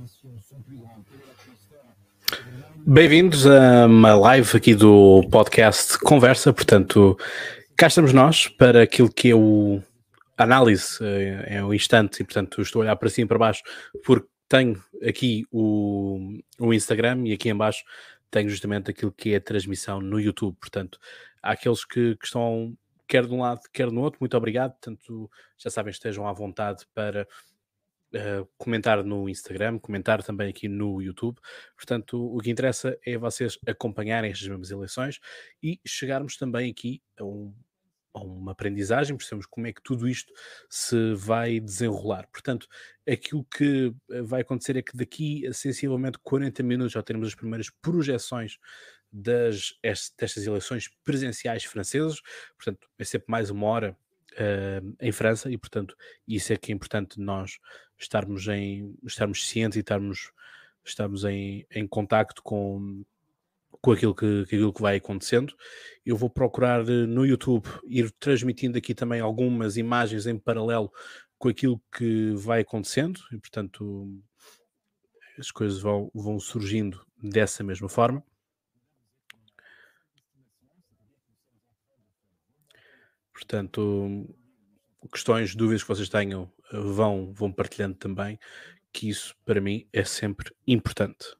Bem-vindos a uma live aqui do podcast Conversa. Portanto, cá estamos nós para aquilo que é o análise, é o instante, e portanto estou a olhar para cima e para baixo porque tenho aqui o Instagram e aqui em baixo tenho justamente aquilo que é a transmissão no YouTube. Portanto, há aqueles que estão quer de um lado, quer no outro. Muito obrigado. Portanto, já sabem, estejam à vontade para comentar no Instagram, comentar também aqui no YouTube. Portanto, o que interessa é vocês acompanharem estas mesmas eleições e chegarmos também aqui a uma aprendizagem, percebemos como é que tudo isto se vai desenrolar. Portanto, aquilo que vai acontecer é que daqui a sensivelmente 40 minutos já teremos as primeiras projeções destas eleições presidenciais francesas. Portanto, é sempre mais uma hora em França e, portanto, isso é que é importante nós estarmos cientes e estarmos em contacto com aquilo que vai acontecendo. Eu vou procurar no YouTube ir transmitindo aqui também algumas imagens em paralelo com aquilo que vai acontecendo e, portanto, as coisas vão surgindo dessa mesma forma. Portanto, questões, dúvidas que vocês tenham, vão partilhando também, que isso para mim é sempre importante.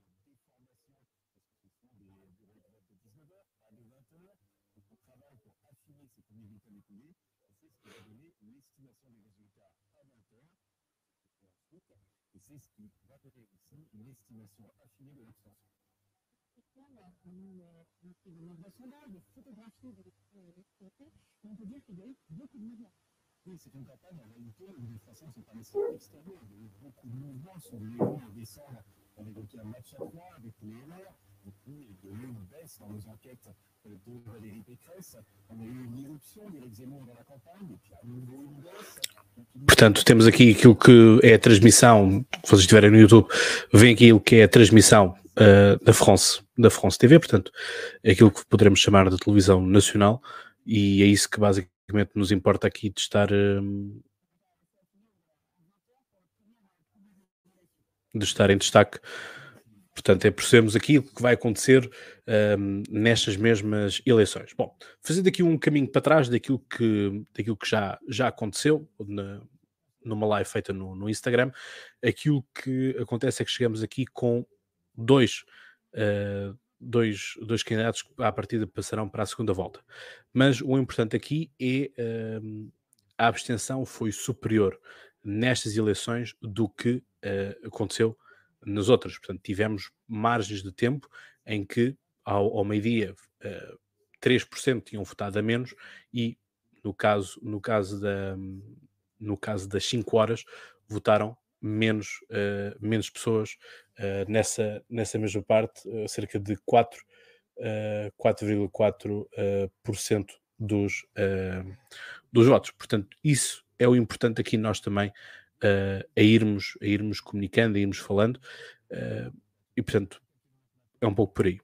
C'est une campagne en réalité où les Français ne sont pas nécessairement extérieurs. Il y a eu beaucoup de mouvements sur les mois en décembre. On évoquait un match à 3 avec les LR. Du coup, il y a eu une baisse dans nos enquêtes de Valérie Pécresse. On a eu une irruption d'Éric Zemmour dans la campagne et puis à nouveau une baisse. Portanto, temos aqui aquilo que é a transmissão, se vocês estiverem no YouTube, vem aquilo que é a transmissão da France TV, portanto, é aquilo que poderemos chamar de televisão nacional, e é isso que basicamente nos importa aqui de estar em destaque. Portanto, é percebermos aqui o que vai acontecer nestas mesmas eleições. Bom, fazendo aqui um caminho para trás daquilo que já aconteceu numa live feita no Instagram, aquilo que acontece é que chegamos aqui com dois candidatos que à partida passarão para a segunda volta. Mas o importante aqui é a abstenção foi superior nestas eleições do que aconteceu nas outras. Portanto, tivemos margens de tempo em que ao meio-dia 3% tinham votado a menos e no caso das 5 horas votaram menos pessoas nessa mesma parte, cerca de 4,4% dos votos. Portanto, isso é o importante aqui nós também a irmos comunicando, a irmos falando, e portanto é um pouco por aí.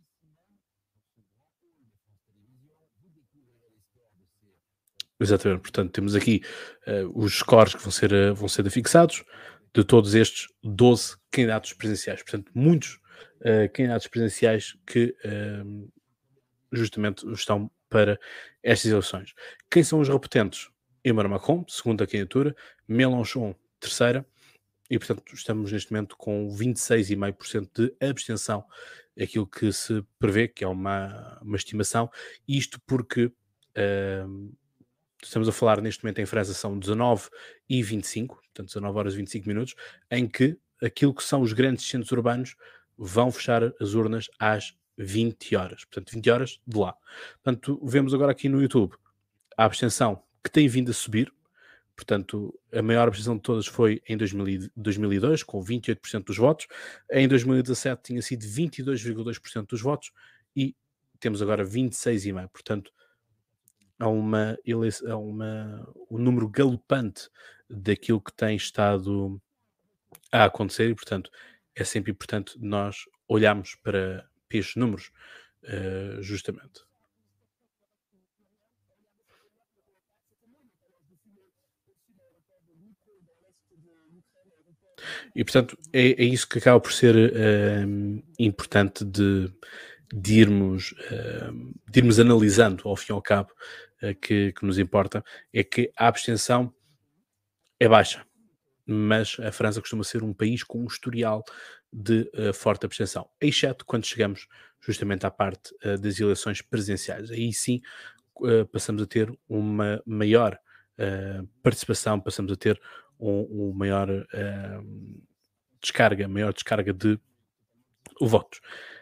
Exatamente, portanto temos aqui os scores que vão ser afixados de todos estes 12 candidatos presidenciais. Portanto, muitos candidatos presidenciais que justamente estão para estas eleições. Quem são os repetentes? Emmanuel Macron, segunda candidatura, Mélenchon, terceira, e portanto estamos neste momento com 26,5% de abstenção, aquilo que se prevê, que é uma estimação, isto porque estamos a falar neste momento em França são 19h25, portanto 19 horas e 25 minutos, em que aquilo que são os grandes centros urbanos vão fechar as urnas às 20 horas. Portanto, 20 horas de lá. Portanto, vemos agora aqui no YouTube a abstenção que tem vindo a subir. Portanto, a maior abstenção de todas foi em 2002, com 28% dos votos. Em 2017 tinha sido 22,2% dos votos e temos agora 26,5%. Portanto, há um número galopante daquilo que tem estado a acontecer e, portanto, é sempre importante nós olharmos para estes números, justamente. E, portanto, é isso que acaba por ser importante de irmos analisando, ao fim e ao cabo, que nos importa, é que a abstenção é baixa, mas a França costuma ser um país com um historial de forte abstenção, exceto quando chegamos justamente à parte das eleições presidenciais. Aí sim passamos a ter uma maior participação, passamos a ter um maior maior descarga de votos.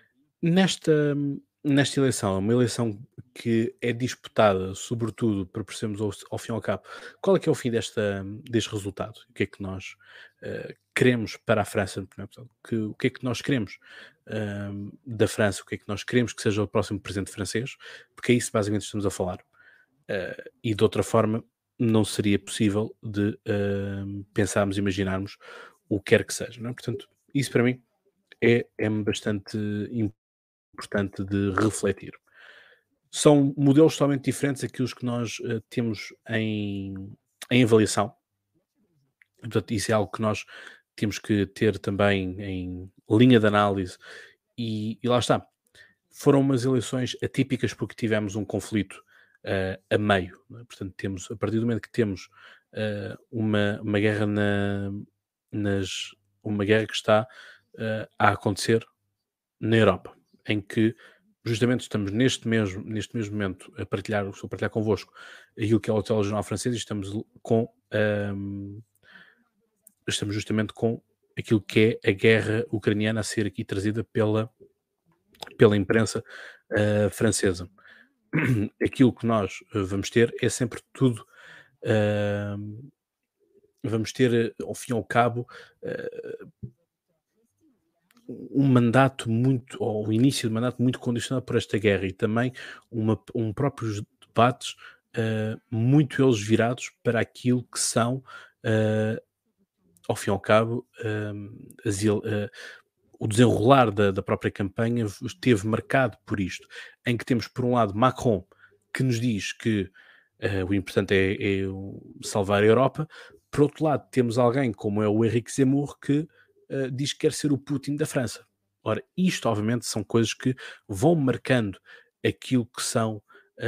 Nesta eleição, uma eleição que é disputada, sobretudo, para percebermos ao fim e ao cabo, qual é que é o fim deste resultado? O que é que nós queremos para a França? O que é que nós queremos da França? O que é que nós queremos que seja o próximo presidente francês? Porque é isso basicamente que estamos a falar. E de outra forma, não seria possível de pensarmos, imaginarmos o que quer que seja. Não é? Portanto, isso para mim é bastante importante de refletir. São modelos totalmente diferentes aqueles que nós temos em avaliação. Portanto, isso é algo que nós temos que ter também em linha de análise e lá está. Foram umas eleições atípicas porque tivemos um conflito a meio. Não é? Portanto, a partir do momento que temos uma guerra uma guerra que está a acontecer na Europa, em que justamente estamos neste mesmo momento estou a partilhar convosco aquilo que é o telejornal francês e estamos justamente com aquilo que é a guerra ucraniana a ser aqui trazida pela imprensa francesa. Aquilo que nós vamos ter é sempre tudo vamos ter, ao fim e ao cabo, um mandato muito, ou o início de mandato muito condicionado por esta guerra e também próprios debates muito eles virados para aquilo que são, ao fim e ao cabo, o desenrolar da própria campanha esteve marcado por isto, em que temos, por um lado, Macron, que nos diz que o importante é salvar a Europa. Por outro lado, temos alguém como é o Henrique Zemmour, que diz que quer ser o Putin da França. Ora, isto, obviamente, são coisas que vão marcando aquilo que são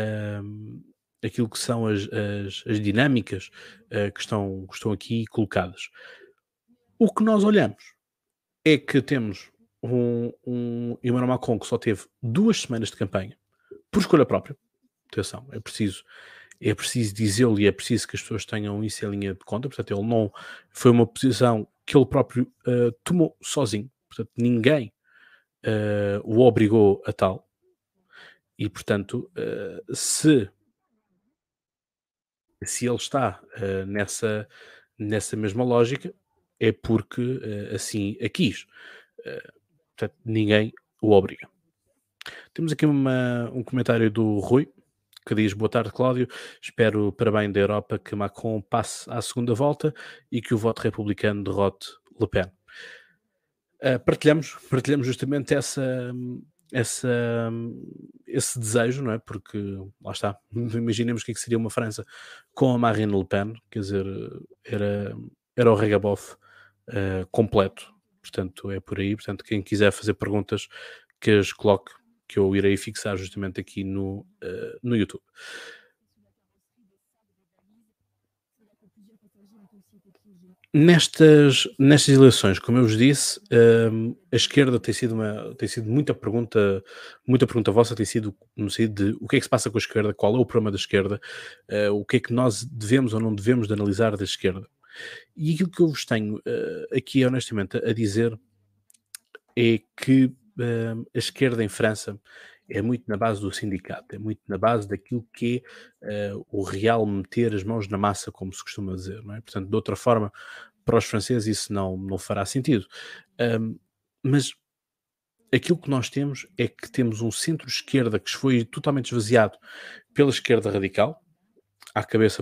as dinâmicas que estão aqui colocadas. O que nós olhamos é que temos um Emmanuel Macron que só teve 2 semanas de campanha, por escolha própria. Atenção, é preciso dizê-lo e é preciso que as pessoas tenham isso em linha de conta. Portanto, ele não foi uma posição que ele próprio tomou sozinho. Portanto, ninguém o obrigou a tal. E, portanto, se ele está nessa mesma lógica, é porque assim a quis. Portanto, ninguém o obriga. Temos aqui um comentário do Rui, que diz: boa tarde, Cláudio. Espero para bem da Europa que Macron passe à segunda volta e que o voto republicano derrote Le Pen. Partilhamos justamente esse desejo, não é? Porque, lá está, imaginemos o que seria uma França com a Marine Le Pen, quer dizer, era o regabof completo. Portanto, é por aí. Portanto, quem quiser fazer perguntas, que as coloque, que eu irei fixar justamente aqui no YouTube. Nestas eleições, como eu vos disse, a esquerda tem sido muita pergunta vossa, tem sido no sentido de o que é que se passa com a esquerda, qual é o problema da esquerda, o que é que nós devemos ou não devemos de analisar da esquerda. E aquilo que eu vos tenho aqui honestamente a dizer é que a esquerda em França é muito na base do sindicato, é muito na base daquilo que é o real meter as mãos na massa, como se costuma dizer, não é? Portanto, de outra forma, para os franceses isso não fará sentido. Mas aquilo que nós temos é que temos um centro-esquerda que foi totalmente esvaziado pela esquerda radical, à cabeça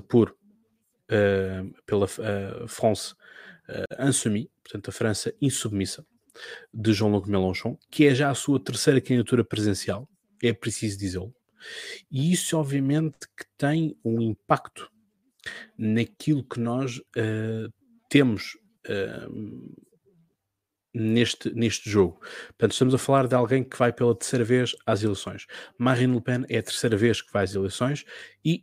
pela France Insoumise, portanto a França insubmissa, de Jean-Luc Mélenchon, que é já a sua terceira candidatura presidencial, é preciso dizê-lo, e isso obviamente que tem um impacto naquilo que nós temos neste jogo. Portanto, estamos a falar de alguém que vai pela terceira vez às eleições. Marine Le Pen é a terceira vez que vai às eleições e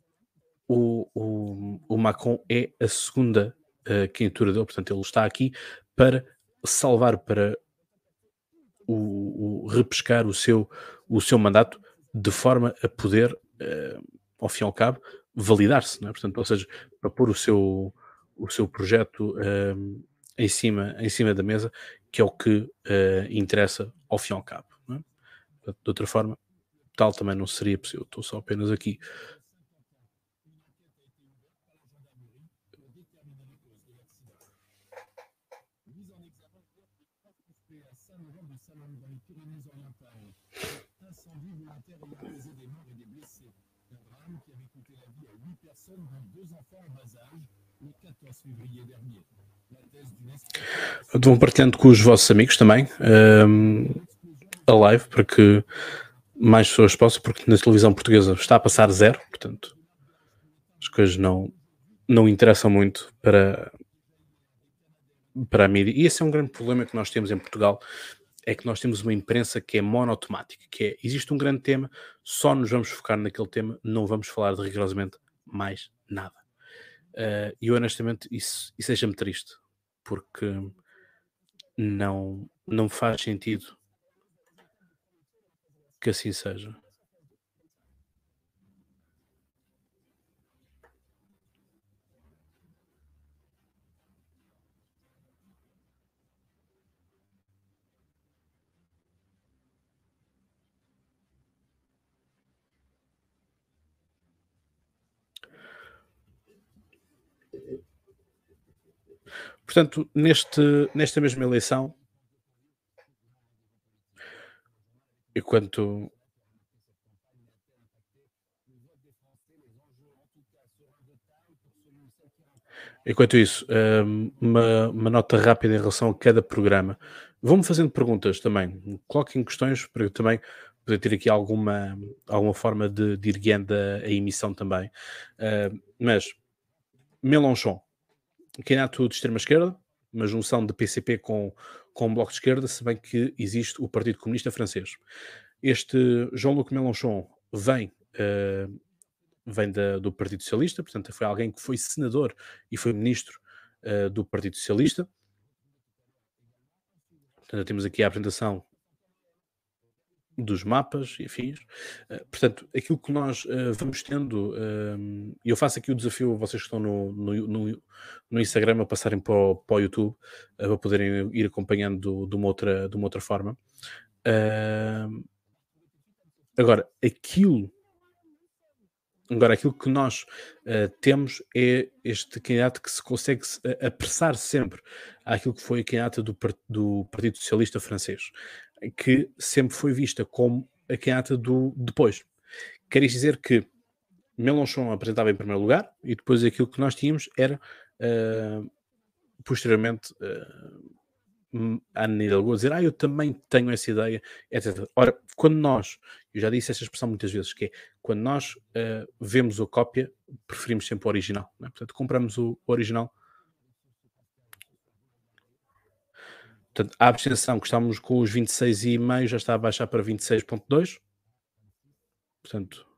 o Macron é a segunda candidatura dele. Portanto, ele está aqui para salvar, para repescar o seu mandato de forma a poder, ao fim e ao cabo, validar-se, não é? Portanto, ou seja, para pôr o seu projeto em cima da mesa, que é o que interessa ao fim e ao cabo, não é? Portanto, de outra forma, tal também não seria possível. Estou só apenas aqui. Vão partilhando com os vossos amigos também a live para que mais pessoas possam, porque na televisão portuguesa está a passar 0, portanto as coisas não interessam muito para a mídia. E esse é um grande problema que nós temos em Portugal, é que nós temos uma imprensa que é monotemática, que é, existe um grande tema, só nos vamos focar naquele tema, não vamos falar de rigorosamente mais nada. E honestamente isso deixa-me triste, porque não faz sentido que assim seja. Portanto, nesta mesma eleição, enquanto isso, uma nota rápida em relação a cada programa. Vão-me fazendo perguntas também. Coloquem questões para eu também poder ter aqui alguma forma de ir guiando a emissão também. Mas Mélenchon, candidato de extrema-esquerda, uma junção de PCP com o Bloco de Esquerda, se bem que existe o Partido Comunista Francês. Este Jean-Luc Mélenchon vem do Partido Socialista, portanto foi alguém que foi senador e foi ministro do Partido Socialista. Portanto, temos aqui a apresentação dos mapas e afins. Portanto, aquilo que nós vamos tendo, e eu faço aqui o desafio, vocês que estão no Instagram, a passarem para o YouTube, para poderem ir acompanhando de uma outra forma. Agora, aquilo que nós temos é este candidato que se consegue apressar sempre àquilo que foi a candidata do Partido Socialista Francês, que sempre foi vista como a candidata do depois. Quer dizer que Mélenchon apresentava em primeiro lugar e depois aquilo que nós tínhamos era posteriormente a Ana Hidalgo a dizer eu também tenho essa ideia, etc. Ora, quando nós, eu já disse esta expressão muitas vezes, que é quando nós vemos a cópia, preferimos sempre o original, não é? Portanto, compramos o original. Portanto, a abstenção, que estávamos com os 26,5, já está a baixar para 26,2. Portanto,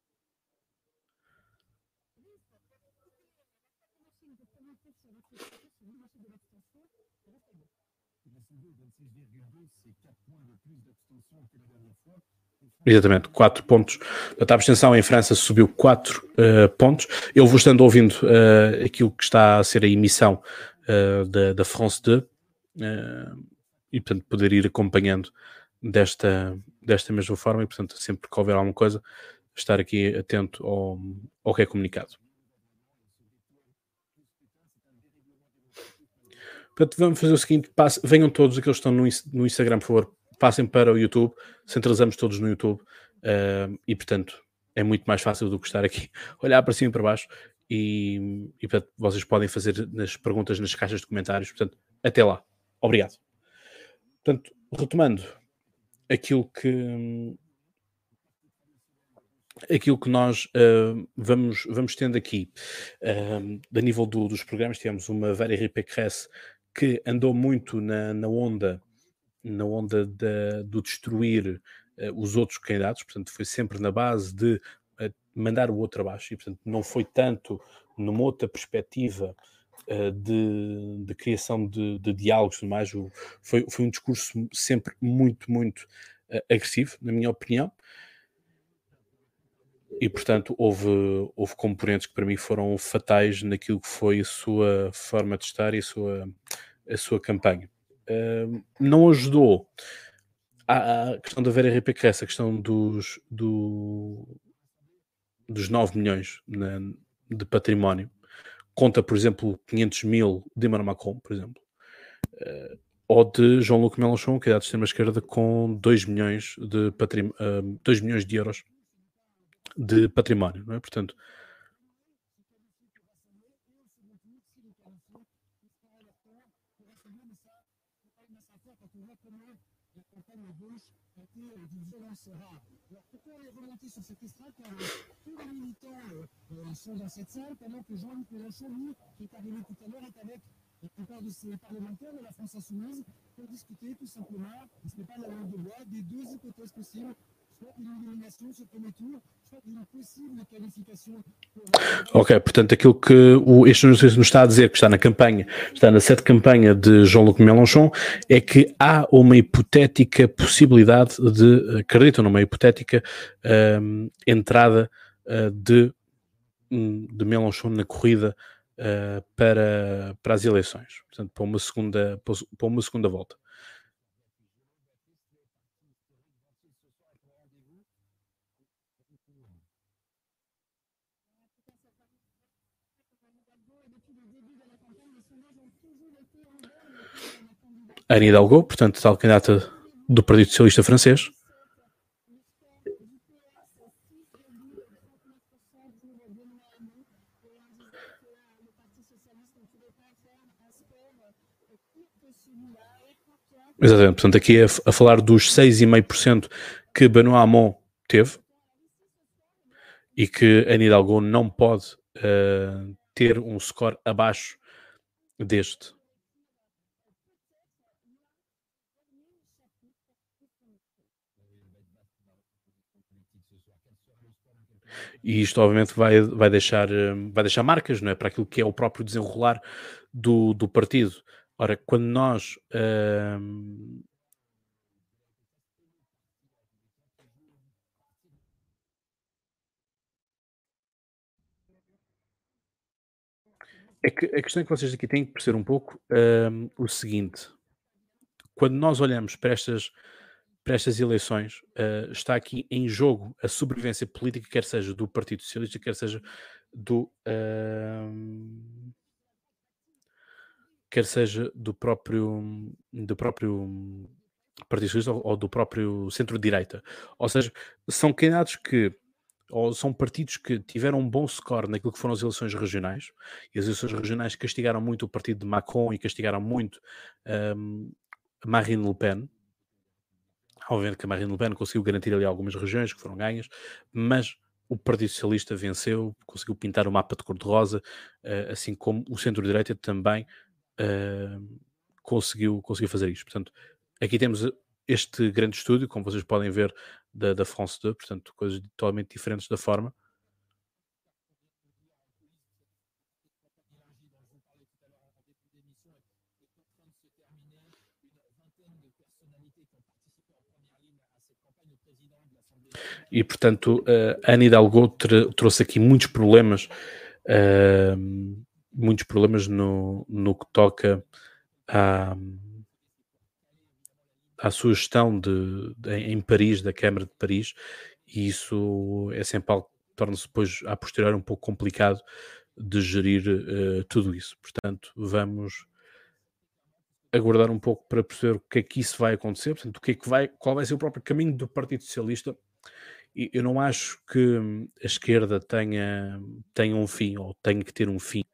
exatamente, 4 pontos. A abstenção em França subiu 4 pontos. Eu vou estando ouvindo aquilo que está a ser a emissão da France 2 e, portanto, poder ir acompanhando desta mesma forma e, portanto, sempre que houver alguma coisa, estar aqui atento ao que é comunicado. Portanto, vamos fazer o seguinte, venham todos aqueles que estão no Instagram, por favor, passem para o YouTube, centralizamos todos no YouTube e, portanto, é muito mais fácil do que estar aqui, olhar para cima e para baixo e portanto, vocês podem fazer nas perguntas nas caixas de comentários. Portanto, até lá. Obrigado. Portanto, retomando aquilo que nós vamos tendo aqui, a nível dos programas, tivemos uma Valérie Pécresse que andou muito na onda do destruir os outros candidatos, portanto foi sempre na base de mandar o outro abaixo, e portanto não foi tanto numa outra perspectiva de criação de diálogos e tudo mais. Foi um discurso sempre muito, muito agressivo, na minha opinião, e portanto houve componentes que para mim foram fatais naquilo que foi a sua forma de estar e a sua campanha. Não ajudou a questão da Vera Henrique, essa questão dos 9 milhões de património. Conta, por exemplo, 500 mil de Emmanuel Macron, por exemplo. Ou de Jean-Luc Mélenchon, que é da extrema-esquerda, com 2 milhões de 2 milhões de euros de património, não é? Portanto, pourquoi on est remonté sur cette estrade quand tous les militants sont dans cette salle, pendant que Jean-Luc Mélenchon, lui, qui est arrivé tout à l'heure, est avec la plupart de ses parlementaires de la France Insoumise pour discuter tout simplement, et ce n'est pas la langue de bois, des deux hypothèses possibles, soit une élimination sur le premier tour, soit une possible qualification. Ok, portanto, aquilo que este anúncio nos está a dizer, que está na campanha, está na sede campanha de Jean-Luc Mélenchon, é que há uma hipotética possibilidade acreditam numa hipotética entrada de Mélenchon na corrida para as eleições, portanto, para uma segunda volta. Anne Hidalgo, portanto, tal candidata do Partido Socialista Francês. Exatamente, portanto, aqui é a falar dos 6,5% que Benoît Hamon teve, e que Anne Hidalgo não pode ter um score abaixo deste. E isto obviamente vai deixar marcas, não é? Para aquilo que é o próprio desenrolar do partido. Ora, quando nós é que a questão é que vocês aqui têm que perceber um pouco o seguinte: quando nós olhamos para estas eleições, está aqui em jogo a sobrevivência política, quer seja do Partido Socialista, quer seja do próprio Partido Socialista ou do próprio centro-direita. Ou seja, são candidatos ou são partidos que tiveram um bom score naquilo que foram as eleições regionais, e as eleições regionais castigaram muito o partido de Macron e castigaram muito Marine Le Pen. Obviamente que a Marine Le Pen conseguiu garantir ali algumas regiões que foram ganhas, mas o Partido Socialista venceu, conseguiu pintar o mapa de cor-de-rosa, assim como o centro-direita também conseguiu fazer isto. Portanto, aqui temos este grande estúdio, como vocês podem ver, da France 2, portanto, coisas totalmente diferentes da forma. E, portanto, Anne Hidalgo trouxe aqui muitos problemas no que toca à sua gestão em Paris, da Câmara de Paris, e isso é sempre algo que torna-se depois, a posteriori, um pouco complicado de gerir tudo isso. Portanto, vamos aguardar um pouco para perceber o que é que isso vai acontecer, portanto, qual vai ser o próprio caminho do Partido Socialista. E eu não acho que a esquerda tenha um fim, ou tenha que ter um fim.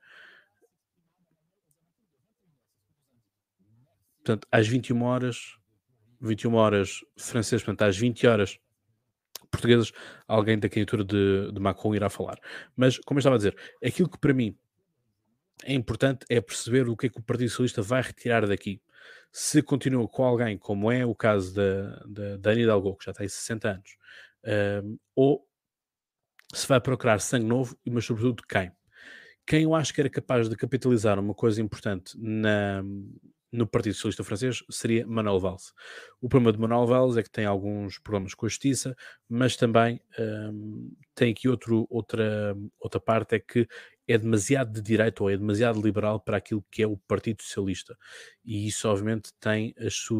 Portanto, às 21 horas francesas, portanto, às 20 horas portuguesas, alguém da candidatura de Macron irá falar. Mas, como eu estava a dizer, aquilo que para mim é importante é perceber o que é que o Partido Socialista vai retirar daqui. Se continua com alguém, como é o caso da Ana Hidalgo, que já tem 60 anos, ou se vai procurar sangue novo, mas sobretudo quem. Quem eu acho que era capaz de capitalizar uma coisa importante no Partido Socialista Francês seria Manuel Valls. O problema de Manuel Valls é que tem alguns problemas com a justiça, mas também tem aqui outra parte, é que é demasiado de direita ou é demasiado liberal para aquilo que é o Partido Socialista. E isso, obviamente, tem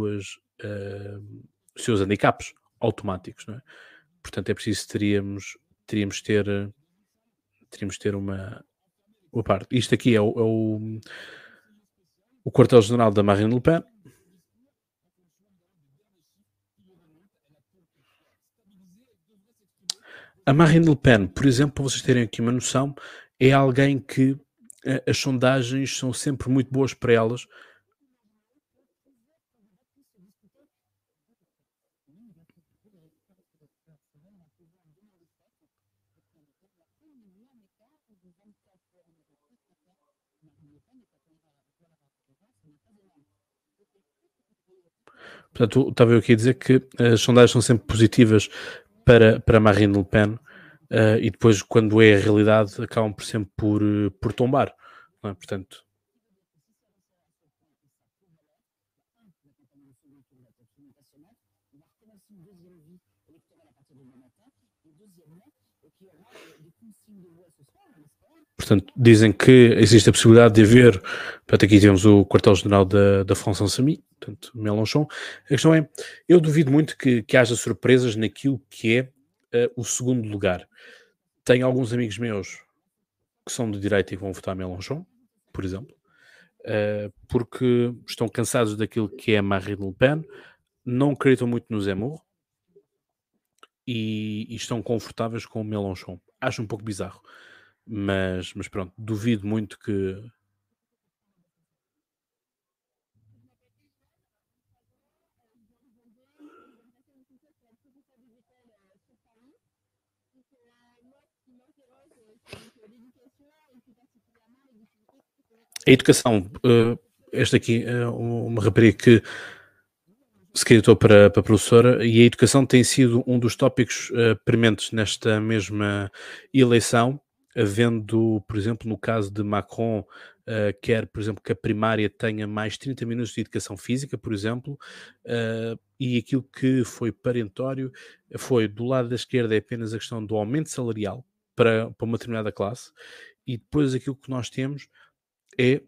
os seus handicaps automáticos, não é? Portanto, é preciso teríamos ter uma parte. Isto aqui é o quartel-general da Marine Le Pen. A Marine Le Pen, por exemplo, para vocês terem aqui uma noção, é alguém que as sondagens são sempre muito boas para elas. Portanto, estava eu aqui a dizer que as sondagens são sempre positivas para Marine Le Pen, e depois, quando é a realidade, acabam por sempre por tombar. Não é? Portanto, dizem que existe a possibilidade de haver. Portanto, aqui temos o quartel-general da France Insoumise, portanto, Mélenchon. A questão é, eu duvido muito que haja surpresas naquilo que é o segundo lugar. Tenho alguns amigos meus que são de direita e que vão votar Mélenchon, por exemplo, porque estão cansados daquilo que é Marine Le Pen, não acreditam muito no Zemmour e estão confortáveis com o Mélenchon. Acho um pouco bizarro, mas pronto, duvido muito que. A educação, esta aqui é uma rapariga que se candidatou para professora, e a educação tem sido um dos tópicos prementes nesta mesma eleição, havendo, por exemplo, no caso de Macron, quer, por exemplo, que a primária tenha mais 30 minutos de educação física, por exemplo, e aquilo que foi parentório foi, do lado da esquerda, é apenas a questão do aumento salarial para uma determinada classe, e depois aquilo que nós temos é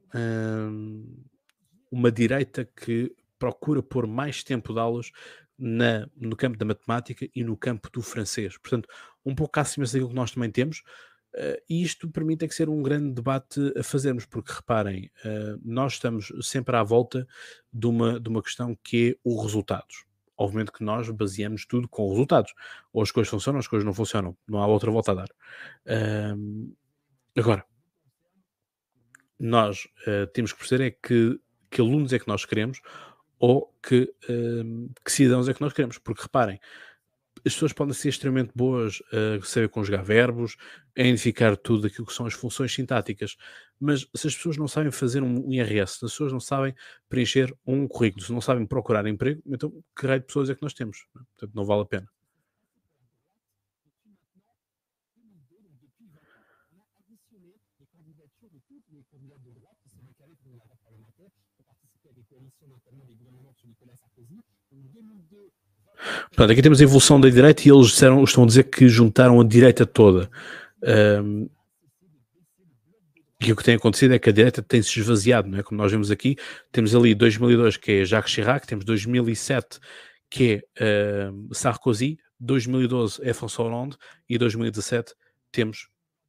uma direita que procura pôr mais tempo de aulas no campo da matemática e no campo do francês. Portanto, um pouco acima daquilo que nós também temos, e isto para mim tem que ser um grande debate a fazermos, porque reparem, nós estamos sempre à volta de uma questão que é os resultados. Obviamente que nós baseamos tudo com resultados. Ou as coisas funcionam, ou as coisas não funcionam. Não há outra volta a dar. Agora, nós temos que perceber é que alunos é que nós queremos ou que cidadãos é que nós queremos. Porque reparem, as pessoas podem ser extremamente boas a saber conjugar verbos, a identificar tudo aquilo que são as funções sintáticas, mas se as pessoas não sabem fazer um IRS, se as pessoas não sabem preencher um currículo, se não sabem procurar emprego, então que raio de pessoas é que nós temos? Não é? Portanto, não vale a pena. Portanto, aqui temos a evolução da direita e eles estão a dizer que juntaram a direita toda. E o que tem acontecido é que a direita tem-se esvaziado, não é? Como nós vemos aqui, temos ali 2002 que é Jacques Chirac, temos 2007 que é Sarkozy, 2012 é François Hollande e 2017 temos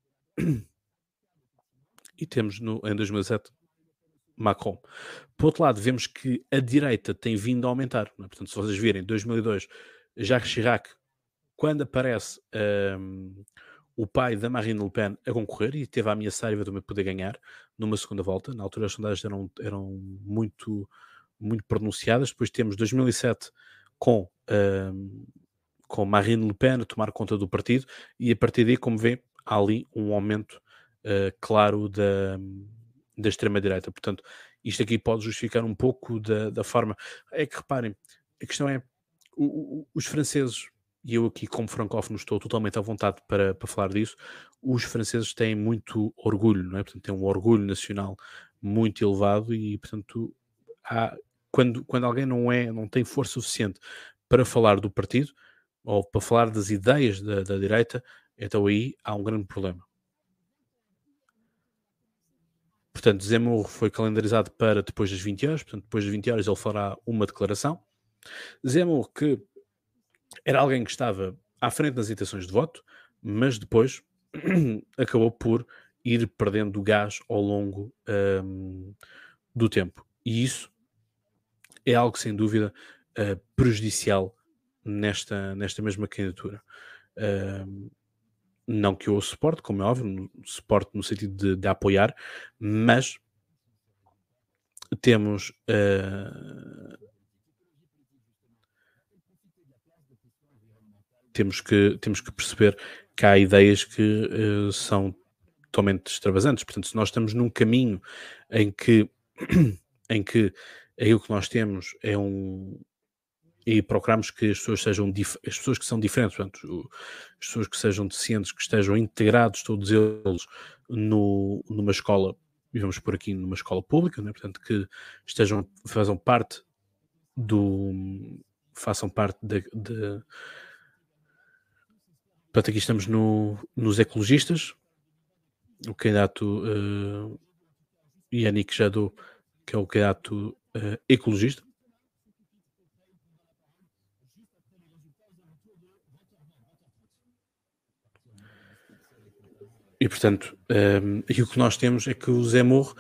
em 2017 Macron. Por outro lado, vemos que a direita tem vindo a aumentar. Não é? Portanto, se vocês virem 2002, Jacques Chirac, quando aparece o pai da Marine Le Pen a concorrer e teve a ameaçar eventualmente poder ganhar numa segunda volta. Na altura as sondagens eram muito, muito pronunciadas. Depois temos 2007 com Marine Le Pen a tomar conta do partido e a partir daí, como vê, há ali um aumento claro extrema-direita. Portanto, isto aqui pode justificar um pouco da forma. É que reparem, a questão é, os franceses, e eu aqui como francófono estou totalmente à vontade para falar disso, os franceses têm muito orgulho, não é? Portanto, têm um orgulho nacional muito elevado e, portanto, quando alguém não tem força suficiente para falar do partido ou para falar das ideias da direita, então aí há um grande problema. Portanto, Zemmour foi calendarizado para depois das 20 horas, portanto, depois das 20 horas ele fará uma declaração. Zemmour, que era alguém que estava à frente das intenções de voto, mas depois acabou por ir perdendo gás ao longo do tempo. E isso é algo, sem dúvida, prejudicial nesta mesma candidatura. Não que eu o suporte, como é óbvio, suporte no sentido de apoiar, mas temos que perceber que há ideias que são totalmente extravasantes. Portanto, se nós estamos num caminho em que aí o que nós temos é e procuramos que as pessoas sejam as pessoas que são diferentes, portanto, as pessoas que sejam deficientes, que estejam integrados todos eles numa escola, e vamos por aqui numa escola pública, né? Portanto, que façam parte portanto, aqui estamos nos ecologistas, o candidato Yannick Jadot, que é o candidato ecologista. E, portanto, e o que nós temos é que o Zemmour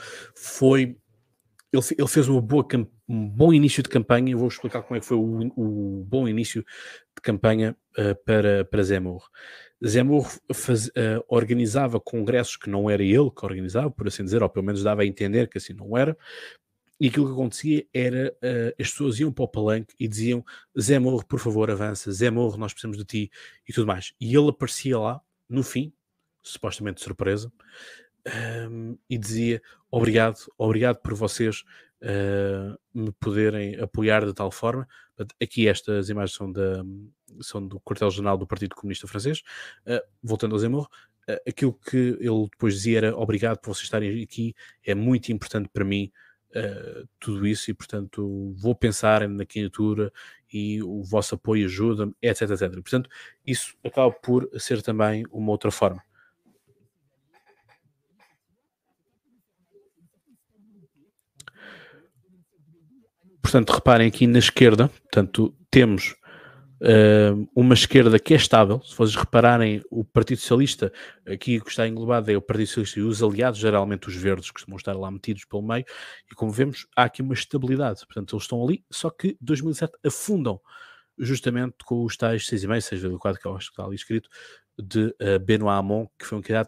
ele fez um bom início de campanha. Eu vou explicar como é que foi o bom início de campanha para Zemmour. Zemmour organizava congressos que não era ele que organizava, por assim dizer, ou pelo menos dava a entender que assim não era. E aquilo que acontecia era as pessoas iam para o palanque e diziam: Zemmour, por favor, avança, Zemmour, nós precisamos de ti, e tudo mais. E ele aparecia lá, no fim, supostamente de surpresa, e dizia: obrigado por vocês me poderem apoiar de tal forma. Aqui estas imagens são do quartel-general do Partido Comunista Francês. Voltando ao Zemmour, aquilo que ele depois dizia era: obrigado por vocês estarem aqui, é muito importante para mim tudo isso, e portanto vou pensar na candidatura e o vosso apoio ajuda-me, etc, etc. Portanto, isso acaba por ser também uma outra forma. Portanto, reparem aqui na esquerda, portanto, temos uma esquerda que é estável. Se vocês repararem, o Partido Socialista, aqui que está englobado é o Partido Socialista e os aliados, geralmente os verdes, que costumam estar lá metidos pelo meio, e como vemos, há aqui uma estabilidade. Portanto, eles estão ali, só que 2007 afundam, justamente com os tais 6,5, 6,4, que eu acho que está ali escrito, de Benoît Hamon, que foi um candidato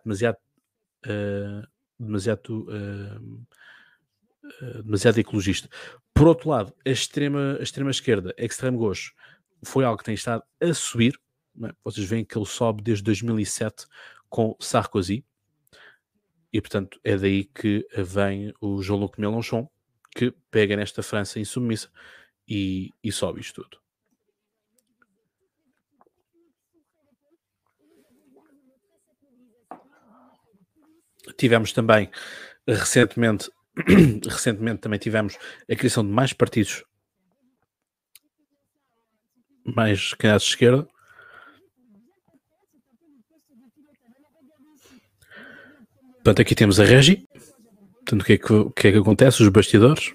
demasiado ecologista. Por outro lado, a extrema esquerda, a extreme gauche, foi algo que tem estado a subir, não é? Vocês veem que ele sobe desde 2007 com Sarkozy, e portanto é daí que vem o Jean-Luc Mélenchon, que pega nesta França insubmissa e sobe isto tudo. Tivemos também recentemente também tivemos a criação de mais partidos, mais candidatos de esquerda. Portanto, aqui temos a Régie. Portanto, o que é que acontece? Os bastidores.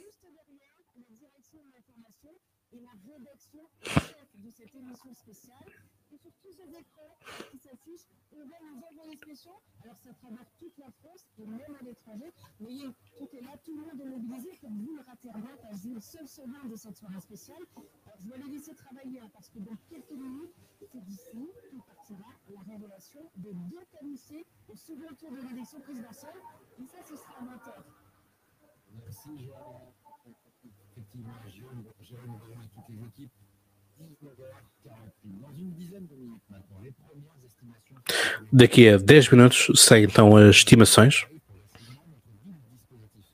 Daqui a 10 minutos saem então as estimações.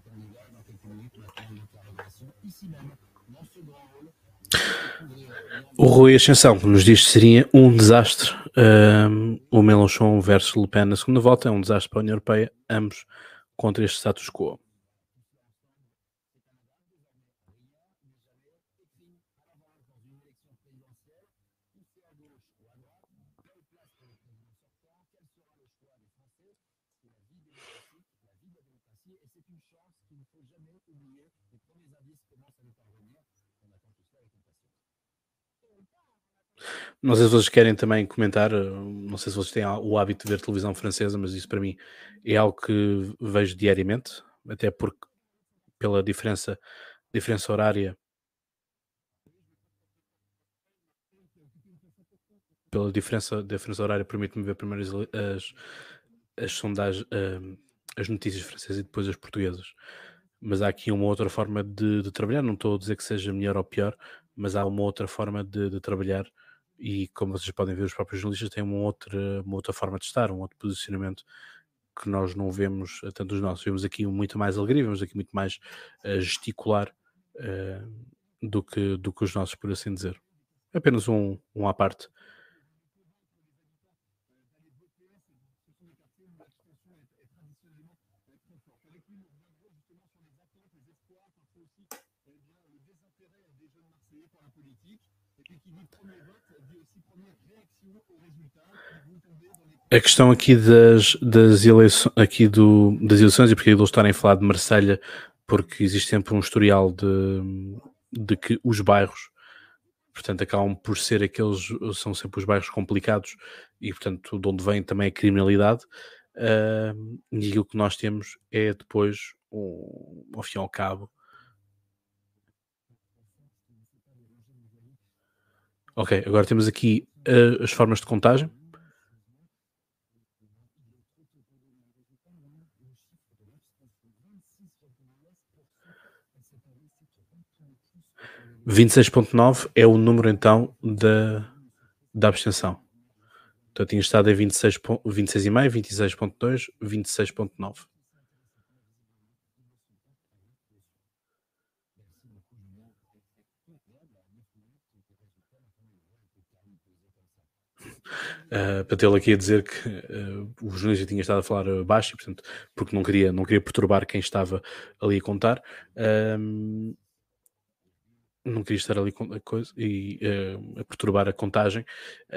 O Rui Ascensão nos diz que seria um desastre o Mélenchon versus Le Pen na segunda volta, é um desastre para a União Europeia, ambos contra este status quo. Não sei se vocês querem também comentar, não sei se vocês têm o hábito de ver televisão francesa, mas isso para mim é algo que vejo diariamente, até porque pela diferença horária, permite-me ver primeiro as sondagens, as notícias francesas e depois as portuguesas. Mas há aqui uma outra forma de trabalhar, não estou a dizer que seja melhor ou pior, mas há uma outra forma de trabalhar e como vocês podem ver, os próprios jornalistas têm uma outra forma de estar, um outro posicionamento que nós não vemos tanto os nossos. Vemos aqui muito mais alegria, vemos aqui muito mais gesticular do que os nossos, por assim dizer. É apenas um à parte. A questão aqui das eleições, das eleições e porque eles estarem a falar de Marselha, porque existe sempre um historial de que os bairros, portanto, acabam por ser são sempre os bairros complicados e, portanto, de onde vem também a criminalidade. E aquilo que nós temos é depois, ao fim e ao cabo. Ok, agora temos aqui as formas de contagem. (26,9) é o número então da abstenção. Então tinha estado em 26,5, 26,2, 26,9. Para tê-lo aqui a dizer que o jornalista tinha estado a falar baixo, e, portanto, porque não queria perturbar quem estava ali a contar. Não queria estar ali com a coisa e a perturbar a contagem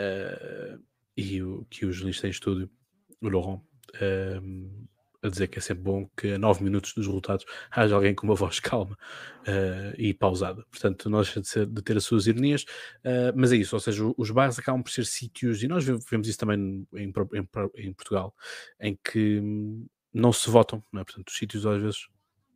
e o que o jornalista em estúdio, o Laurent, a dizer que é sempre bom que a 9 minutos dos resultados haja alguém com uma voz calma e pausada. Portanto, não deixa de ter as suas ironias, mas é isso, ou seja, os bairros acabam por ser sítios, e nós vemos isso também em Portugal, em que não se votam, não é? Portanto, os sítios às vezes...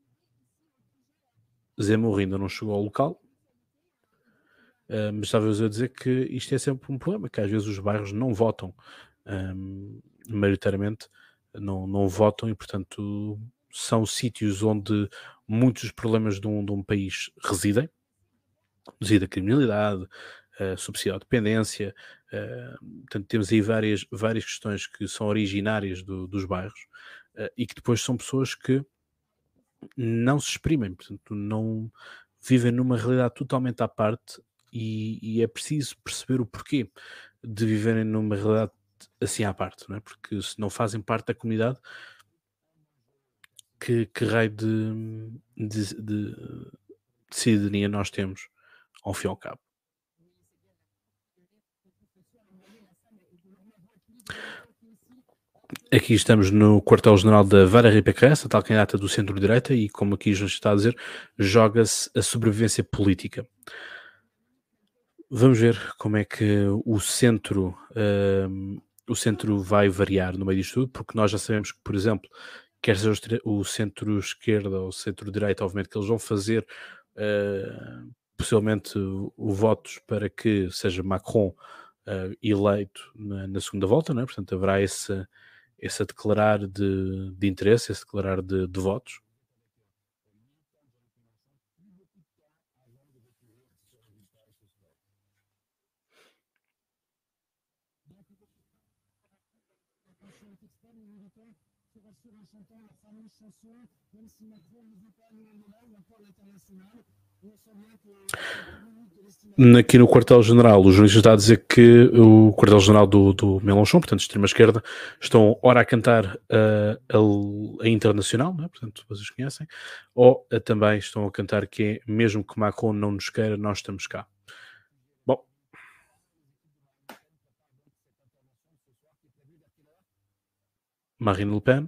Zé Mourinho ainda não chegou ao local, mas estava-vos a dizer que isto é sempre um problema, que às vezes os bairros não votam, maioritariamente não votam e, portanto, são sítios onde muitos dos problemas de um país residem, reside a criminalidade, subsídio à dependência, portanto, temos aí várias questões que são originárias dos bairros e que depois são pessoas que não se exprimem, portanto, não vivem numa realidade totalmente à parte e é preciso perceber o porquê de viverem numa realidade assim à parte, não é? Porque se não fazem parte da comunidade, que raio de cidadania nós temos, ao fim e ao cabo? Aqui estamos no quartel-general da Valérie Pécresse, a tal candidata do centro-direita, e como aqui já está a dizer, joga-se a sobrevivência política. Vamos ver como é que o centro vai variar no meio disto tudo, porque nós já sabemos que, por exemplo, quer seja o centro-esquerda ou o centro-direita, obviamente que eles vão fazer possivelmente o votos para que seja Macron eleito na segunda volta, não é? Portanto haverá esse a declarar de interesse, esse declarar de votos. chantons la fameuse chanson, même si Macron ne veut pas nous en là, ou encore l'international. On sent bien que quelques minutes de l'estimation. Aqui no quartel-general, o jornalista está a dizer que o quartel-general do Mélenchon, portanto, extrema-esquerda, estão ora a cantar a Internacional, né? Portanto, vocês conhecem, ou também estão a cantar que é mesmo que Macron não nos queira, nós estamos cá. Bom. Marine Le Pen.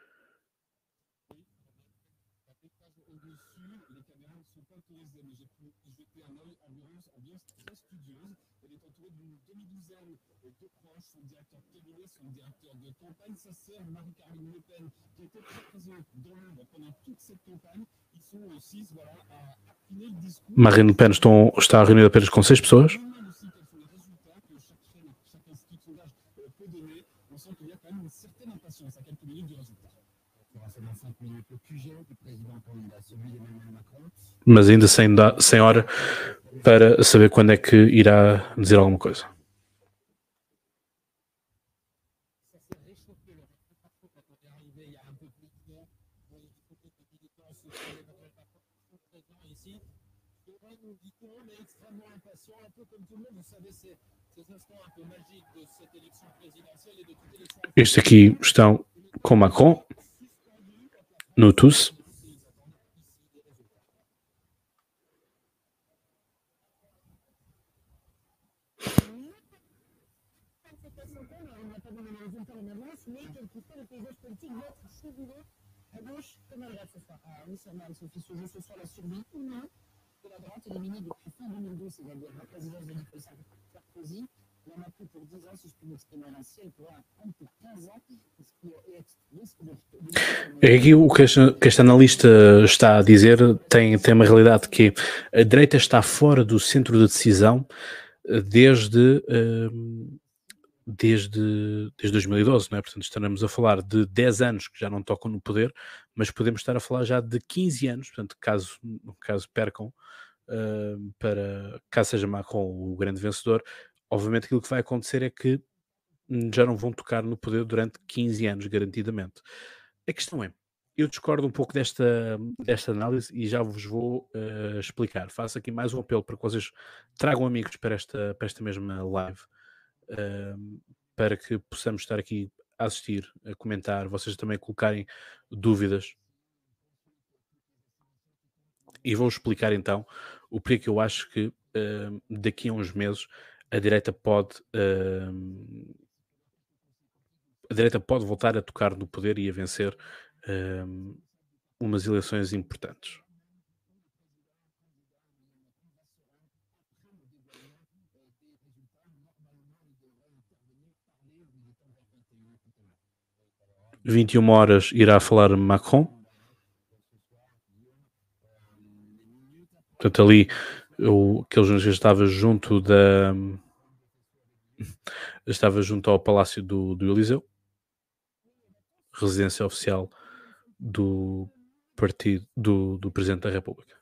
Son directeur cabinet, son directeur de campagne, sa sœur Marie-Caroline Le Pen, qui était très présente dans l'ombre pendant toute cette campagne. Ils sont aussi voilà, à affiner le discours. Marine Le Pen está reunida apenas com 6 pessoas. On demande aussi quels sont les résultats que chaque chaîne, chaque institut de sondage peut donner. On sent qu'il y a quand même une certaine impatience à quelques minutes du résultat. Il y aura seulement 5 minutes. Le QG du président candidat, celui d'Emmanuel Macron. Mas ainda sem hora para saber quando é que irá dizer alguma coisa. Estes aqui estão com Macron no TUS. À gauche, comme à droite ce soir. Ah oui, ça mal, Sophie, ce jeu ce soir la survie ou non de la droite éliminée depuis fin 2012, c'est-à-dire la présidence de Nicolas Sarkozy. Il en a pris pour 10 ans, si je puis m'exprimer ainsi, elle pourra prendre pour 15 ans, ce qui est risque de... É aqui o que este analista está a dizer tem uma realidade que a direita está fora do centro de decisão desde 2012, não é? Portanto, estaremos a falar de 10 anos que já não tocam no poder, mas podemos estar a falar já de 15 anos, portanto, caso percam, caso seja Macron o grande vencedor, obviamente aquilo que vai acontecer é que já não vão tocar no poder durante 15 anos, garantidamente. A questão é, eu discordo um pouco desta análise e já vos vou explicar. Faço aqui mais um apelo para que vocês tragam amigos para esta mesma live, para que possamos estar aqui a assistir, a comentar, vocês também colocarem dúvidas. E vou explicar então o porquê que eu acho que daqui a uns meses a direita pode voltar a tocar no poder e a vencer umas eleições importantes. Às 21h irá falar Macron. Portanto, ali aquele jornalista estava junto ao Palácio do Eliseu, residência oficial do partido do Presidente da República.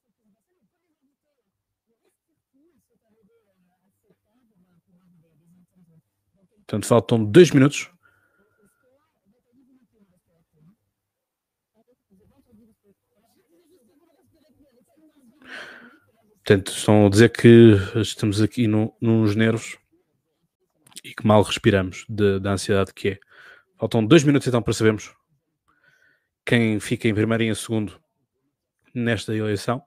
Portanto, faltam 2 minutos. Portanto, estão a dizer que estamos aqui nos nervos e que mal respiramos da ansiedade que é. Faltam 2 minutos então para sabermos quem fica em primeiro e em segundo nesta eleição.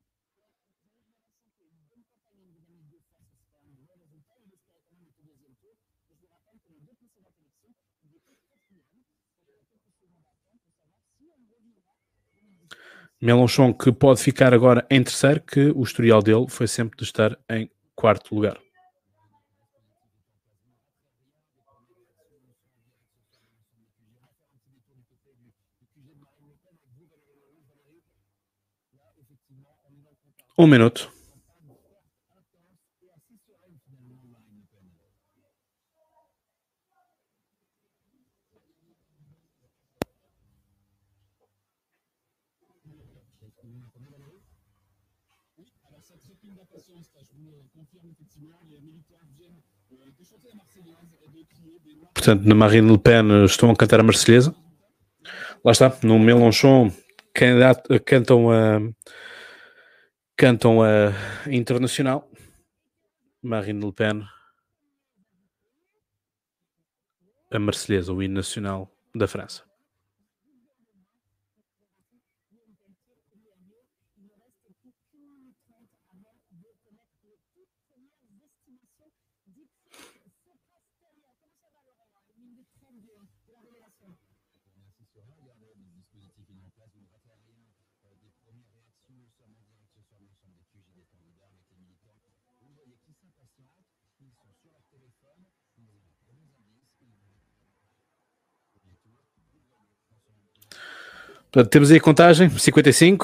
Mélenchon, que pode ficar agora em terceiro, que o historial dele foi sempre de estar em quarto lugar. Um minuto. Portanto, na Marine Le Pen estão a cantar a Marselhesa. Lá está, no Mélenchon cantam a internacional. Marine Le Pen a Marselhesa, o hino nacional da França. Portanto, temos aí a contagem, 55.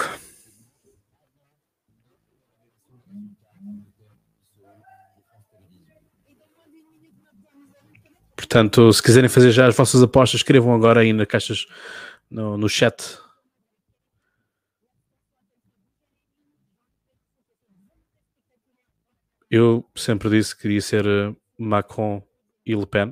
Portanto, se quiserem fazer já as vossas apostas, escrevam agora aí nas caixas, no chat. Eu sempre disse que queria ser Macron e Le Pen.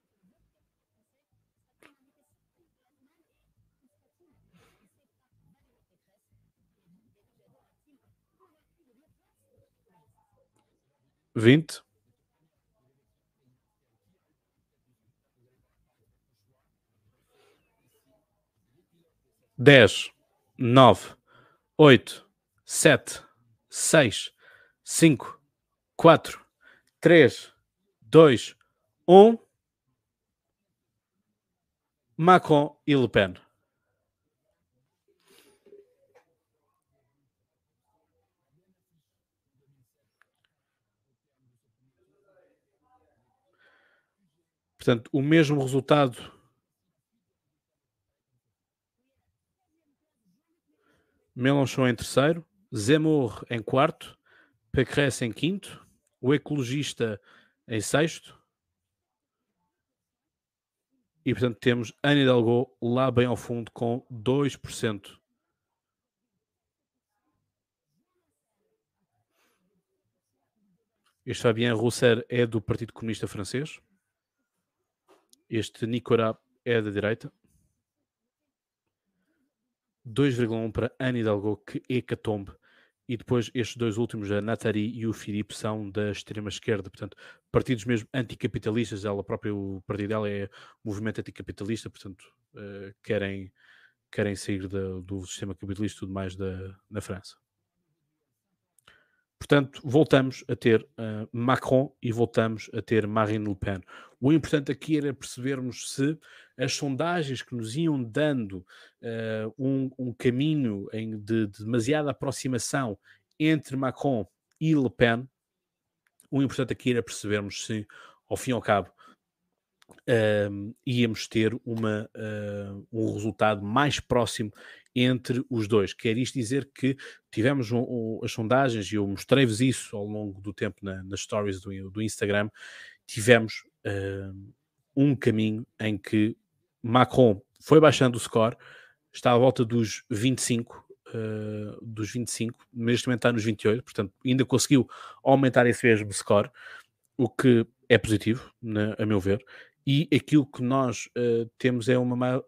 (20) 10, 9, 8, 7, 6, 5, 4, 3, 2, 1. Macron e Le Pen. Portanto, o mesmo resultado. Mélenchon em terceiro, Zemmour em quarto, Pécresse em quinto, o ecologista em sexto. E, portanto, temos Anne Hidalgo lá bem ao fundo com 2%. Este Fabien Roussel é do Partido Comunista Francês. Este Nicolas é da direita. 2,1 para Anne Hidalgo, que hecatombe. E depois estes dois últimos, a Nathalie e o Philippe, são da extrema-esquerda. Portanto, partidos mesmo anticapitalistas. Ela própria, o partido dela é movimento anticapitalista. Portanto, querem sair do sistema capitalista e tudo mais na França. Portanto, voltamos a ter Macron e voltamos a ter Marine Le Pen. O importante aqui era percebermos se as sondagens que nos iam dando um caminho de demasiada aproximação entre Macron e Le Pen, o importante aqui era percebermos se, ao fim e ao cabo, íamos ter um resultado mais próximo entre os dois. Quer isto dizer que tivemos as sondagens, e eu mostrei-vos isso ao longo do tempo nas stories do Instagram, tivemos um caminho em que Macron foi baixando o score, está à volta dos 25, neste momento está nos 28, portanto ainda conseguiu aumentar esse mesmo score, o que é positivo, a meu ver. E aquilo que nós temos é uma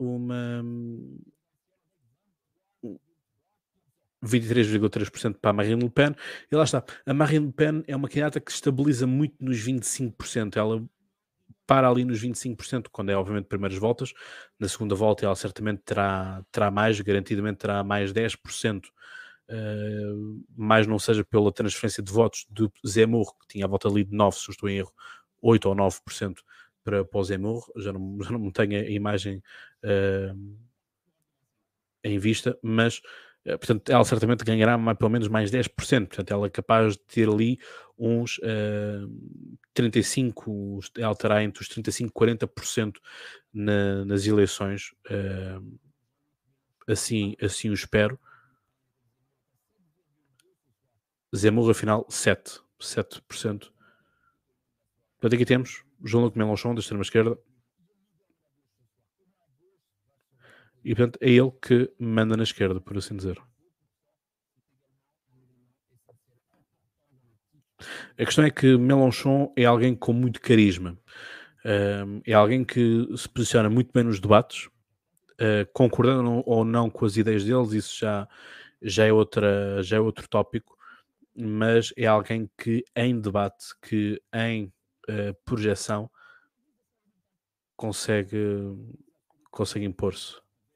23,3% para a Marine Le Pen. E lá está. A Marine Le Pen é uma candidata que estabiliza muito nos 25%. Ela para ali nos 25%, quando é obviamente primeiras voltas. Na segunda volta ela certamente terá mais, garantidamente terá mais 10%. Mais não seja pela transferência de votos de Zemmour, que tinha a volta ali de 9, se eu estou em erro, 8 ou 9% para o Zemmour. Já não tenho a imagem em vista, mas portanto ela certamente ganhará pelo menos mais 10%, portanto ela é capaz de ter ali uns 35%, ela terá entre os 35% e 40% nas eleições, assim o espero. Zemmour afinal 7%. Portanto aqui temos Jean-Luc Mélenchon da extrema-esquerda, e portanto é ele que manda na esquerda, por assim dizer. A questão é que Mélenchon é alguém com muito carisma, é alguém que se posiciona muito bem nos debates, concordando ou não com as ideias deles, isso já é outro tópico, mas é alguém que em debate, que em projeção consegue impor-se.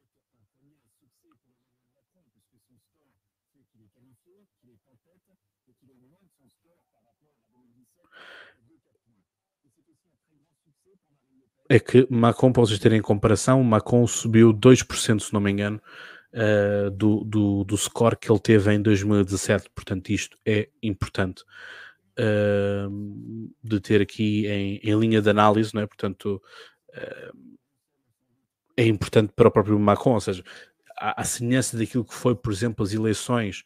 É que Macron, para vocês terem em comparação, Macron subiu 2%, se não me engano, do score que ele teve em 2017. Portanto, isto é importante de ter aqui em linha de análise, não é? Portanto, é importante para o próprio Macron, ou seja, à semelhança daquilo que foi, por exemplo, as eleições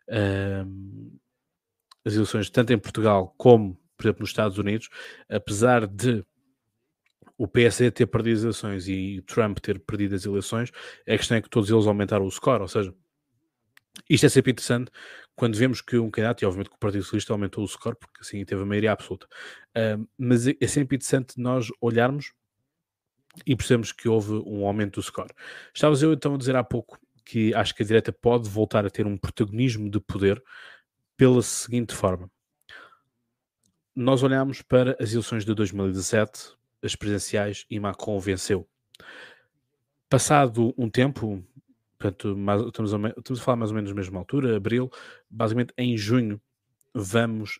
tanto em Portugal como, por exemplo, nos Estados Unidos, apesar de o PSD ter perdido as eleições e Trump ter perdido as eleições, a questão é que todos eles aumentaram o score, ou seja, isto é sempre interessante quando vemos que um candidato, e obviamente que o Partido Socialista aumentou o score, porque assim teve a maioria absoluta, mas é sempre interessante nós olharmos e percebemos que houve um aumento do score. Estavas eu então a dizer há pouco que acho que a direita pode voltar a ter um protagonismo de poder pela seguinte forma. Nós olhamos para as eleições de 2017, as presidenciais, e Macron venceu. Passado um tempo, portanto, estamos a falar mais ou menos na mesma altura, abril, basicamente em junho vamos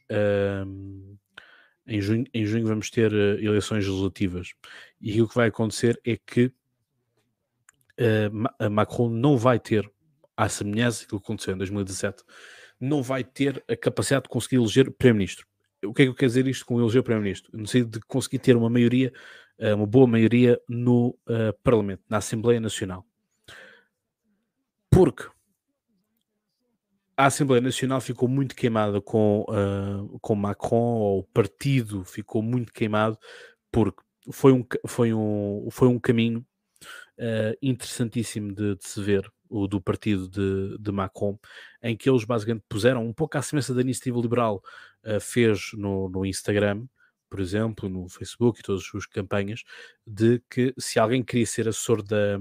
vamos ter eleições legislativas, e aquilo que vai acontecer é que Macron não vai ter, à semelhança daquilo que aconteceu em 2017, não vai ter a capacidade de conseguir eleger Primeiro-Ministro. O que é que eu quero dizer isto com eleger Primeiro-Ministro? No sentido de conseguir ter uma maioria, uma boa maioria no Parlamento, na Assembleia Nacional. Porque a Assembleia Nacional ficou muito queimada com Macron, ou o partido ficou muito queimado, porque foi um caminho interessantíssimo de se ver, o do partido de Macron, em que eles basicamente puseram um pouco à semelhança da Iniciativa Liberal fez no Instagram, por exemplo, no Facebook e todas as suas campanhas, de que se alguém queria ser assessor da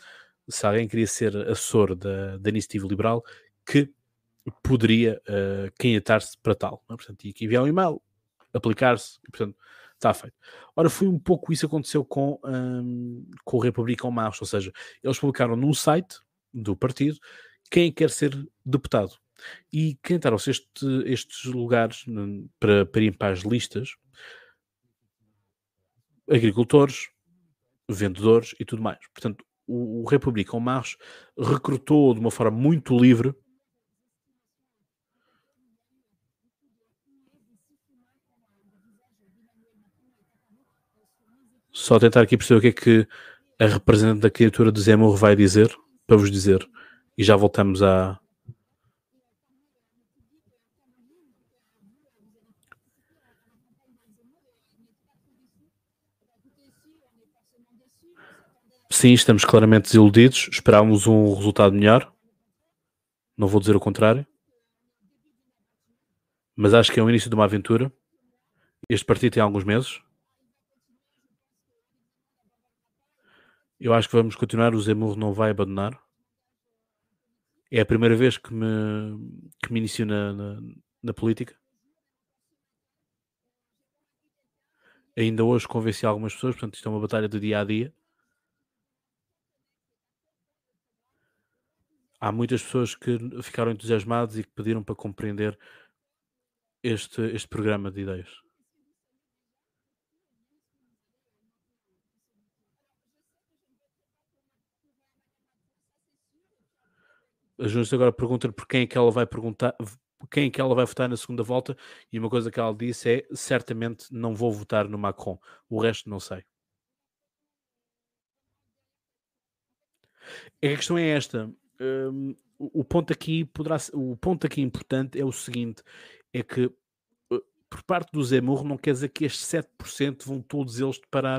Iniciativa Liberal, que poderia candidatar-se para tal, não é? Portanto, tinha que enviar um e-mail, aplicar-se, e portanto está feito. Ora, foi um pouco isso que aconteceu com o República en Marche, ou seja, eles publicaram num site do partido quem quer ser deputado, e candidaram-se estes lugares para irem para as listas: agricultores, vendedores e tudo mais. Portanto, o República en Marche recrutou de uma forma muito livre. Só tentar aqui perceber o que é que a representante da criatura de Zemmour vai dizer, para vos dizer, e já voltamos a... Sim, estamos claramente desiludidos, esperávamos um resultado melhor, não vou dizer o contrário, mas acho que é o início de uma aventura. Este partido tem alguns meses. Eu acho que vamos continuar, o Zemmour não vai abandonar. É a primeira vez que me inicio na política. Ainda hoje convenci algumas pessoas, portanto isto é uma batalha do dia a dia. Há muitas pessoas que ficaram entusiasmadas e que pediram para compreender este programa de ideias. A jornalista agora pergunta-lhe por quem é que ela vai perguntar, quem é que ela vai votar na segunda volta, e uma coisa que ela disse é: certamente não vou votar no Macron, o resto não sei. A questão é esta, o ponto aqui importante é o seguinte, é que por parte do Zemmour não quer dizer que estes 7% vão todos eles parar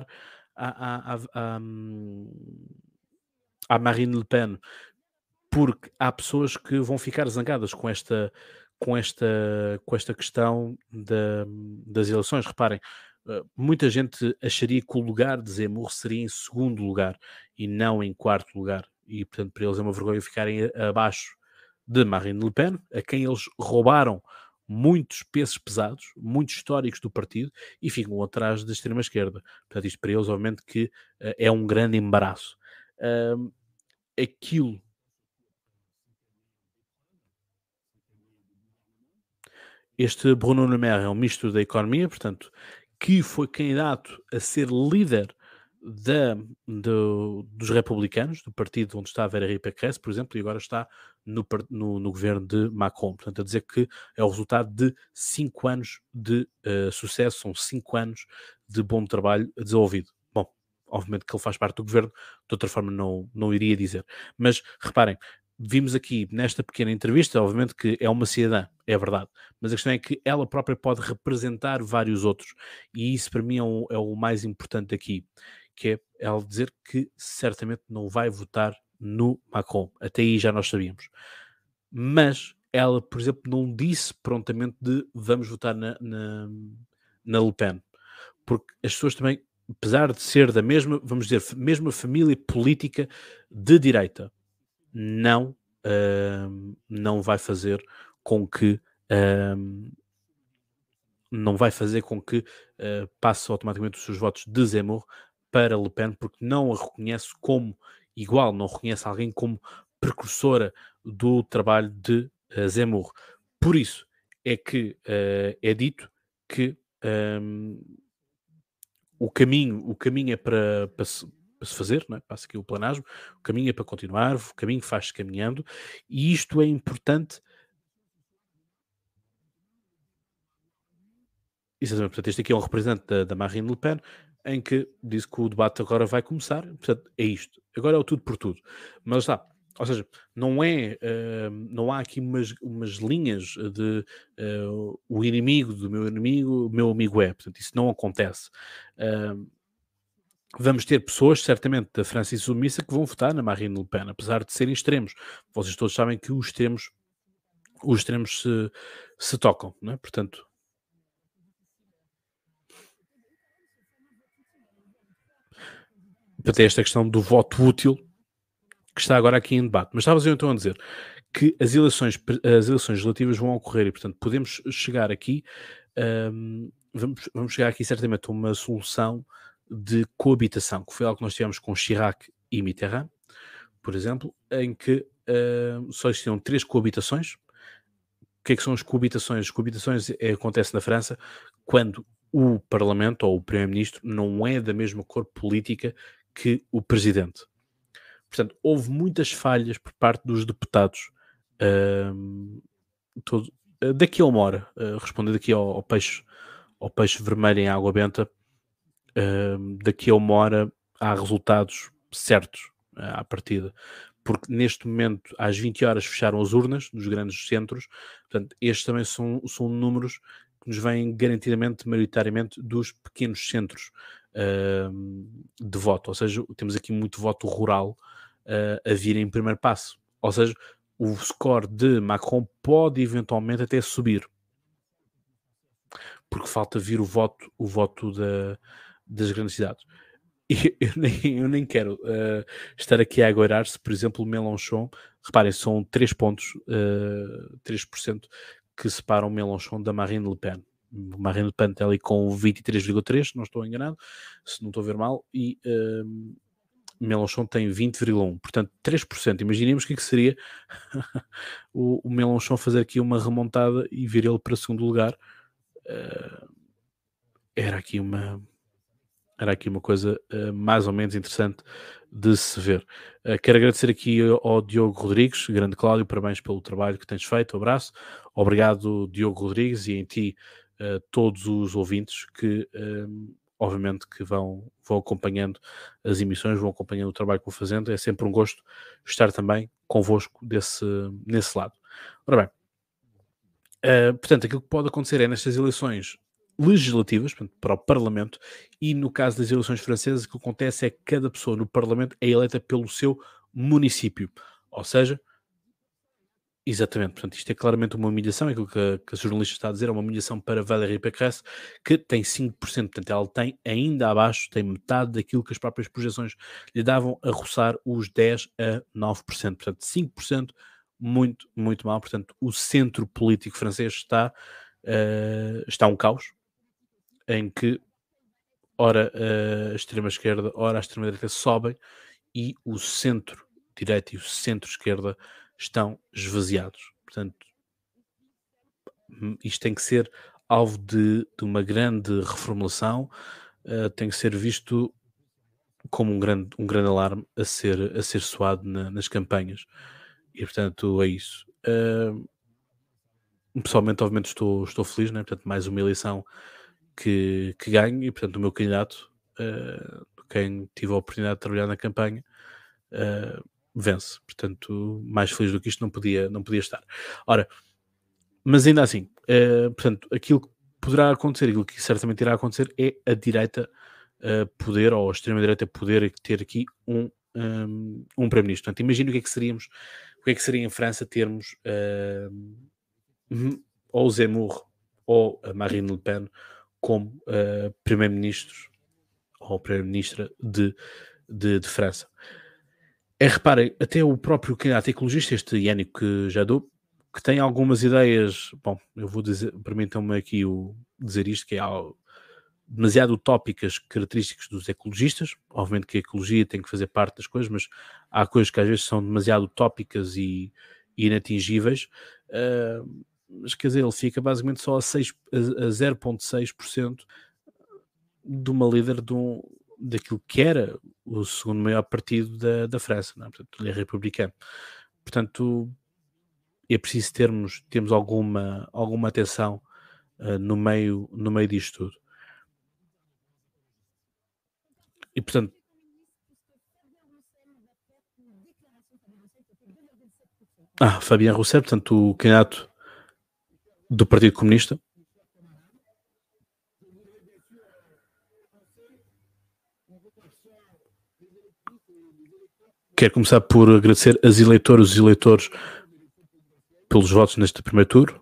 à Marine Le Pen, porque há pessoas que vão ficar zangadas com esta questão das eleições. Reparem, muita gente acharia que o lugar de Zemmour seria em segundo lugar e não em quarto lugar. E, portanto, para eles é uma vergonha ficarem abaixo de Marine Le Pen, a quem eles roubaram muitos pesos pesados, muitos históricos do partido, e ficam atrás da extrema-esquerda. Portanto, isto para eles, obviamente, que é um grande embaraço. Aquilo... Este Bruno Le Maire é um ministro da Economia, portanto, que foi candidato a ser líder dos republicanos, do partido onde está a Valérie Pécresse, por exemplo, e agora está no governo de Macron. Portanto, a dizer que é o resultado de 5 anos de sucesso, são 5 anos de bom trabalho desenvolvido. Bom, obviamente que ele faz parte do governo, de outra forma não iria dizer. Mas, reparem, vimos aqui nesta pequena entrevista, obviamente que é uma cidadã, é verdade, mas a questão é que ela própria pode representar vários outros, e isso para mim é o mais importante aqui, que é ela dizer que certamente não vai votar no Macron. Até aí já nós sabíamos. Mas ela, por exemplo, não disse prontamente de vamos votar na Le Pen. Porque as pessoas também, apesar de ser da mesma, vamos dizer, mesma família política de direita, não vai fazer com que passe automaticamente os seus votos de Zemmour para Le Pen, porque não a reconhece como igual, não reconhece alguém como precursora do trabalho de Zemmour. Por isso é que é dito que o caminho é para se fazer, não é? Passa aqui o planagem, o caminho é para continuar, o caminho faz-se caminhando, e isto é importante. Exatamente, portanto, este aqui é um representante da Marine Le Pen, em que diz que o debate agora vai começar, portanto, é isto. Agora é o tudo por tudo. Mas está, ou seja, não há aqui umas linhas de o inimigo do meu inimigo, o meu amigo é. Portanto, isso não acontece. Vamos ter pessoas, certamente, da França insubmissa que vão votar na Marine Le Pen, apesar de serem extremos. Vocês todos sabem que os extremos se tocam, não é? Portanto, para ter esta questão do voto útil que está agora aqui em debate. Mas estavas eu então a dizer que as eleições legislativas vão ocorrer e, portanto, podemos chegar aqui, vamos chegar aqui certamente a uma solução de coabitação, que foi algo que nós tivemos com Chirac e Mitterrand, por exemplo, em que só existiam 3 coabitações. O que é que são as coabitações? As coabitações acontecem na França quando o Parlamento ou o Primeiro-Ministro não é da mesma cor política que o Presidente. Portanto, houve muitas falhas por parte dos deputados. Daqui a uma hora, respondendo aqui ao peixe vermelho em água benta, daqui a uma hora há resultados certos à partida. Porque neste momento, às 20 horas, fecharam as urnas nos grandes centros. Portanto, estes também são números que nos vêm garantidamente, maioritariamente, dos pequenos centros de voto. Ou seja, temos aqui muito voto rural a vir em primeiro passo. Ou seja, o score de Macron pode eventualmente até subir. Porque falta vir o voto das grandes cidades. E eu nem quero estar aqui a agoirar se, por exemplo, o Mélenchon, reparem, são 3 pontos, 3% que separam o Mélenchon da Marine Le Pen. Marine Le Pen está ali com 23,3%, não estou enganado, se não estou a ver mal, e Mélenchon tem 20,1%, portanto 3%. Imaginemos o que seria o Mélenchon fazer aqui uma remontada e vir ele para segundo lugar. Era aqui uma coisa mais ou menos interessante de se ver. Quero agradecer aqui ao Diogo Rodrigues, grande Cláudio, parabéns pelo trabalho que tens feito, um abraço. Obrigado, Diogo Rodrigues, e em ti todos os ouvintes que obviamente que vão acompanhando as emissões, vão acompanhando o trabalho que vou fazendo. É sempre um gosto estar também convosco nesse lado. Ora bem, portanto, aquilo que pode acontecer é nestas eleições legislativas, portanto, para o Parlamento, e no caso das eleições francesas, o que acontece é que cada pessoa no Parlamento é eleita pelo seu município, ou seja, Exatamente, portanto, isto é claramente uma humilhação, é aquilo que a jornalista está a dizer, é uma humilhação para Valérie Pécresse, que tem 5%, portanto, ela tem ainda abaixo, tem metade daquilo que as próprias projeções lhe davam a roçar os 10 a 9%, portanto, 5%, muito, muito mal, portanto, o centro político francês está um caos, em que ora a extrema-esquerda, ora a extrema-direita sobem, e o centro-direita e o centro-esquerda estão esvaziados. Portanto, isto tem que ser alvo de uma grande reformulação, tem que ser visto como um grande alarme a ser soado nas campanhas. E, portanto, é isso. Pessoalmente, obviamente, estou feliz, né? Portanto, mais uma eleição que ganho, e, portanto, o meu candidato, quem tive a oportunidade de trabalhar na campanha, vence. Portanto, mais feliz do que isto não podia estar. Ora, mas ainda assim, portanto, aquilo que poderá acontecer, aquilo que certamente irá acontecer, é a direita poder, ou a extrema-direita poder ter aqui um primeiro-ministro. Portanto, imagina o que é que seria em França termos ou o Zemmour ou a Marine Le Pen como primeiro-ministros ou primeira-ministra de França. Reparem, até o próprio candidato ecologista, este Yannick Jadot, que tem algumas ideias, bom, eu vou dizer, permitam-me aqui dizer isto, que é algo demasiado utópicas, características dos ecologistas. Obviamente que a ecologia tem que fazer parte das coisas, mas há coisas que às vezes são demasiado utópicas e inatingíveis. Mas quer dizer, ele fica basicamente só a 0,6% de uma líder daquilo que era o segundo maior partido da França, não é? Portanto, ele é republicano. Portanto, é preciso termos alguma atenção no meio disto tudo. E, portanto, Fabien Roussel, portanto, o candidato do Partido Comunista. Quero começar por agradecer os eleitores pelos votos neste primeiro turno,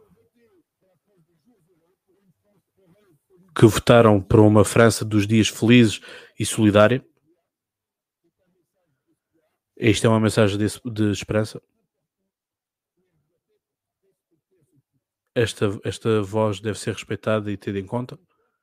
que votaram para uma França dos dias felizes e solidária. Esta é uma mensagem de esperança. Esta voz deve ser respeitada e tida em conta.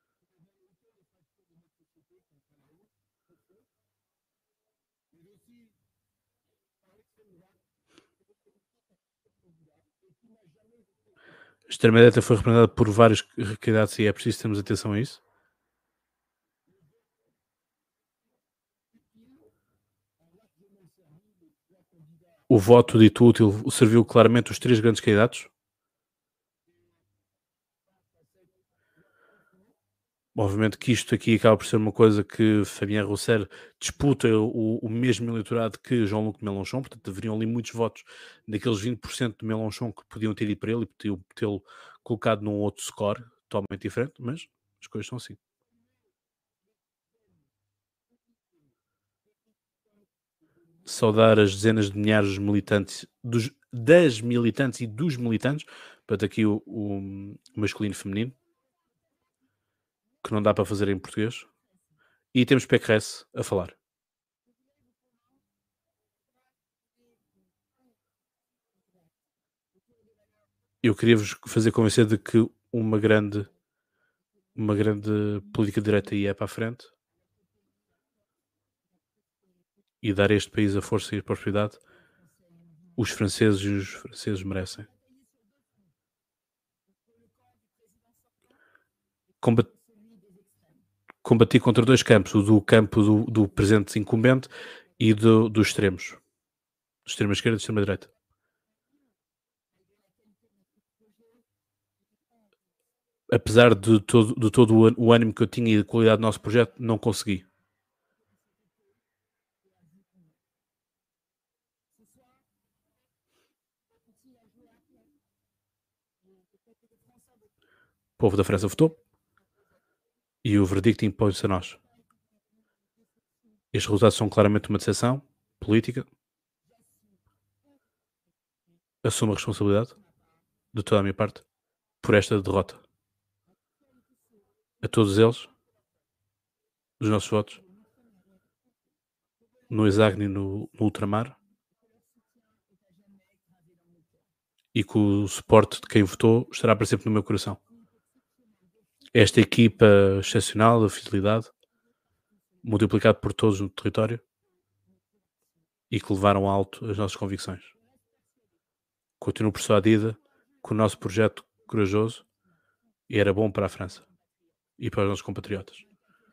A extrema-direita foi representada por vários candidatos e é preciso termos atenção a isso. O voto dito útil serviu claramente os três grandes candidatos. Obviamente que isto aqui acaba por ser uma coisa que Fabien Roussel disputa o mesmo eleitorado que Jean-Luc Mélenchon, portanto deveriam ali muitos votos daqueles 20% de Mélenchon que podiam ter ido para ele e podiam tê-lo colocado num outro score totalmente diferente, mas as coisas são assim. Saudar as dezenas de milhares de militantes, das militantes e dos militantes, portanto aqui o masculino e feminino, que não dá para fazer em português. E temos Pécresse a falar. Eu queria-vos fazer convencer de que uma grande política direta ia para a frente e dar a este país a força e a prosperidade os franceses merecem. Combati contra dois campos, o do campo do presente incumbente e dos extremos, extrema esquerda e extrema direita. Apesar de todo o ânimo que eu tinha e a qualidade do nosso projeto, não consegui. O povo da França votou e o verdicto impõe-se a nós. Estes resultados são claramente uma decepção política. assumo a responsabilidade de toda a minha parte por esta derrota. A todos eles, os nossos votos, no Exagni, no Ultramar, e que o suporte de quem votou estará para sempre no meu coração. Esta equipa excepcional, a fidelidade, multiplicado por todos no território, e que levaram alto as nossas convicções. Continuo persuadida que o nosso projeto corajoso era bom para a França e para os nossos compatriotas.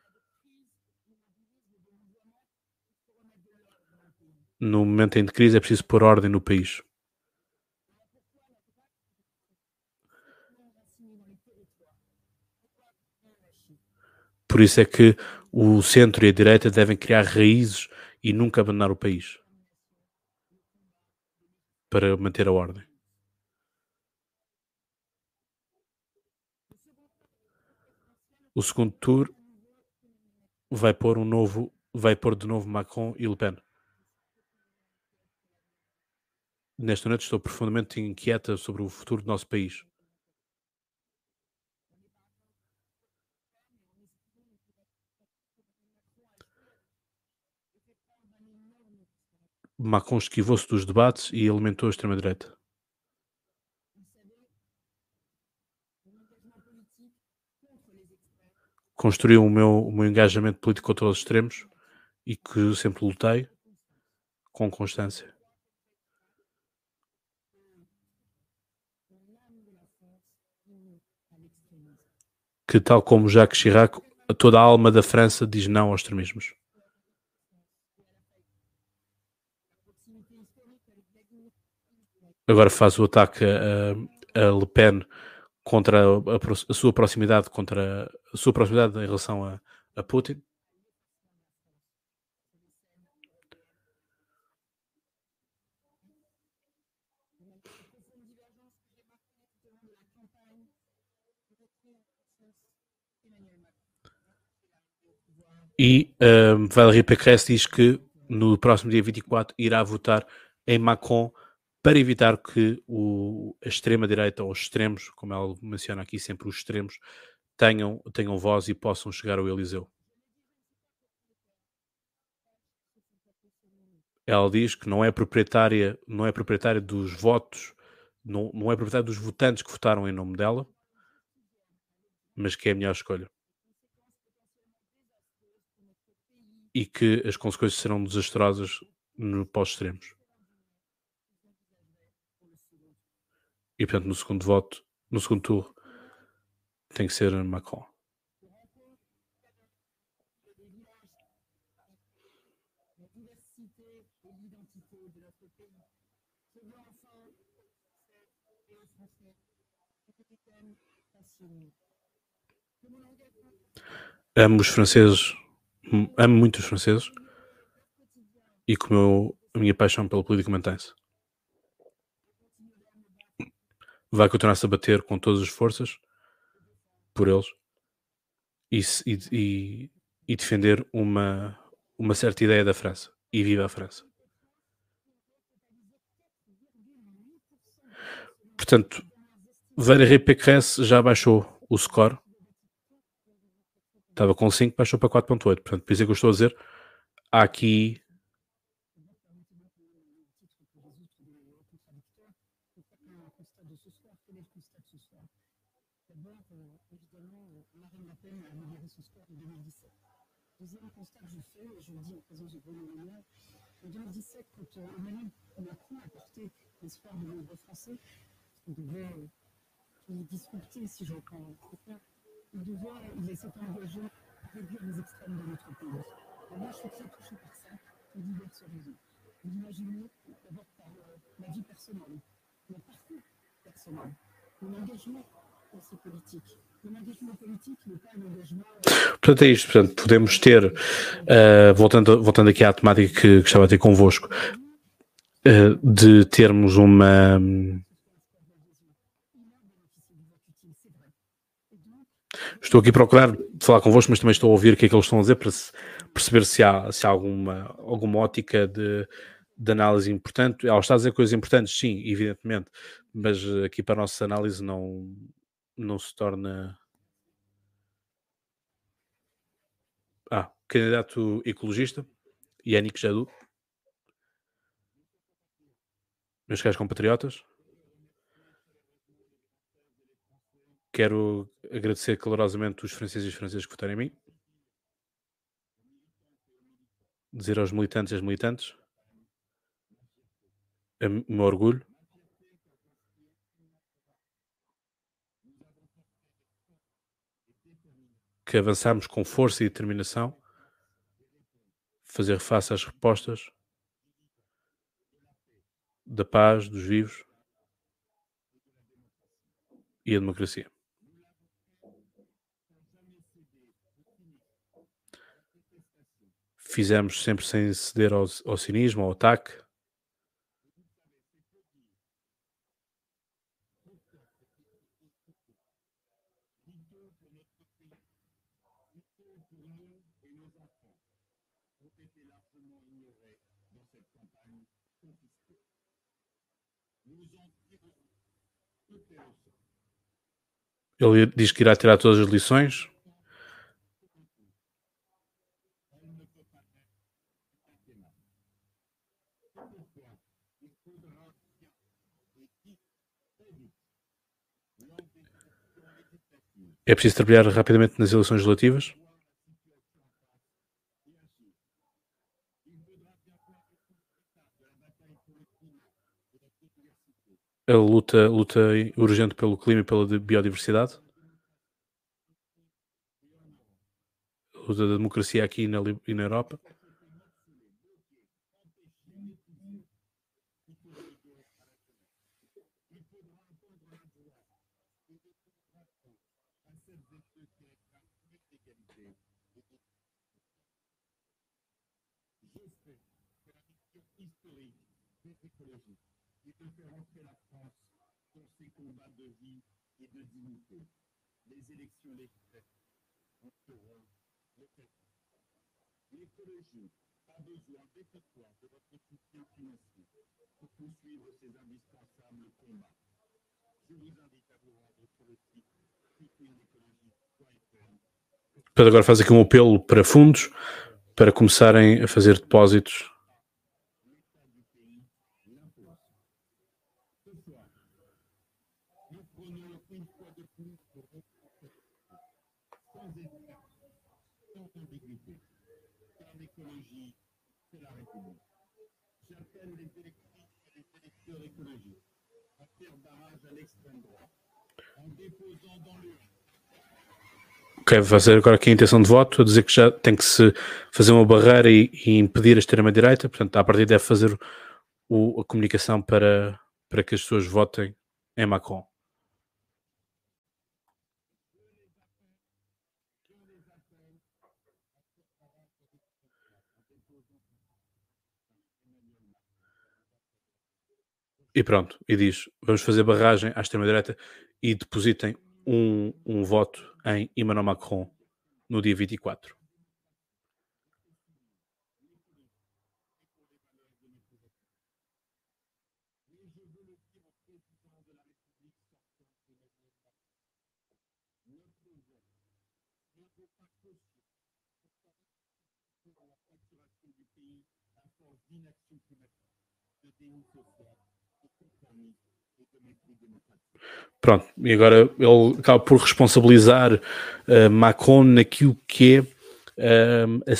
No momento em de crise é preciso pôr ordem no país. Por isso é que o centro e a direita devem criar raízes e nunca abandonar o país para manter a ordem. O segundo tour vai pôr de novo Macron e Le Pen. Nesta noite estou profundamente inquieta sobre o futuro do nosso país. Macron esquivou-se dos debates e alimentou a extrema-direita. Construiu o meu engajamento político contra os extremos e que sempre lutei com constância. Que, tal como Jacques Chirac, toda a alma da França diz não aos extremismos. Agora faz o ataque a Le Pen contra a sua proximidade em relação a Putin. E Valérie Pécresse diz que no próximo dia 24 irá votar em Macron para evitar que a extrema-direita ou os extremos, como ela menciona aqui sempre, os extremos, tenham voz e possam chegar ao Eliseu. Ela diz que não é proprietária dos votos, não é proprietária dos votantes que votaram em nome dela, mas que é a melhor escolha. E que as consequências serão desastrosas para os extremos. E, portanto, no segundo turno, tem que ser Macron. Amo muito os franceses e como a minha paixão pela política mantém-se. Vai continuar-se a bater com todas as forças por eles e defender uma certa ideia da França. E viva a França. Portanto, Valérie Pécresse já baixou o score. Estava com 5, baixou para 4.8. Portanto, por isso é que eu estou a dizer, há aqui Deuxième constat que je fais, et je le dis en présence de Bruno Le Maire, en 2017, quand Emmanuel Macron a porté l'espoir de nombreux Français, qui discuter, si je reprends il s'est engagé à réduire les extrêmes de notre pays. Et moi, je suis très touché par ça, pour diverses raisons. Vous imaginez, d'abord par ma vie personnelle, mon parcours personnel, mon engagement dans ces politiques. Mon engagement politique n'est pas un engagement... Portanto, é isto. Portanto, podemos ter, voltando aqui à temática que estava a ter convosco, de termos uma... Estou aqui a procurar falar convosco, mas também estou a ouvir o que é que eles estão a dizer para perceber se há alguma ótica de análise importante. Ela está a dizer coisas importantes, sim, evidentemente, mas aqui para a nossa análise não se torna... candidato ecologista, Yannick Jadot, meus caros compatriotas, quero agradecer calorosamente os franceses e os franceses que votaram em mim, dizer aos militantes e às militantes o meu orgulho, que avançamos com força e determinação, fazer face às respostas da paz, dos vivos e a democracia. Fizemos sempre sem ceder ao cinismo, ao ataque. Ele diz que irá tirar todas as lições. É preciso trabalhar rapidamente nas eleições legislativas. A luta urgente pelo clima e pela biodiversidade. A luta da democracia aqui e na Europa. Depois agora faz aqui um apelo para fundos para começarem a fazer depósitos. Ok, fazer agora aqui a intenção de voto, a dizer que já tem que se fazer uma barreira e impedir a extrema-direita, portanto, a partir deve fazer a comunicação para que as pessoas votem em Macron. E pronto, e diz, vamos fazer barragem à extrema-direita e depositem um voto em Emmanuel Macron no dia 24. Pronto, e agora ele acaba por responsabilizar Macron naquilo que é a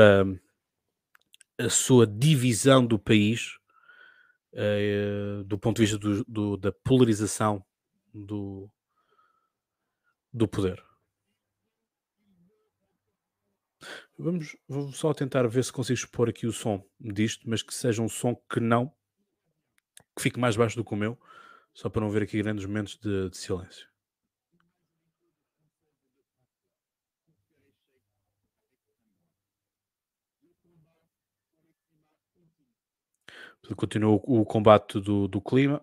sua divisão do país, do ponto de vista da polarização do poder. Vou só tentar ver se consigo expor aqui o som disto, mas que seja um som que fique mais baixo do que o meu, só para não ver aqui grandes momentos de silêncio. Continua o combate do clima.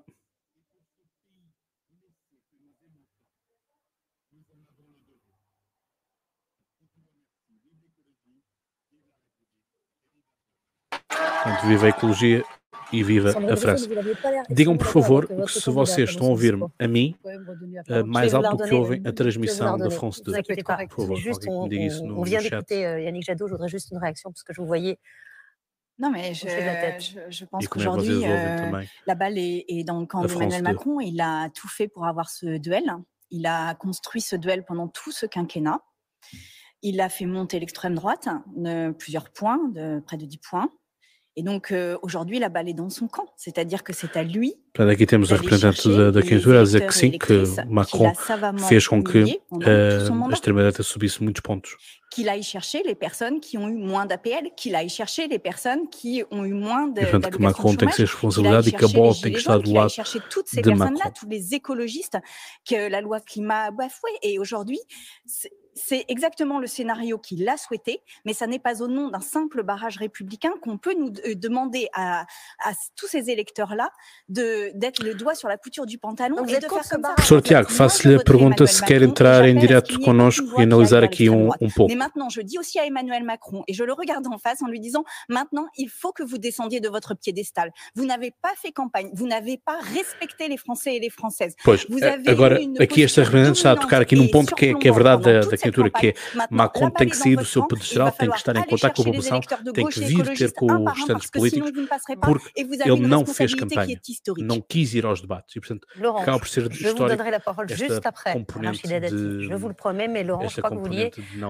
Portanto, viva a ecologia e viva a França. Digam, por favor, que se vocês estão a ouvir-me a mim, mais alto do que ouvem a transmissão da France 2. Por favor, alguém me diga isso no chat. Yannick Jadot, je voudrais juste une réaction parce que je vous voyais. Non, mais je pense qu'aujourd'hui, la balle est dans le camp d'Emmanuel Macron. Il a tout fait pour avoir ce duel. Il a construit ce duel pendant tout ce quinquennat. Il a fait monter l'extrême droite de plusieurs points, de près de 10 points. Et donc, aujourd'hui, la balle est dans son camp. C'est-à-dire que c'est à lui. Aqui temos a representante da candidatura a dizer que sim, que Macron fez com que a extrema-direita subisse muitos pontos. Qu'il aille chercher les personnes qui ont eu moins d'APL, qu'il aille chercher les personnes qui ont eu moins de portanto, que Macron tem que ser responsabilidade e que a bola tem que estar do lado de Macron. Tous les écologistes que la loi climat a bafoué. Et aujourd'hui, c'est exactement le scénario qu'il a souhaité, mais ça n'est pas au nom d'un simple barrage républicain qu'on peut nous demander à tous ces électeurs-là d'être le doigt sur la couture du pantalon et de faire comme ça. Professor Tiago, faço-lhe a pergunta se quer entrar em direto connosco e analisar aqui pouco. Mais maintenant, je dis aussi à Emmanuel Macron, et je le regarde en face en lui disant, maintenant, il faut que vous descendiez de votre piédestal. Vous n'avez pas fait campagne, vous n'avez pas respecté les Français et les Françaises. Pois, agora, aqui esta representante está a tocar aqui num ponto que é verdade da candidatura, que é Macron tem que sair do seu pedestal, tem que estar em contato com a população, tem que vir ter com os restantes políticos, porque ele não fez campanha, não quis ir aos debates, e portanto, acaba por ser histórico esta componente de... Je vous le promets, mais Laurent, je crois que vous vouliez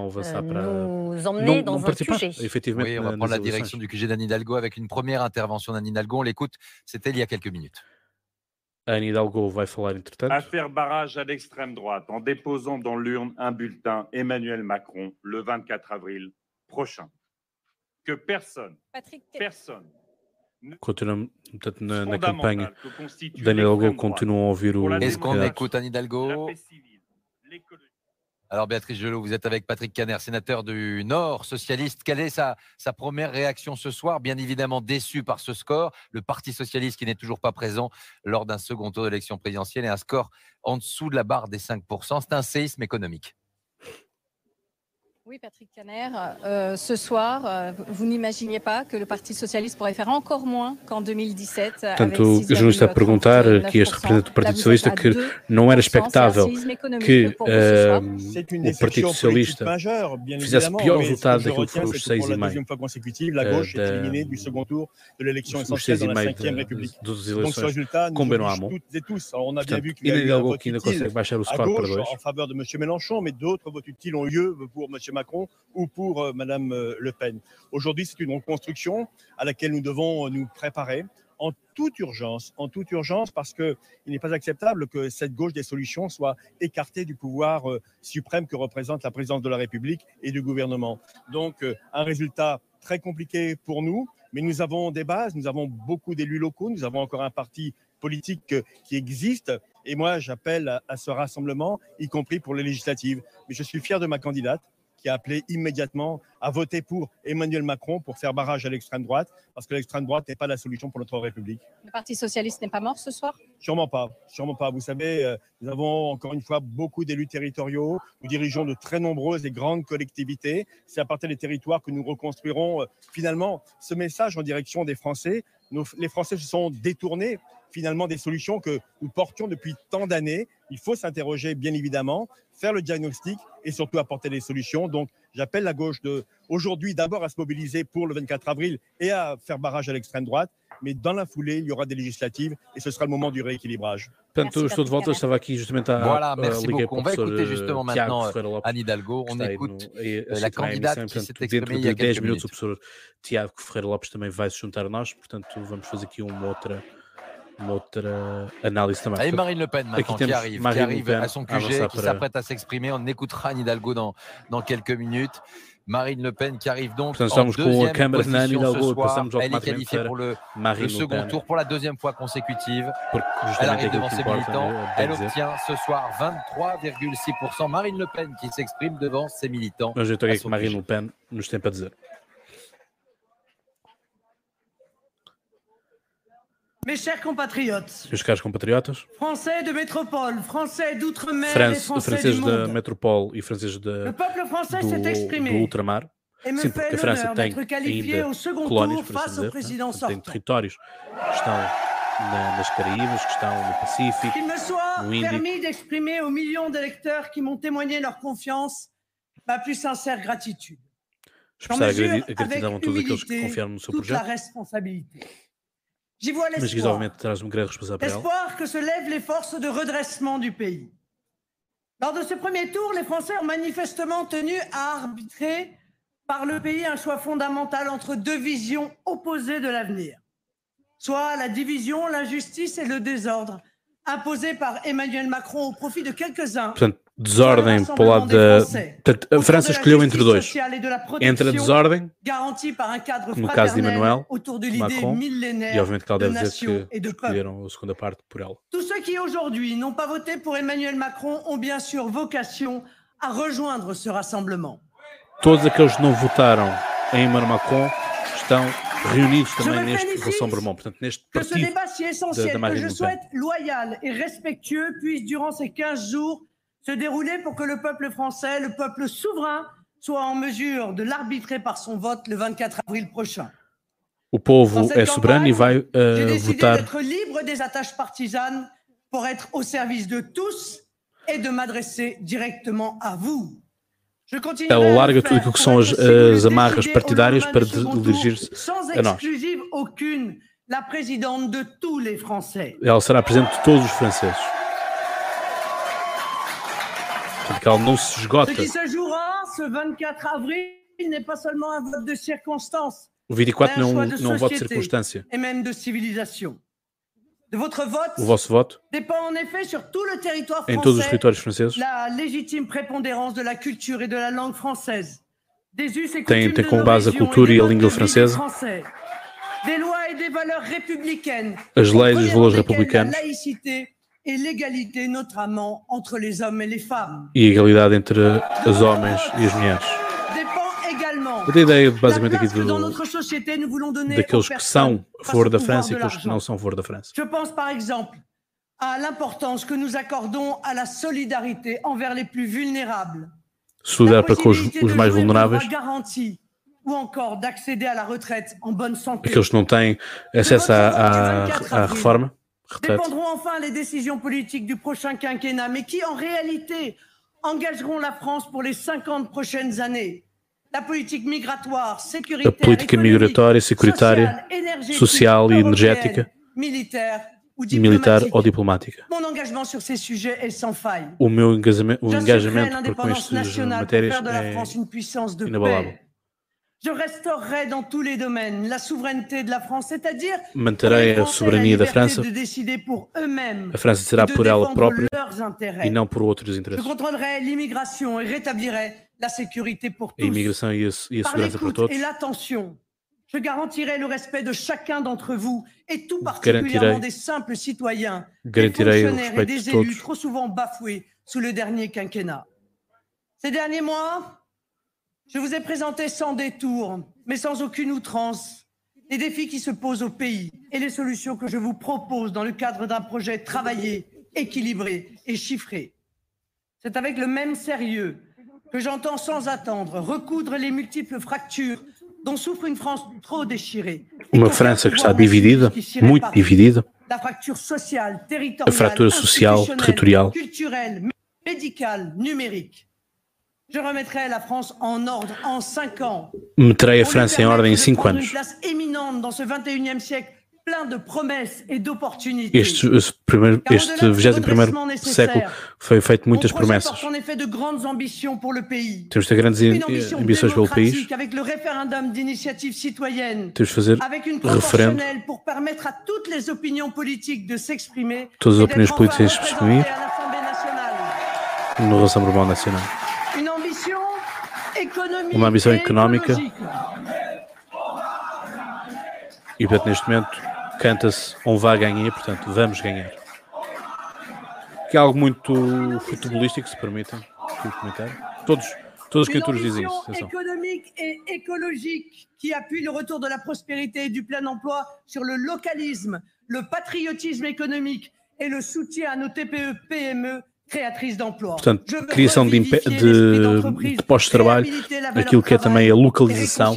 nous emmener dans votre sujet. Effectivement, oui, on va prendre la direction du QG d'Anne Hidalgo avec une première intervention d'Anne Hidalgo. On l'écoute, c'était il y a quelques minutes. Anne Hidalgo vai falar entretanto. À faire barrage à l'extrême droite en déposant dans l'urne un bulletin Emmanuel Macron le 24 avril prochain. Que personne. Continuamos, portanto, na campanha da Anne Hidalgo, continuam a ouvir o... Est-ce qu'on écoute Anne Hidalgo? Alors Béatrice Gelot, vous êtes avec Patrick Caner, sénateur du Nord, socialiste. Quelle est sa première réaction ce soir? Bien évidemment déçu par ce score. Le Parti socialiste qui n'est toujours pas présent lors d'un second tour d'élection présidentielle et un score en dessous de la barre des 5%. C'est un séisme économique. Oui, Patrick Caner, ce soir, vous n'imaginiez pas que le Parti Socialiste pourrait faire encore moins qu'en 2017. Portanto, o jornalista a perguntar que este representante do Partido Socialista que não era expectável que o Partido Socialista fizesse pior resultado daquilo que foram os 6,5% das eleições com Benoît Hamon. Portanto, Anne Hidalgo que ainda consegue baixar o score para 2. En faveur de M. Mélenchon, mais d'autres votes utiles ont lieu pour M. Macron ou pour Madame Le Pen. Aujourd'hui, c'est une reconstruction à laquelle nous devons nous préparer en toute urgence parce qu'il n'est pas acceptable que cette gauche des solutions soit écartée du pouvoir suprême que représente la présidence de la République et du gouvernement. Donc, un résultat très compliqué pour nous, mais nous avons des bases, nous avons beaucoup d'élus locaux, nous avons encore un parti politique qui existe. Et moi, j'appelle à ce rassemblement, y compris pour les législatives. Mais je suis fier de ma candidate qui a appelé immédiatement à voter pour Emmanuel Macron pour faire barrage à l'extrême droite, parce que l'extrême droite n'est pas la solution pour notre République. Le Parti socialiste n'est pas mort ce soir? Sûrement pas. Vous savez, nous avons encore une fois beaucoup d'élus territoriaux, nous dirigeons de très nombreuses et grandes collectivités. C'est à partir des territoires que nous reconstruirons finalement ce message en direction des Français. Les Français se sont détournés finalement des solutions que nous portions depuis tant d'années. Il faut s'interroger bien évidemment, faire le diagnostic et surtout apporter des solutions. Donc j'appelle la gauche aujourd'hui d'abord à se mobiliser pour le 24 avril et à faire barrage à l'extrême droite, mais dans la foulée, il y aura des législatives et ce sera le moment du rééquilibrage. Portanto, estou de volta, estava aqui justamente a voilà, merci beaucoup. On va écouter justement maintenant Anne Hidalgo. On écoute la candidate qui s'est exprimée il y a quelques minutes. O professor Tiago Ferreira Lopes também vai se juntar a nós, portanto vamos fazer aqui uma outra analyse também. Et Marine Le Pen maintenant qui arrive à son QG, qui s'apprête à s'exprimer. On écoutera Anne Hidalgo dans quelques minutes. Marine Le Pen qui arrive donc en deuxième position ce soir. Elle est qualifiée pour le second tour pour la deuxième fois consécutive. Elle arrive devant ses militants. Elle obtient ce soir 23,6%. Marine Le Pen qui s'exprime devant ses militants. Je estou aqui com Marine Le Pen, nos tem para dizer. Mes chers compatriotes, Meus caros compatriotas, Français de métropole, Français d'outre-mer et Français franceses du da monde, metropole e franceses le peuple français s'est do exprimé. ultramar Sim, porque a França tem ainda colónias, por assim dizer, tem territórios que estão nas Caraíbas, que estão no Pacífico, qu'il me soit no Índico. permis d'exprimer aux millions d'électeurs qui m'ont témoigné leur confiance ma plus sincère gratitude. Expressar a gratidão a todos aqueles que confiaram no seu projeto. J'y vois Mas obviamente traz uma grande responsabilidade. L'espoir que se lèvent les forces de redressement du pays. Lors de ce premier tour, les Français ont manifestement tenu à arbitrer par le pays un choix fondamental entre deux visions opposées de l'avenir. Soit la division, l'injustice et le désordre imposés par Emmanuel Macron au profit de quelques-uns. Portanto, desordem para o lado da... A França escolheu entre dois. Entre a desordem, no caso de Emmanuel Macron, e obviamente que ela deve dizer que escolheram a segunda parte por ela. Tous ceux qui aujourd'hui n'ont pas voté pour Emmanuel Macron ont bien sûr vocation à rejoindre ce rassemblement. Todos aqueles que não votaram em Emmanuel Macron estão reunidos também neste rassemblement, portanto, neste partido da Marine Le Pen. Loyal et respectueux puisse durant ces 15 jours se dérouler pour que le peuple français, le peuple souverain, soit en mesure de l'arbitrer par son vote le 24 avril prochain. O povo é soberano e vai votar. D'être libre des attaches partisanes pour être au service de tous et de m'adresser directement à vous. Ela larga tudo aquilo que são as amarras partidárias para dirigir-se a nós. Ela será presidente de todos os franceses. Portanto, que ela não se esgota. O 24 não é um voto de circunstância. O vosso voto em todos os territórios franceses tem como base a cultura e a língua francesa, as leis e os valores republicanos e a igualdade entre os homens e as mulheres. A ideia basicamente aqui daqueles que são a favor da França e aqueles que não são a favor da França. Je pense par exemple à l'importance que nous accordons à la solidarité envers les plus vulnérables. Solidar para com os mais vulneráveis. Ou encore d'accéder à la retraite en bonne santé. Aqueles que não têm acesso à reforma. Dépendront enfin les décisions politiques du prochain quinquennat, mais qui en réalité engageront la France pour les 50 prochaines années. A política migratória, securitária, social e energética, militar ou diplomática. O meu engajamento com estas matérias é inabalável. Manterei a soberania da França. A França será por ela própria e não por outros interesses. A imigração e a segurança para todos. Je garantirai le respect de chacun d'entre vous et tout particulièrement des simples citoyens, des fonctionnaires et des élus trop souvent bafoués sous le dernier quinquennat. Ces derniers mois, je vous ai présenté sans détour, mais sans aucune outrance, les défis qui se posent au pays et les solutions que je vous propose dans le cadre d'un projet travaillé, équilibré et chiffré. C'est avec le même sérieux que j'entends sans attendre recoudre les multiples fractures dont souffre une France trop déchirée. Uma França que está dividida, muito dividida. La fracture sociale, a fratura social, territorial, culturelle, médicale, numérique. Je remettrai la France en ordre en 5 ans. Meterei a França em ordem em 5 anos. Une place éminente dans ce 21e siècle, plein de promesses et d'opportunités. Este 21º século foi feito muitas promessas. Temos de ter grandes ambições pelo país. Temos de fazer referendo. Todas as opiniões políticas se exprimir no Rassemblement Nacional. Uma ambição económica. E, portanto, neste momento, canta-se on va gagner, portanto, vamos ganhar. Que é algo muito futebolístico, se permitem comentar. Todas as criaturas dizem isso. Économique et écologique qui appuie le retour de la prospérité et du plein emploi sur le localisme, le patriotisme économique et le soutien à nos TPE, PME créatrice d'emplois. Portanto, criação de postos de trabalho, aquilo que é também a localização.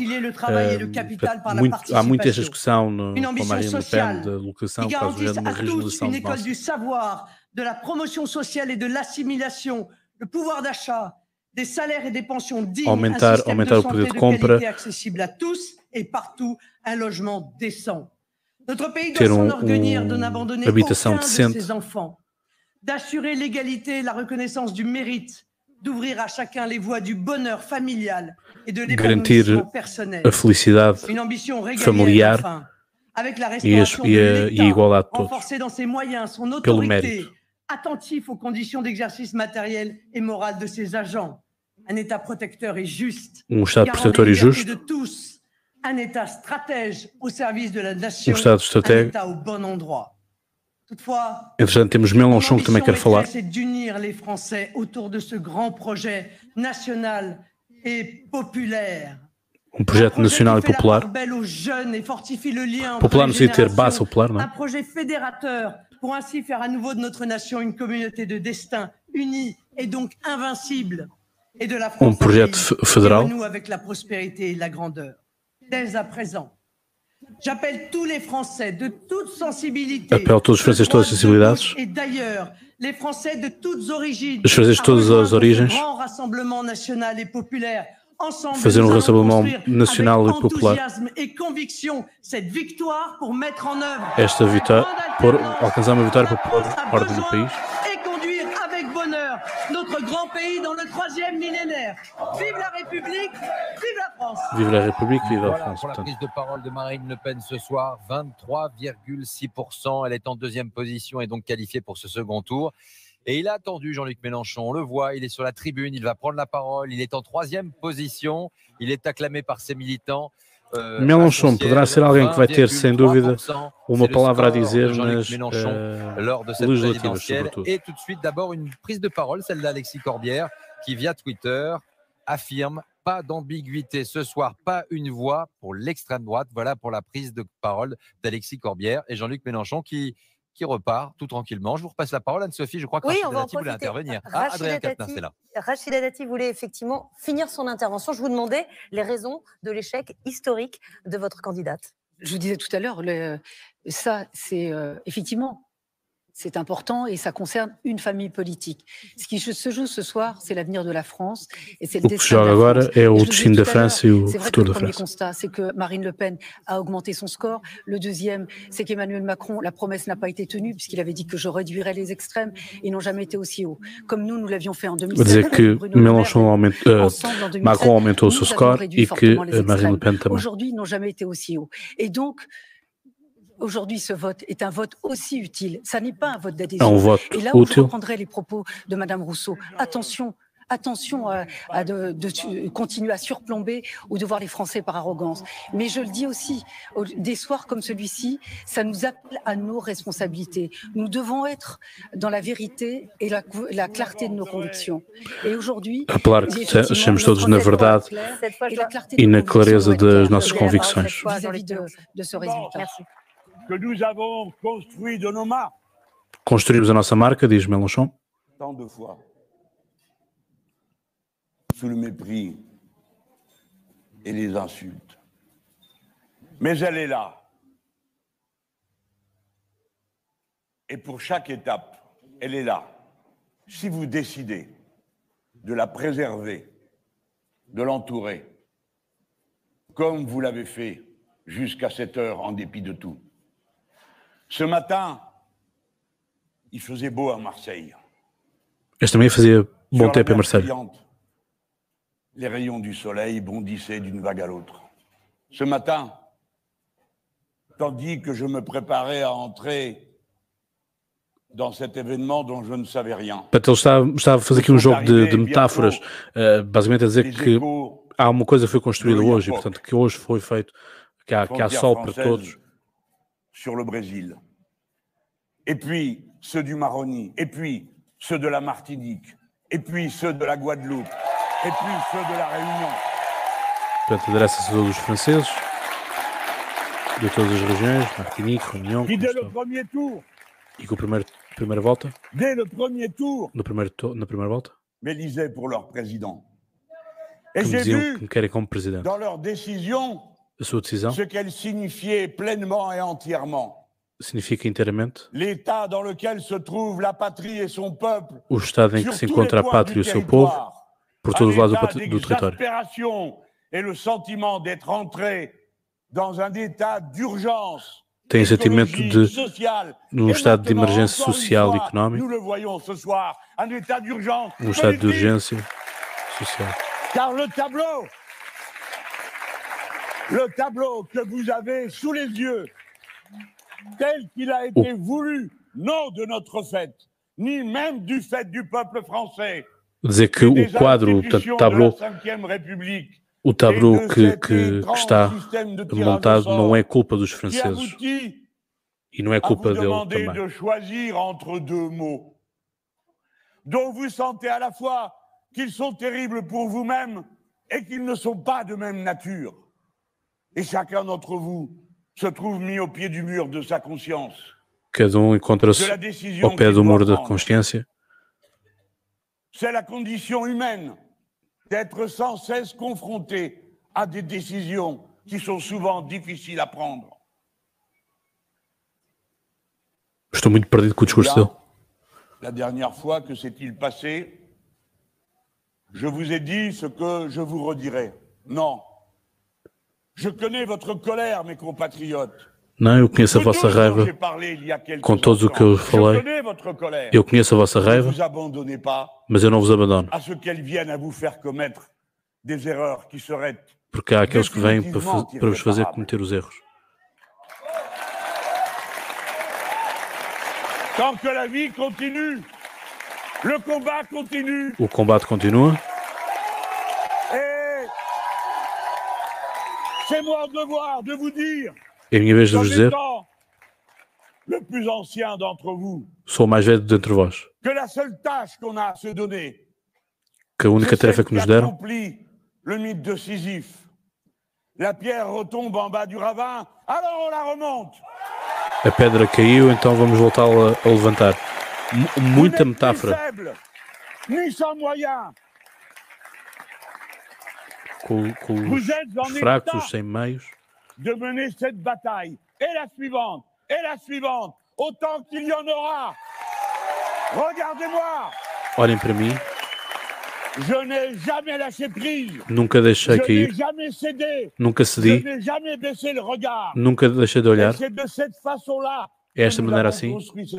Há muito esta discussão com a Marine Le Pen da localização, por causa da regionalização de école du savoir, de la promotion sociale et de l'assimilation, le pouvoir d'achat, des salaires et des pensions dignes, aumentar o poder de compra, accessible à tous et partout, un logement décent. Notre pays doit s'enorgueillir de n'abandonner aucun de ses enfants, d'assurer l'égalité et la reconnaissance du mérite, d'ouvrir à chacun les voies du bonheur familial et de l'épanouissement personnel. A felicidade Une ambition familiar enfin, avec la restauration de l'État, renforcer dans ses moyens son autorité, attentif aux conditions d'exercice matériel et moral de ses agents, un État protecteur et juste, Estado protetor e justo, de tous, un État stratège au service de la nation, Estado un État au bon endroit. Toutefois, entretanto, temos Mélenchon que também quer falar. C'est d'unir les Français autour de ce grand projet national et populaire. Projeto nacional e popular. Popular no sentido de ter base popular, não? Un projet fédérateur pour ainsi faire à nouveau de notre nation une communauté de destin unie et donc invincible, et de la France projeto federal. Nous avec la prospérité et la grandeur. Dès à présent, j'appelle tous les Français de toute sensibilité, Apelo todos os franceses de todas as sensibilidades, et d'ailleurs les Français de toutes origines, os franceses de todas as origens, grand rassemblement national et populaire. Fazer rassemblement nacional e popular. Esta vitória, alcançar uma vitória para pôr ordem no país. E conduire avec bonheur notre grand pays dans le 3e millénaire. Vive la République, vive la France. Vive la République, vive la France. Pour la prise de parole de Marine Le Pen ce soir, 23,6%. Elle est en 2e position et donc qualifiée pour ce second tour. Et il a attendu Jean-Luc Mélenchon, on le voit, il est sur la tribune, il va prendre la parole, il est en 3e position, il est acclamé par ses militants. Mélenchon poderá ser alguém que vai ter, sem dúvida, uma palavra a dizer nas legislativas, sobretudo. Et tout de suite, d'abord, une prise de parole, celle d'Alexis Corbière, qui via Twitter affirme « Pas d'ambiguïté ce soir, pas une voix pour l'extrême droite ». Voilà pour la prise de parole d'Alexis Corbière et Jean-Luc Mélenchon qui repart tout tranquillement. Je vous repasse la parole, Anne-Sophie. Je crois que Rachida Dati voulait intervenir. Adrien Quatennens est là. Rachida Dati voulait effectivement finir son intervention. Je vous demandais les raisons de l'échec historique de votre candidate. Je vous disais tout à l'heure, ça, c'est effectivement, c'est important et ça concerne une famille politique. Ce qui se joue ce soir, c'est l'avenir de la France et c'est le destin de la France. É o destino da França e o futuro da França. Le premier constat, c'est que Marine Le Pen a augmenté son score. Le deuxième, c'est qu'Emmanuel Macron, la promesse n'a pas été tenue puisqu'il avait dit que je réduirais les extrêmes. Ils n'ont jamais été aussi hauts. Comme nous l'avions fait en 2007. Dizer que Macron aumentou o seu score e que Marine Le Pen também. Aujourd'hui, ils n'ont jamais été aussi hauts. Et donc, aujourd'hui, ce vote est un vote aussi utile. Ça n'est pas un vote d'adhésion. Et là où je reprendrai les propos de Madame Rousseau, attention de continuer à surplomber ou de voir les Français par arrogance. Mais je le dis aussi, des soirs comme celui-ci, ça nous appelle à nos responsabilités. Nous devons être dans la vérité et la clarté de nos convictions. Et aujourd'hui, apelar que sejamos todos na verdade e na clareza das nossas convicções. Vis-à-vis de ce résultat. Que nous avons construit de nos marques. Construímos a nossa marca, diz Mélenchon. Tant de fois. Sous le mépris et les insultes. Mais elle est là. Et pour chaque étape, elle est là. Si vous décidez de la préserver, de l'entourer, comme vous l'avez fait jusqu'à cette heure en dépit de tout. Ce matin, il faisait beau à Marseille. Este também fazia bom tempo em Marseille. Les rayons du soleil bondissaient d'une vague à l'autre. Ce matin, tandis que je me préparais à entrer dans cet événement dont je ne savais rien. Ele está a fazer aqui jogo de metáforas, basicamente a dizer que há uma coisa que foi construída hoje, e portanto que hoje foi feito, que há sol para todos. Sur le Brésil. Et puis ceux du Maroni, et puis ceux de la Martinique, et puis ceux de la Guadeloupe, et puis ceux de la Réunion. Portanto, adressa-se a todos os franceses, de todas as regiões, Martinique, Réunion. Qui dès le premier tour e que o primeiro primeira volta. Dès le premier tour. Na primeira volta. M'élisaient pour leur président. Que me diziam que me querem como presidente. Dans leur décision, a sua decisão, ce qu'elle signifiait pleinement et entièrement. Significa inteiramente L'état dans lequel se trouve la patrie et son peuple. O estado em que se encontra a pátria e o seu povo, por todos os lados do território. Et le sentiment d'être entré dans un état d'urgence. Tem o sentimento de num estado de emergência social e económico. Nous le voyons ce soir, un état d'urgence. Um estado de urgência social. Car le tableau que vous avez sous les yeux, tel qu'il a été voulu, non de notre fait, ni même du fait du peuple français. Dizer que o quadro, portanto, o tableau que está montado não é culpa dos franceses e não é culpa dele também. De choisir entre deux mots, dont vous sentez à la fois qu'ils sont terribles pour vous-même et qu'ils ne sont pas de même nature. Et chacun d'entre vous se trouve mis au pied du mur de sa conscience. Cada encontra-se ao pé do muro da consciência. C'est la condition humaine d'être sans cesse confronté à des décisions qui sont souvent difficiles à prendre. Estou muito perdido com o discurso dele. La dernière fois que s'est-il passé, je vous ai dit ce que je vous redirai. Non. Je connais votre colère, mes compatriotes. Não, eu conheço a vossa raiva com todos o que eu falei. Eu conheço a vossa raiva, mas eu não vos abandono. Porque há aqueles que vêm para vos fazer cometer os erros. O combate continua. C'est mon devoir de vous dire. É a minha vez de vos dizer, sou o mais velho dentre vós, que a única tarefa que nos deram a pedra caiu, então vamos voltá-la a levantar. Muita metáfora. Com os fracos, os sem meios. De mener cette bataille, et la suivante, autant qu'il y en aura. Regardez-moi. Olhem para mim. Je n'ai jamais lâché prise. Nunca deixei cair. Je n'ai jamais cédé. Nunca cedi. Je n'ai jamais baissé le regard. Nunca deixei de olhar. C'est de cette façon-là. É esta maneira assim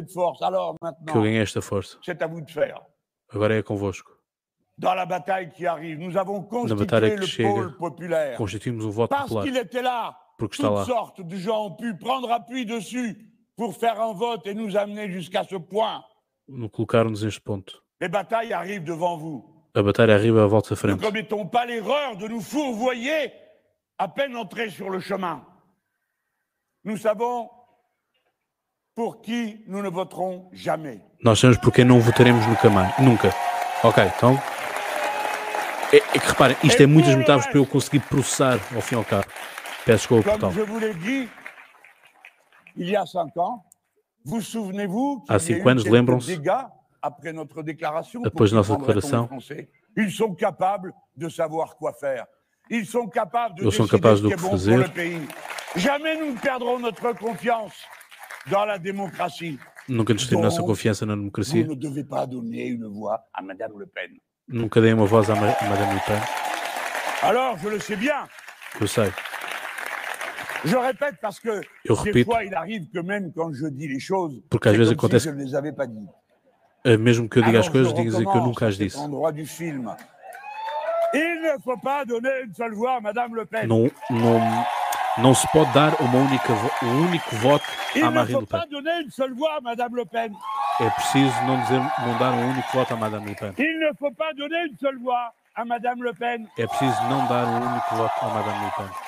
que eu ganhei esta força. C'est à vous de faire. Agora é convosco. Dans la bataille qui arrive, nous avons Na batalha constitué que le chega, pôle populaire. constituímos um voto Parce popular. qu'il était là. Porque está lá. Toutes sortes de gens ont pu prendre appui dessus pour faire un vote et nous amener jusqu'à ce point. Colocaram-nos neste ponto. Les batailles arrivent devant vous. A batalha arriba à vossa frente. Ne commettons pas l'erreur de nous fourvoyer à peine entrés sur le chemin. Nous savons pour qui nous ne voterons jamais. Nós sabemos por quem não votaremos nunca. Ok, então. É que reparem, isto é muitas metáforas para eu conseguir processar ao fim e ao cabo. Peço desculpa, Comme je vous l'ai dit, il y a 5 ans, vous souvenez-vous há 5 anos, lembram-se, depois da nossa declaração, ils sont capables de savoir quoi faire. Ils sont capables de eles são capazes do que fazer. Jamais nous ne perdrons notre confiance dans la démocratie. Nunca nos temos nossa confiança na democracia. Vous ne devez pas donner une voix à Madame Le Pen. Nunca dei uma voz à Madame Le Pen. Alors, je le sais bien. Eu sei. Je répète parce que Eu des repito, fois il arrive que même quand je dis les choses, porque às vezes comme acontece, si je ne les avais pas dit. Mesmo que eu diga as Alors, coisas, je digo que eu nunca as disse. endroit du film. Il ne faut pas donner une seule voix à Madame Le Pen. Não se pode dar um único voto à Marine Le Pen. Il ne faut pas donner une seule voix à Madame Le Pen. É preciso não dar um único voto à Madame Le Pen. Il ne faut pas donner une seule voix à Madame Le Pen. É preciso não dar um único voto à Madame Le Pen.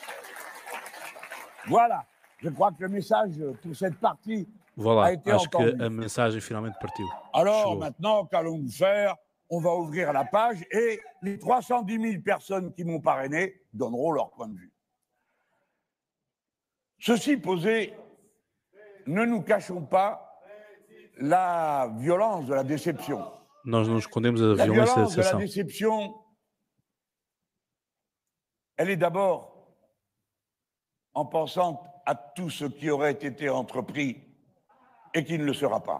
Voilà, je crois que le message pour cette partie voilà, a été acho entendu. que a mensagem finalmente partiu. Alors Chegou. maintenant, qu'allons-nous faire? On va ouvrir la page et les 310 000 personnes qui m'ont parrainé donneront leur point de vue. Ceci posé, ne nous cachons pas la violence de la déception. Nós não escondemos a violência da decepção. La déception, elle est d'abord en pensant à tout ce qui aurait été entrepris et qui ne le sera pas.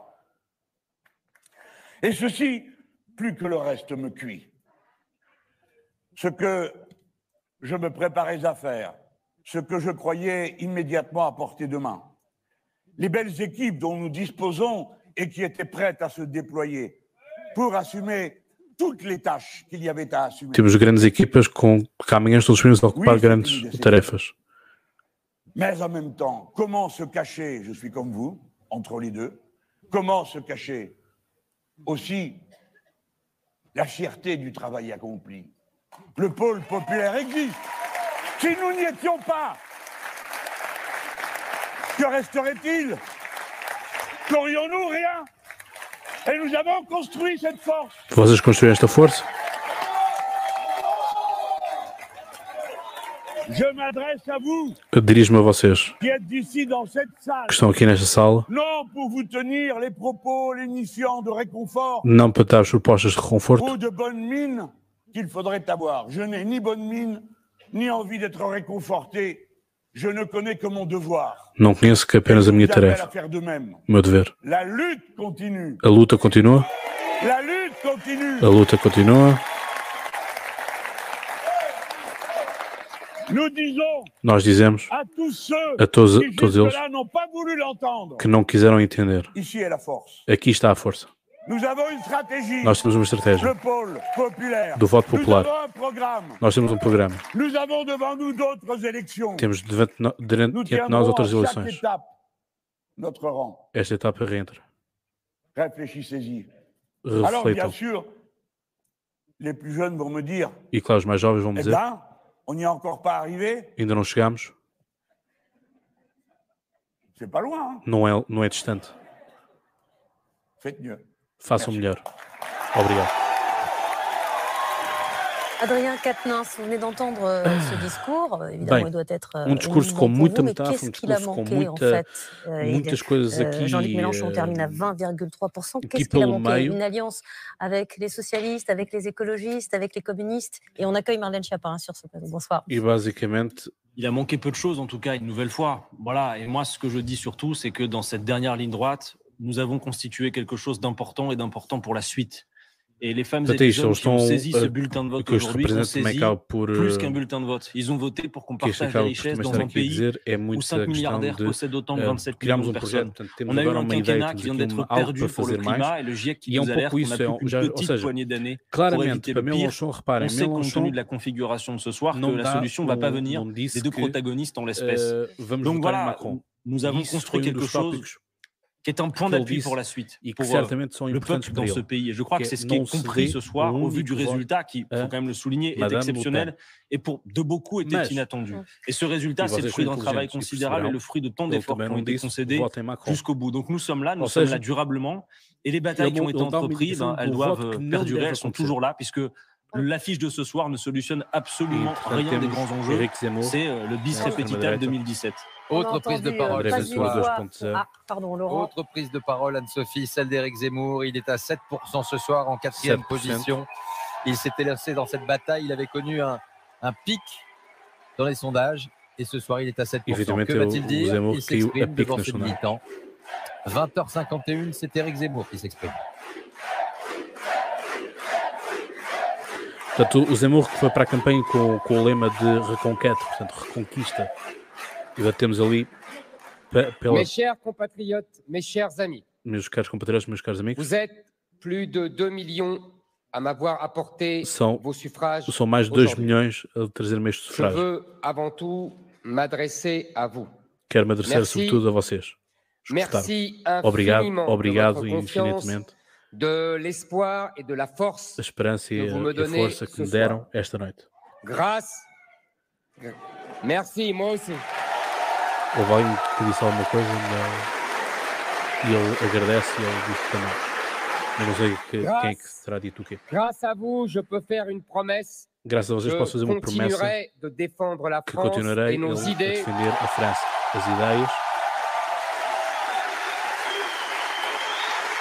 Et ceci, plus que le reste, me cuit. Ce que je me préparais à faire, ce que je croyais immédiatement à portée de main, les belles équipes dont nous disposons et qui étaient prêtes à se déployer pour assumer toutes les tâches qu'il y avait à assumer. Temos grandes equipas com que amanhã estão disponíveis a ocupar grandes tarefas. Mais en même temps, comment se cacher, je suis comme vous, entre les deux, comment se cacher aussi la fierté du travail accompli. Le pôle populaire existe. Si nous n'y étions pas, que resterait-il? Qu'aurions-nous? Rien. Et nous avons construit cette force. Vocês construíram esta força? Je m'adresse à vous. Eu dirijo-me a vocês qui êtes ici dans cette salle. Que estão aqui nesta sala. Non pour vous tenir les propos lénifiants de réconfort. Não para dar as propostas de reconforto. Ou de bonne mine qu'il faudrait avoir. Je n'ai ni bonne mine, ni envie d'être réconforté. Je ne connais que mon devoir. Não conheço que apenas a minha tarefa. O meu dever. La lutte continue. A luta continua. La lutte continue. A luta continua. Nous disons Nós dizemos a todos eles que não quiseram entender. Aqui está a força. Nós temos uma estratégia do voto popular. Nós temos um programa. Temos diante de nós outras eleições. Esta etapa reentra. Refletam. E claro, os mais jovens vão me dizer: on n'y est encore pas arrivé. Ainda não chegamos. C'est pas loin. Não é distante. Faites mieux. Façam melhor. Obrigado. Adrien Quatennens, vous venez d'entendre ce discours. Évidemment, il doit être discurso com muita metáfora, discurso com muitas coisas aqui. Jean-Luc Mélenchon termine à 20,3%. Qu'est-ce qu'il a manqué? Une alliance avec les socialistes, avec les écologistes, avec les communistes. Et on accueille Marlène Schiappa sur ce plateau. Bonsoir. Et basicamente, il a manqué peu de choses, en tout cas, une nouvelle fois. Voilà. Et moi, ce que je dis surtout, c'est que dans cette dernière ligne droite, nous avons constitué quelque chose d'important et d'important pour la suite. Et les femmes et les hommes qui ont saisi ce bulletin de vote aujourd'hui ont saisi plus qu'un bulletin de vote. Ils ont voté pour qu'on partage la richesse dans un pays où 5 milliardaires possèdent autant de 27 millions de personnes. On a eu un quinquennat qui vient d'être perdu pour le climat et le GIEC qui nous alerte qu'on n'a plus qu'une petite poignée d'années pour éviter le pire. On sait, compte tenu de la configuration de ce soir, que la solution ne va pas venir des deux protagonistes en l'espèce. Donc voilà, nous avons construit quelque chose qui est un point d'appui pour la suite, pour le peuple dans ce pays. Et je crois que c'est ce qui est compris ce soir, au vu du résultat, qui, il faut quand même le souligner, est exceptionnel et pour de beaucoup était inattendu. Et ce résultat, c'est le fruit d'un travail considérable et le fruit de tant d'efforts qui ont été concédés jusqu'au bout. Donc nous sommes là durablement, et les batailles qui ont été entreprises, elles doivent perdurer, elles sont toujours là, puisque l'affiche de ce soir ne solutionne absolument rien des grands enjeux. C'est le bis repetita 2017. Autre prise de parole Autre prise de parole, Anne-Sophie, celle d'Éric Zemmour. Il est à 7% ce soir, en 4e position. Il s'était lancé dans cette bataille. Il avait connu un pic dans les sondages. Et ce soir, il est à 7%. Que va-t-il dire? Il s'exprime devant ses militants. 20h51, c'est Éric Zemmour qui s'exprime. Portanto, o Zemmour que foi para a campanha com o lema de reconquête, portanto, reconquista. E temos ali Mes chers compatriotes, mes chers amis. Meus caros compatriotas, meus caros amigos. Vous êtes plus de 2 millions à m'avoir apporté vos suffrages. São mais de 2 milhões a trazer-me este sufrágio. Je veux avant tout m'adresser à vous. Quero me adressar sobretudo a vocês. Merci obrigado infinitamente. De l'espoir et de la force. A esperança e a força que me deram esta noite. Merci, moi aussi. Houve alguém que disse alguma coisa e ele agradece e ele disse também. Eu não sei quem é que terá dito o quê. Grâce à vous, je peux faire une promesse. Graças a vocês posso fazer uma promessa que continuarei a defender a França, as ideias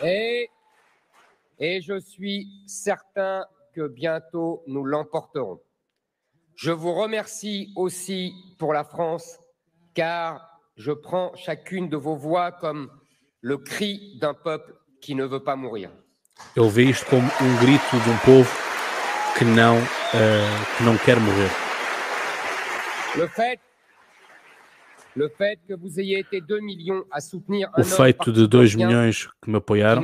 Et je suis certain que bientôt nous l'emporterons. Je vous remercie aussi pour la France, car je prends chacune de vos voix comme le cri d'un peuple qui ne veut pas mourir. Ele vê isto como grito de povo que não quer morrer. Le fait que vous ayez été 2 millions à soutenir o feito de 2 milhões que me apoiaram,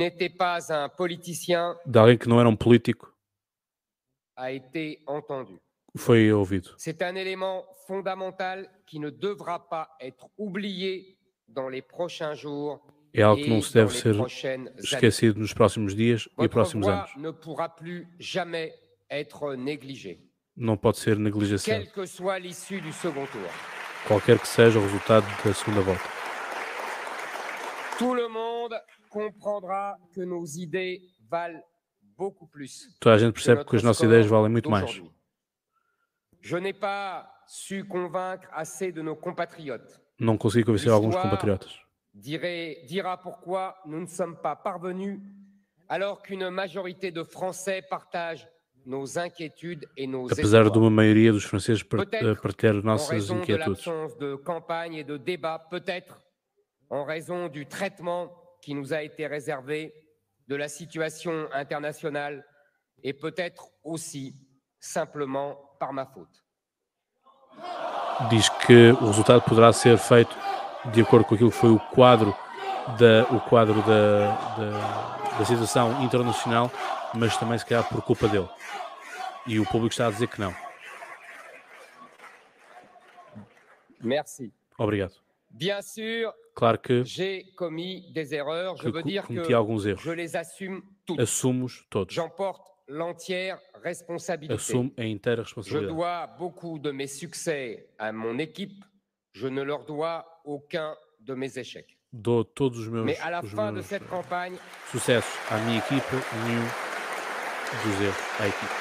de alguém que não era político, a été entendu. Foi ouvido. C'est un élément fondamental qui ne devra pas être oublié dans les prochains jours. É algo que não se deve ser esquecido nos próximos dias e próximos anos. Ne pourra plus jamais être négligé. Não pode ser negligenciado. Quelle que soit l'issue du second tour. Qualquer que seja o resultado da segunda volta. Tout le monde comprendra que nos idées valent beaucoup plus. Toda a gente percebe que as nossas ideias valem muito mais. Je n'ai pas su convaincre assez de nos compatriotes. Não consegui convencer alguns compatriotas. Dira pourquoi nous ne sommes pas parvenus, alors qu'une majorité de Français partagent nos inquiétudes et nos espoirs. Apesar de uma maioria dos franceses partilhar nossas inquietudes. En raison de l'absence de campagne et de débat, peut-être en raison du traitement qui nous a été réservé, de la situation internationale et peut-être aussi simplement par ma faute. Diz que o resultado poderá ser feito de acordo com aquilo que foi o quadro da situação internacional, mas também se calhar por culpa dele. E o público está a dizer que não. Merci. Obrigado. Bien sûr, claro que j'ai commis des erreurs. Je veux dire cometi alguns erros. Je les assume toutes. Assumo-os todos. J'en porte l'entière responsabilité. Assumo a inteira responsabilidade. Je dois beaucoup de mes succès à mon équipe. Je ne leur dois aucun de mes échecs. Dou todos os meus, Mais à la fin de cette campagne, sucessos à minha equipa, nenhum dos erros à equipa.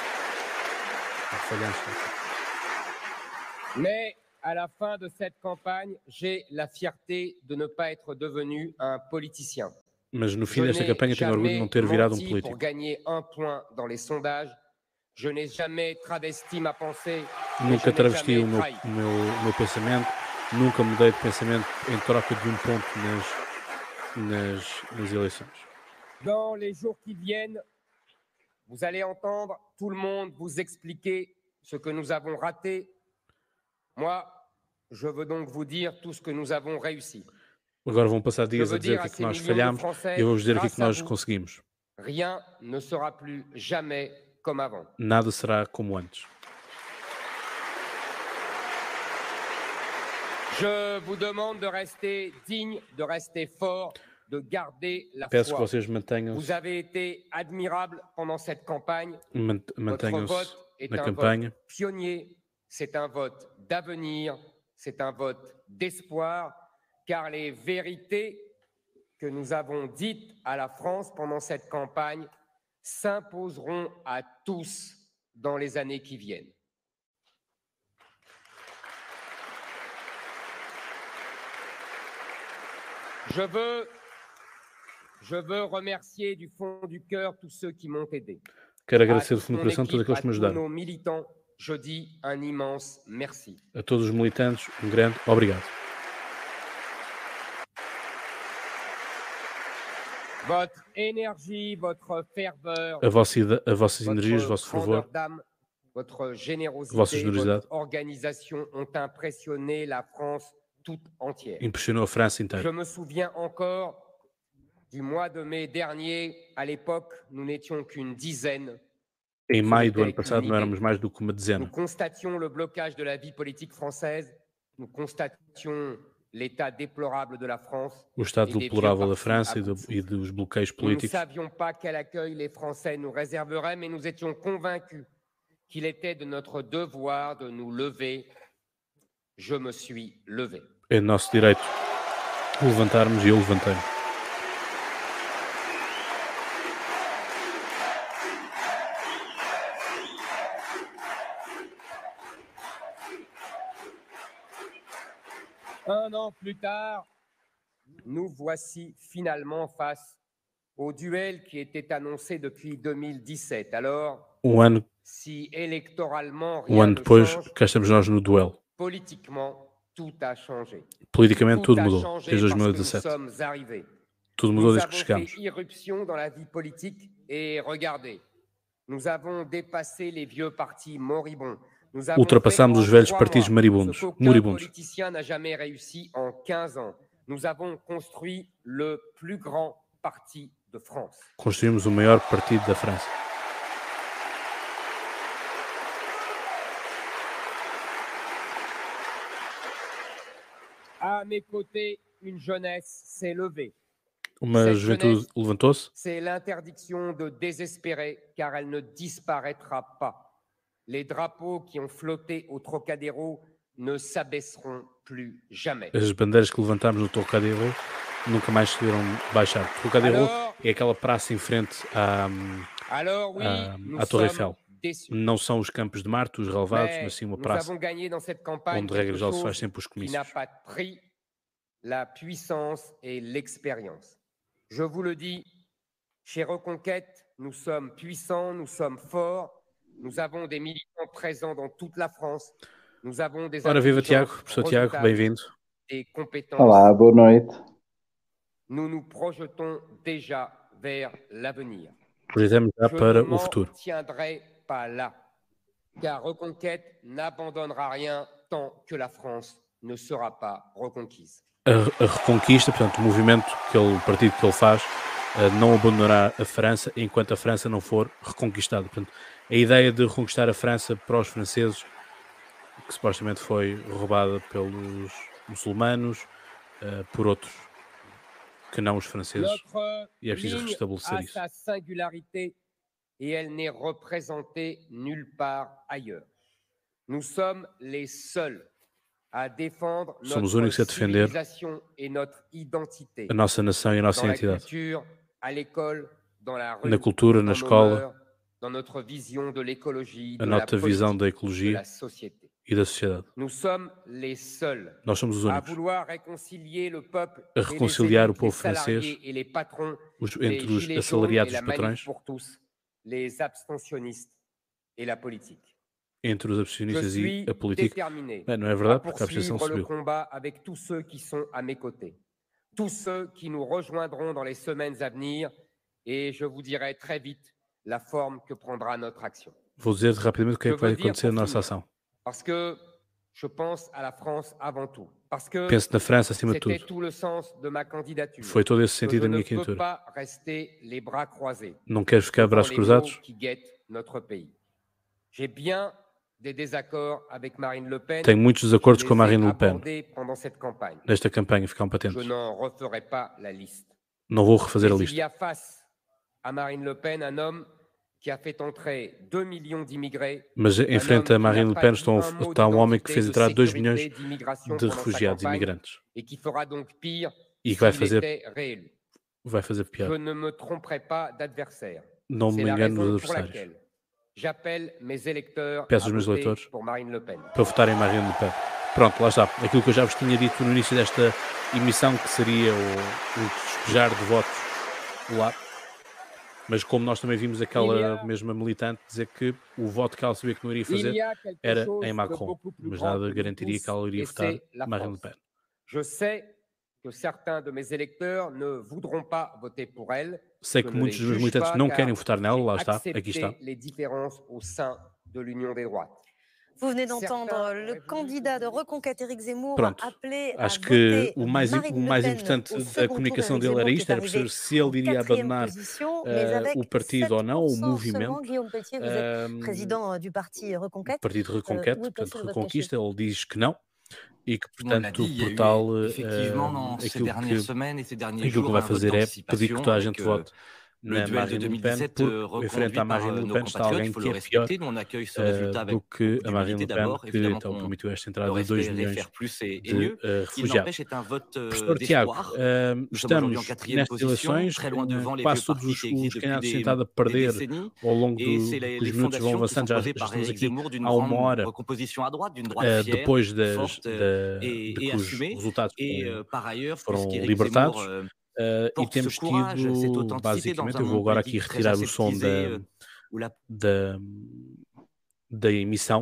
Mais à la fin de cette campagne, j'ai la fierté de ne pas être devenu un politicien. Mas no fim desta campanha tenho orgulho de não ter virado político. Pour gagner un point dans les sondages, je n'ai jamais travesti ma pensée. Nunca travesti o meu pensamento, nunca mudei de pensamento em troca de ponto nas eleições. Dans les jours qui viennent, vous allez entendre tout le monde vous expliquer ce que nous avons raté. Moi, je veux donc vous dire tout ce que nous avons réussi. Agora vão passar dias a dizer o que nós falhamos e eu vou dizer o que nós conseguimos. Rien ne sera plus jamais comme avant. Nada será como antes. Je vous demande de rester digne, de rester fort, de garder la Peço foi. Que vocês mantenham-se. Vous avez été admirable pendant cette campagne. Mantenham-se Votre vote est na un campanha. vote pionnier, c'est un vote d'avenir, c'est un vote d'espoir, car les vérités que nous avons dites à la France pendant cette campagne s'imposeront à tous dans les années qui viennent. Je veux remercier du fond du cœur tous ceux qui m'ont aidé. Quero agradecer do fundo do coração todos aqueles que me ajudaram. ajudaram. Nos militants, je dis un immense merci. A todos os militantes, grande obrigado. Votre énergie, votre ferveur, a vossas energias, o vosso fervor, votre générosité, votre organisation ont impressionné la France toute entière. Impressionou a França inteira. Je me souviens encore du mois de mai dernier. À l'époque, nous n'étions qu'une dizaine. Em maio do ano passado, não éramos mais do que uma dezena. Nous constations le blocage de la vie politique française. Nous constations l'état déplorable de la France. O estado deplorável da França e dos bloqueios políticos. Nous ne savions pas quel accueil les Français nous réserveraient, mais nous étions convaincus qu'il était de notre devoir de nous lever. Je me suis levé. É nosso direito levantarmos e eu levantei-me. Un an plus tard, nous voici finalement face au duel qui était annoncé depuis 2017. Alors, si électoralement rien ne change, cá estamos nós no duelo. Politiquement, tout a changé. Politicamente tudo mudou desde 2017. Tudo mudou desde que chegamos. Irruption dans la vie politique et regardez, nous avons dépassé les vieux partis moribonds. Ultrapassamos os velhos partidos moribundos. Aucun politicien n'a jamais réussi en 15 ans. Nous avons construit le plus grand parti de France. Construímos o maior partido da França. À mes côtés, une jeunesse s'est levée. Uma juventude levantou-se. C'est l'interdiction de désespérer, car elle ne disparaîtra pas. Les drapeaux qui ont flotté au Trocadéro ne s'abaisseront plus jamais. As bandeiras que levantámos no Trocadéro nunca mais se irão baixar. O Trocadéro é aquela praça em frente à Torre Eiffel. Não são os campos de Marte, os relevados, mas sim uma praça onde, regra geral, se faz sempre os comícios. La puissance et l'expérience. Je vous le dis, chez Reconquête, nous sommes puissants, nous sommes forts, nous avons des militants présents dans toute la France, nous avons des viva Tiago, professor Tiago, bem-vindo. Des compétences. Olá, boa noite. Nous nous projetons déjà vers l'avenir. Projetamos já para o futuro. Je ne tiendrai pas là, car Reconquête n'abandonnera rien tant que la France ne sera pas reconquise. A reconquista, portanto, o movimento, o partido que ele faz, não abandonará a França enquanto a França não for reconquistada. Portanto, a ideia de reconquistar a França para os franceses, que supostamente foi roubada pelos muçulmanos, por outros que não os franceses, e é preciso restabelecer isso. Sa singularité et elle n'est représentée nulle part ailleurs. Nous sommes les seuls a défendre notre civilisation et notre identité. A nossa nação e a nossa identidade. Culture, à l'école, dans la rue, na cultura, na escola, dans notre vision de l'écologie, a nossa visão da ecologia e da sociedade. Nous sommes les seuls Nós somos os únicos a vouloir réconcilier le peuple a reconciliar o povo francês et les patrons, entre os assalariados e os patrões, pour tous, les abstentionnistes et la politique. Entre os abstencionistas e a política. Não é verdade, porque a abstenção subiu. Avec tous ceux qui sont à mes côtés, tous ceux qui nous rejoindront dans les semaines à venir, et je vous dirai très vite la forme que prendra notre action. Vou dizer rapidamente o que é que vai acontecer na nossa ação. Parce que je pense à la France avant tout. Parce que penso na França acima de tudo. Tout le sens de ma candidature. Foi todo esse sentido da minha candidatura. Pas rester les bras croisés. Não quero ficar de braços cruzados. Qui guettent notre pays. J'ai bien des désaccords avec Marine Le Pen. Tenho muitos desacordos com a Marine Le Pen. Nesta campanha, ficam patentes. Je n'en referai pas la liste. Não vou refazer a lista. Il y a face à Marine Le Pen un homme qui a fait entrer 2 millions d'immigrés. Mas em frente a Marine Le Pen está um homem que fez entrar 2 milhões de refugiados, imigrantes. Et qui fera donc pire e que vai fazer pior. Je ne me tromperai pas d'adversaire. Não me engano dos adversários. Peço aos meus eleitores para votarem em Marine Le Pen. Pronto, lá está. Aquilo que eu já vos tinha dito no início desta emissão, que seria o despejar de votos lá. Mas como nós também vimos aquela mesma militante dizer que o voto que ela sabia que não iria fazer era em Macron. Mas nada garantiria que ela iria votar Marine Le Pen. Je sais que certains de mes électeurs ne voudront pas voter pour elle. Sei que muitos dos meus militantes não querem votar nela, lá está, aqui está. Vous venez d'entendre le candidat de Reconquête, Éric Zemmour, appeler à acho que o mais importante da comunicação dele era isto, era perceber se ele iria abandonar o partido ou não, o movimento. O partido de Reconquête, portanto, Reconquista, ele diz que não. E que, portanto, o portal, aquilo que vai fazer é pedir que toda a gente vote na Marine Le Pen, porque em frente à Marine Le Pen está alguém que é pior do que a Marine Le Pen, que então permitiu esta entrada de 2 milhões de refugiados. Professor Tiago, estamos nestas eleições, quase todos os candidatos têm estado a perder ao longo dos minutos, vão avançando, já estamos aqui há uma hora, depois de que os resultados foram libertados. e temos tido, basicamente, eu vou agora aqui retirar o som da emissão,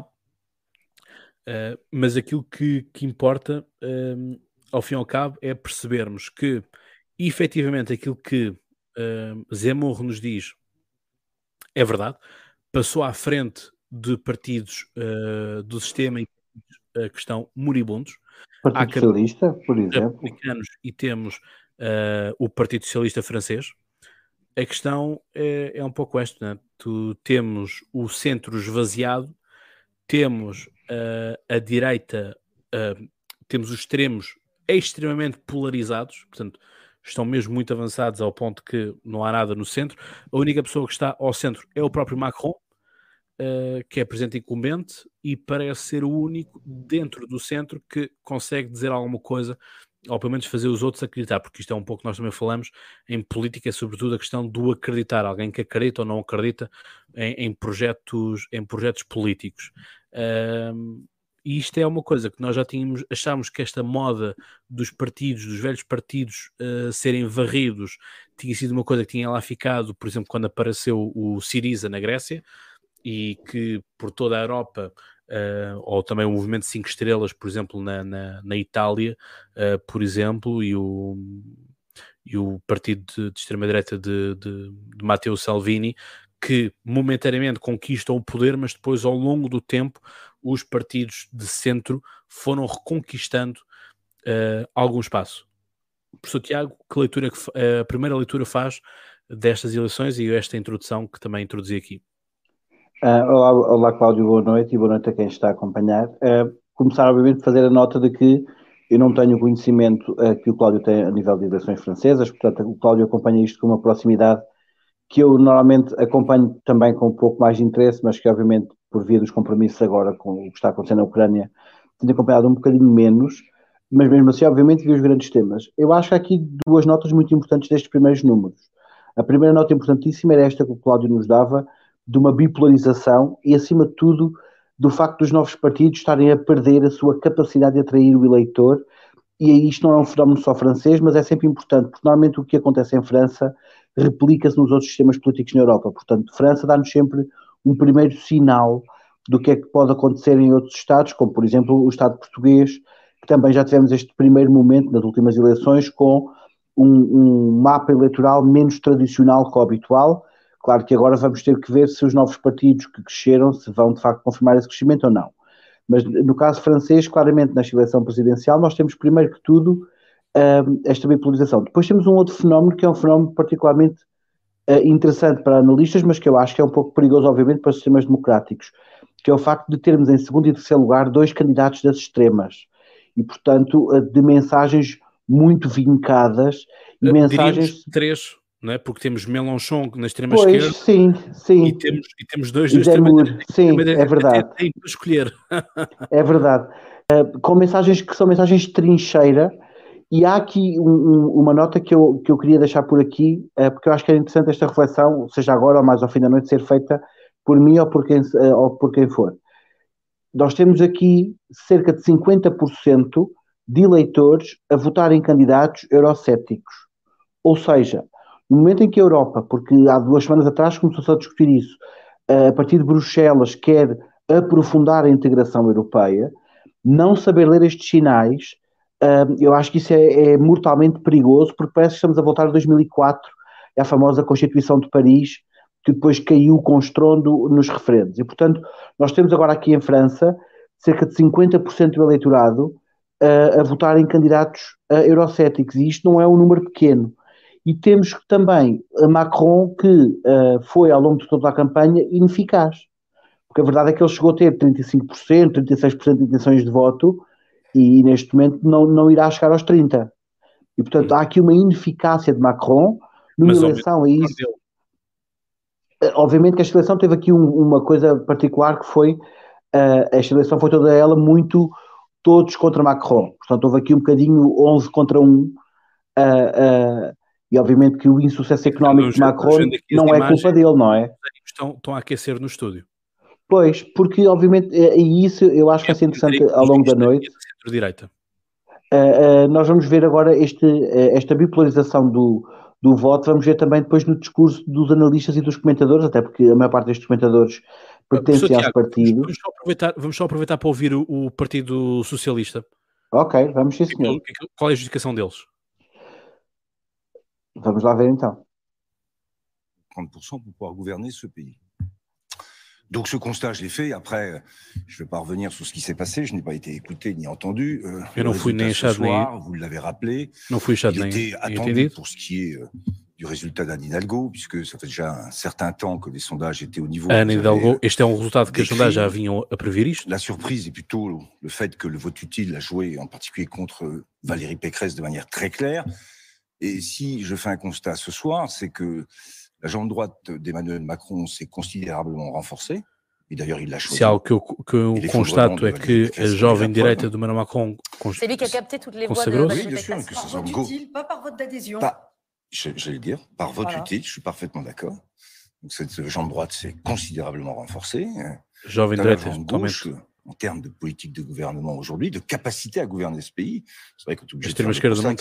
mas aquilo que importa, ao fim e ao cabo, é percebermos que, efetivamente, aquilo que Zemmour nos diz é verdade, passou à frente de partidos do sistema que estão moribundos. Partido Socialista, por exemplo. Republicanos, e temos o Partido Socialista francês. A questão é um pouco esta, né? Temos o centro esvaziado, temos a direita, temos os extremos extremamente polarizados, portanto, estão mesmo muito avançados ao ponto que não há nada no centro. A única pessoa que está ao centro é o próprio Macron, que é presidente incumbente, e parece ser o único dentro do centro que consegue dizer alguma coisa, ou pelo menos fazer os outros acreditar, porque isto é um pouco que nós também falamos em política, é sobretudo a questão do acreditar, alguém que acredita ou não acredita em projetos políticos. E isto é uma coisa que nós já achámos que esta moda dos partidos, dos velhos partidos serem varridos, tinha sido uma coisa que tinha lá ficado, por exemplo, quando apareceu o Syriza na Grécia, e que por toda a Europa, ou também o movimento 5 estrelas, por exemplo, na Itália, por exemplo, e o partido de extrema-direita de Matteo Salvini, que momentaneamente conquistam o poder, mas depois, ao longo do tempo, os partidos de centro foram reconquistando algum espaço. Professor Tiago, que leitura a primeira leitura faz destas eleições e esta introdução que também introduzi aqui? Olá, Cláudio, boa noite e boa noite a quem está a acompanhar. Começar, obviamente, a fazer a nota de que eu não tenho o conhecimento que o Cláudio tem a nível de eleições francesas, portanto, o Cláudio acompanha isto com uma proximidade que eu normalmente acompanho também com um pouco mais de interesse, mas que, obviamente, por via dos compromissos agora com o que está acontecendo na Ucrânia, tenho acompanhado um bocadinho menos, mas mesmo assim, obviamente, vi os grandes temas. Eu acho que há aqui duas notas muito importantes destes primeiros números. A primeira nota importantíssima era esta que o Cláudio nos dava, de uma bipolarização e, acima de tudo, do facto dos novos partidos estarem a perder a sua capacidade de atrair o eleitor. E aí isto não é um fenómeno só francês, mas é sempre importante, porque normalmente o que acontece em França replica-se nos outros sistemas políticos na Europa. Portanto, França dá-nos sempre um primeiro sinal do que é que pode acontecer em outros Estados, como, por exemplo, o Estado português, que também já tivemos este primeiro momento nas últimas eleições com um mapa eleitoral menos tradicional que o habitual. Claro que agora vamos ter que ver se os novos partidos que cresceram se vão de facto confirmar esse crescimento ou não. Mas no caso francês, claramente na eleição presidencial, nós temos primeiro que tudo esta bipolarização. Depois temos um outro fenómeno que é um fenómeno particularmente interessante para analistas, mas que eu acho que é um pouco perigoso, obviamente, para os sistemas democráticos, que é o facto de termos em segundo e terceiro lugar dois candidatos das extremas. E, portanto, de mensagens muito vincadas. E mensagens... três... Não é? Porque temos Mélenchon na extrema-esquerda, sim. E temos dois da extrema-direita. Sim, é verdade. Tem que escolher. É verdade. Com mensagens que são mensagens de trincheira, e há aqui uma nota que eu queria deixar por aqui, porque eu acho que é interessante esta reflexão, seja agora ou mais ao fim da noite, ser feita por mim ou por quem for. Nós temos aqui cerca de 50% de eleitores a votar em candidatos eurocéticos. Ou seja, no momento em que a Europa, porque há 2 semanas atrás começou-se a discutir isso, a partir de Bruxelas quer aprofundar a integração europeia, não saber ler estes sinais, eu acho que isso é mortalmente perigoso, porque parece que estamos a voltar a 2004, à famosa Constituição de Paris, que depois caiu com estrondo nos referendos. E, portanto, nós temos agora aqui em França cerca de 50% do eleitorado a votar em candidatos eurocéticos, e isto não é um número pequeno. E temos também a Macron, que foi, ao longo de toda a campanha, ineficaz. Porque a verdade é que ele chegou a ter 35%, 36% de intenções de voto, e neste momento não irá chegar aos 30%. E, portanto, há aqui uma ineficácia de Macron numa eleição a isso. Obviamente que esta eleição teve aqui uma coisa particular, que foi, esta eleição foi toda ela muito todos contra Macron. Portanto, houve aqui um bocadinho 11 contra 1, e obviamente que o insucesso económico de Macron não é culpa dele, não é? Estão a aquecer no estúdio. Pois, porque obviamente, e isso eu acho que vai ser interessante ao longo da noite. Centro-direita. nós vamos ver agora esta bipolarização do voto, vamos ver também depois no discurso dos analistas e dos comentadores, até porque a maior parte destes comentadores pertencem aos partidos. Vamos só aproveitar para ouvir o Partido Socialista. Ok, vamos sim, senhor. Qual é a justificação deles? Vamos lá ver então. 30% pour pouvoir gouverner ce pays. Donc ce constat, je l'ai fait. Après, je ne vais pas revenir sur ce qui s'est passé. Je n'ai pas été écouté ni entendu. Ce soir, vous l'avez rappelé, il était attendu pour ce qui est du résultat d'Anne Hidalgo, puisque ça fait déjà un certain temps que les sondages étaient au niveau... Anne Hidalgo, este é resultado que os sondagens já vinham a prever isto. La surprise est plutôt le fait que le vote utile a joué en particulier contre Valérie Pécresse de manière très claire. Et si je fais un constat ce soir, c'est que la jambe droite d'Emmanuel Macron s'est considérablement renforcée. E d'ailleurs, il l'a choisi. Se algo que eu constato é que a jovem direita do Emmanuel Macron c'est lui qui a capté toutes les voix de Valérie Pécresse. Par vote utile, pas par vote d'adhésion. J'allais dire, par vote utile, je suis parfaitement d'accord. Donc cette jambe droite s'est considérablement renforcée. Jovem direita, gauche, en termes de politique de gouvernement aujourd'hui, de capacité à gouverner ce pays. C'est vrai qu'on est obligé de faire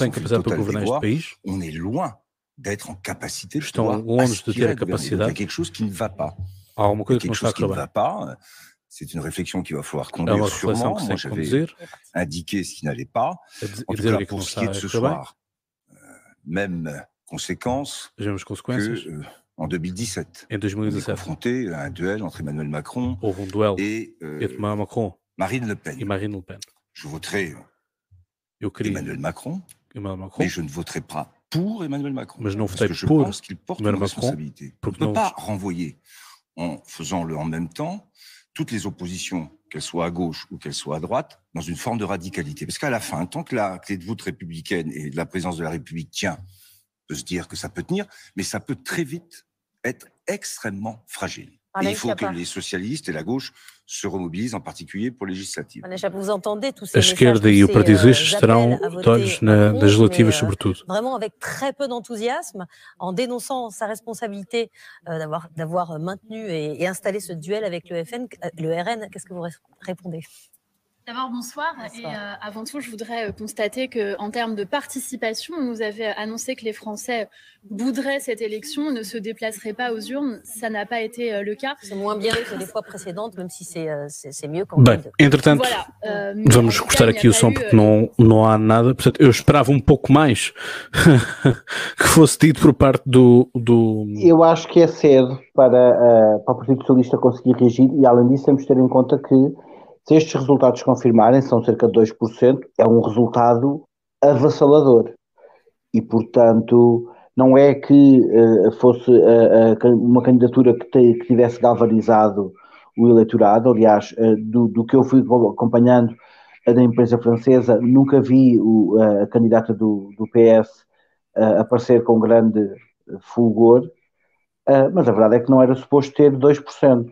le constat on est loin d'être en capacité de pouvoir aspirer à gouverner. Il y a quelque chose qui ne va pas. Quelque chose qui ne va pas. C'est une réflexion qu'il va falloir conduire sûrement. Moi, j'avais indiqué ce qui n'allait pas. En tout cas, pour ce qui est de ce soir, même conséquence que en 2017. On est confronté à un duel entre Emmanuel Macron et Marine Le Pen. Je voterai Emmanuel Macron, mais je ne voterai pas pour Emmanuel Macron. Parce que je pense qu'il porte une responsabilité. On ne peut pas renvoyer, en faisant-le en même temps, toutes les oppositions, qu'elles soient à gauche ou qu'elles soient à droite, dans une forme de radicalité. Parce qu'à la fin, tant que la clé de voûte républicaine et la présidence de la République tient, on peut se dire que ça peut tenir, mais ça peut très vite être extrêmement fragile. Et il faut que les socialistes et la gauche se remobilisent, en particulier pour législatives. Vous entendez tous ces a esquerda e o Partido Socialista estarão de olhos nas legislativas, sobretudo. Vraiment avec très peu d'enthousiasme, en dénonçant sa responsabilité d'avoir maintenu et installé ce duel avec le RN. Qu'est-ce que vous répondez ? D'abord, bonsoir. Et avant tout, je voudrais constater qu'en termes de participation, on nous avait annoncé que les Français bouderaient cette élection, ne se déplaceraient pas aux urnes. Ça n'a pas été le cas. C'est moins bien que les fois précédentes, même si c'est mieux qu'en Bem, entretanto, vamos cortar aqui o som porque não há nada. Portanto, eu esperava um pouco mais que fosse dito por parte do... Eu acho que é cedo para o Partido Socialista conseguir reagir e, além disso, temos de ter em conta que se estes resultados confirmarem, são cerca de 2%, é um resultado avassalador. E, portanto, não é que fosse uma candidatura que tivesse galvanizado o eleitorado. Aliás, do que eu fui acompanhando da imprensa francesa, nunca vi a candidata do PS aparecer com grande fulgor, mas a verdade é que não era suposto ter 2%.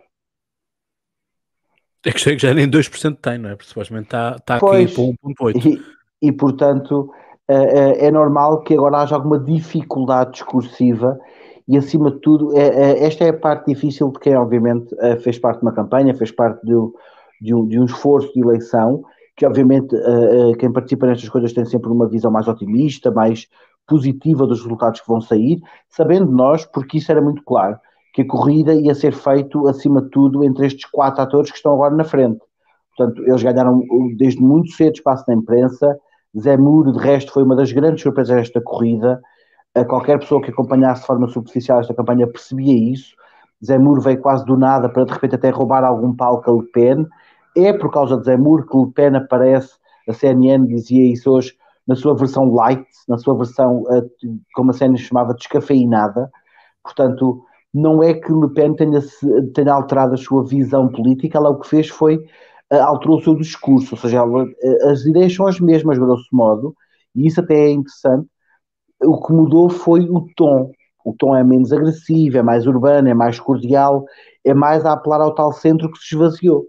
É que já nem 2% tem, não é? Porque supostamente está aqui para 1,8%. E, portanto, é normal que agora haja alguma dificuldade discursiva e, acima de tudo, esta é a parte difícil de quem, obviamente, fez parte de uma campanha, fez parte de um esforço de eleição, que, obviamente, quem participa nestas coisas tem sempre uma visão mais otimista, mais positiva dos resultados que vão sair, sabendo nós, porque isso era muito claro, que a corrida ia ser feita, acima de tudo, entre estes 4 atores que estão agora na frente. Portanto, eles ganharam desde muito cedo espaço na imprensa. Zé Muro, de resto, foi uma das grandes surpresas desta corrida. Qualquer pessoa que acompanhasse de forma superficial esta campanha percebia isso. Zé Muro veio quase do nada para, de repente, até roubar algum palco a Le Pen. É por causa de Zé Muro que Le Pen aparece, a CNN dizia isso hoje, na sua versão light, na sua versão, como a CNN chamava, descafeinada. Portanto, não é que Le Pen tenha alterado a sua visão política, ela o que fez foi alterou o seu discurso, ou seja, as ideias são as mesmas, grosso modo, e isso até é interessante. O que mudou foi o tom. O tom é menos agressivo, é mais urbano, é mais cordial, é mais a apelar ao tal centro que se esvaziou.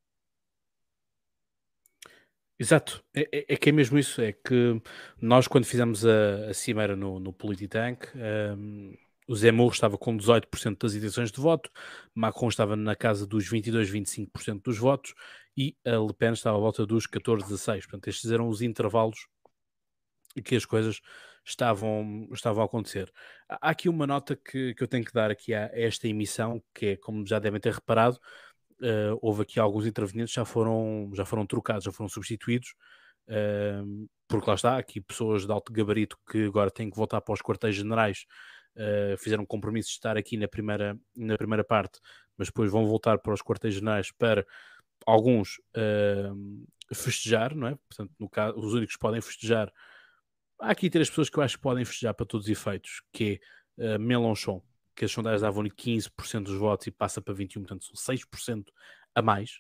Exato, é que é mesmo isso, é que nós quando fizemos a cimeira no Polititank, o Zé Muro estava com 18% das intenções de voto, Macron estava na casa dos 22, 25% dos votos e a Le Pen estava à volta dos 14, 16%. Portanto, estes eram os intervalos que as coisas estavam a acontecer. Há aqui uma nota que eu tenho que dar aqui a esta emissão, que é, como já devem ter reparado, houve aqui alguns intervenientes já foram trocados, já foram substituídos, porque lá está, aqui pessoas de alto gabarito que agora têm que voltar para os quartéis generais, fizeram um compromisso de estar aqui na primeira parte, mas depois vão voltar para os quartéis generais para alguns festejar, não é? Portanto, no caso, os únicos que podem festejar, há aqui 3 pessoas que eu acho que podem festejar para todos os efeitos, que é Mélenchon, que as sondagens davam-lhe 15% dos votos e passa para 21%, portanto são 6% a mais.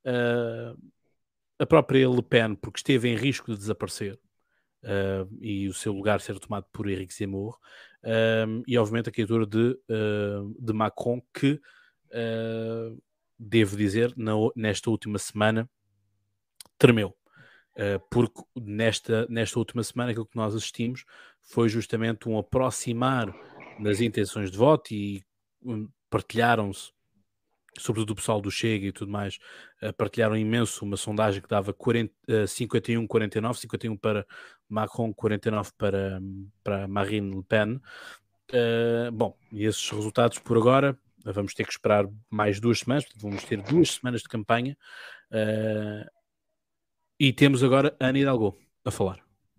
A própria Le Pen, porque esteve em risco de desaparecer e o seu lugar ser tomado por Éric Zemmour, e obviamente a candidatura de Macron, que devo dizer, nesta última semana tremeu. Porque nesta última semana aquilo que nós assistimos foi justamente um aproximar das intenções de voto e partilharam-se, sobretudo o pessoal do Chega e tudo mais, partilharam imenso uma sondagem que dava 51-49, 51 para Macron, 49 para Marine Le Pen. Bom, e esses resultados por agora vamos ter que esperar mais 2 semanas, portanto, vamos ter 2 semanas de campanha, e temos agora Ana Hidalgo a falar.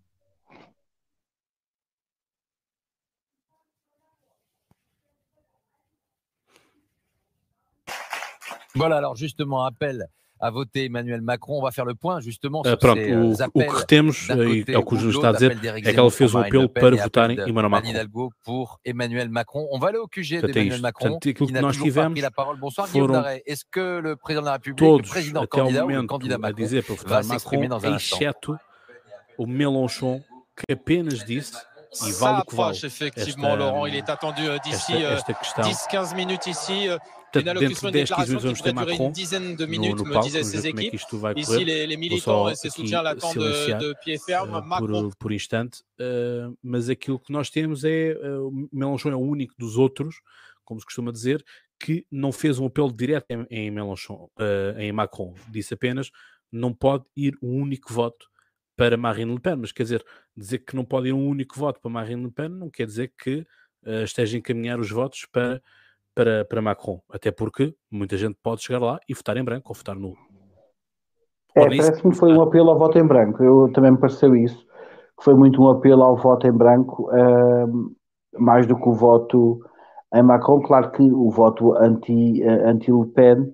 Voilà, alors justement, appel à voter Emmanuel Macron. On va faire le point justement sur ces appels. O que retemos, e é o que o Júlio está a dizer, é que ela fez um apelo para votarem Emmanuel Macron. Hidalgo pour Emmanuel Macron. On va aller au QG d'Emmanuel Macron, qui n'a toujours pas pris la parole. Bonsoir Guillaume Daret. Est-ce que le président de la République, le président candidat ou le candidat Macron va s'exprimer dans un instant? Exceto o Mélenchon, que apenas disse, e vale o que vale. Effectivement, Laurent, il est attendu d'ici 10-15 minutes ici. Une allocution, une déclaration qui devrait durer une dizaine de minutes, me disaient ces équipes. Ici, les militants et ses soutiens l'attendent de pied ferme. Por instante, mas aquilo que nós temos é o Mélenchon é o único dos outros, como se costuma dizer, que não fez um apelo direto em Mélenchon, em Macron. Disse apenas, não pode ir um único voto para Marine Le Pen, mas quer dizer que não pode ir um único voto para Marine Le Pen não quer dizer que esteja a encaminhar os votos para Macron, até porque muita gente pode chegar lá e votar em branco ou votar nulo. Parece-me que foi um apelo ao voto em branco. Eu também me pareceu isso, que foi muito um apelo ao voto em branco, mais do que o voto em Macron. Claro que o voto anti-Le Pen,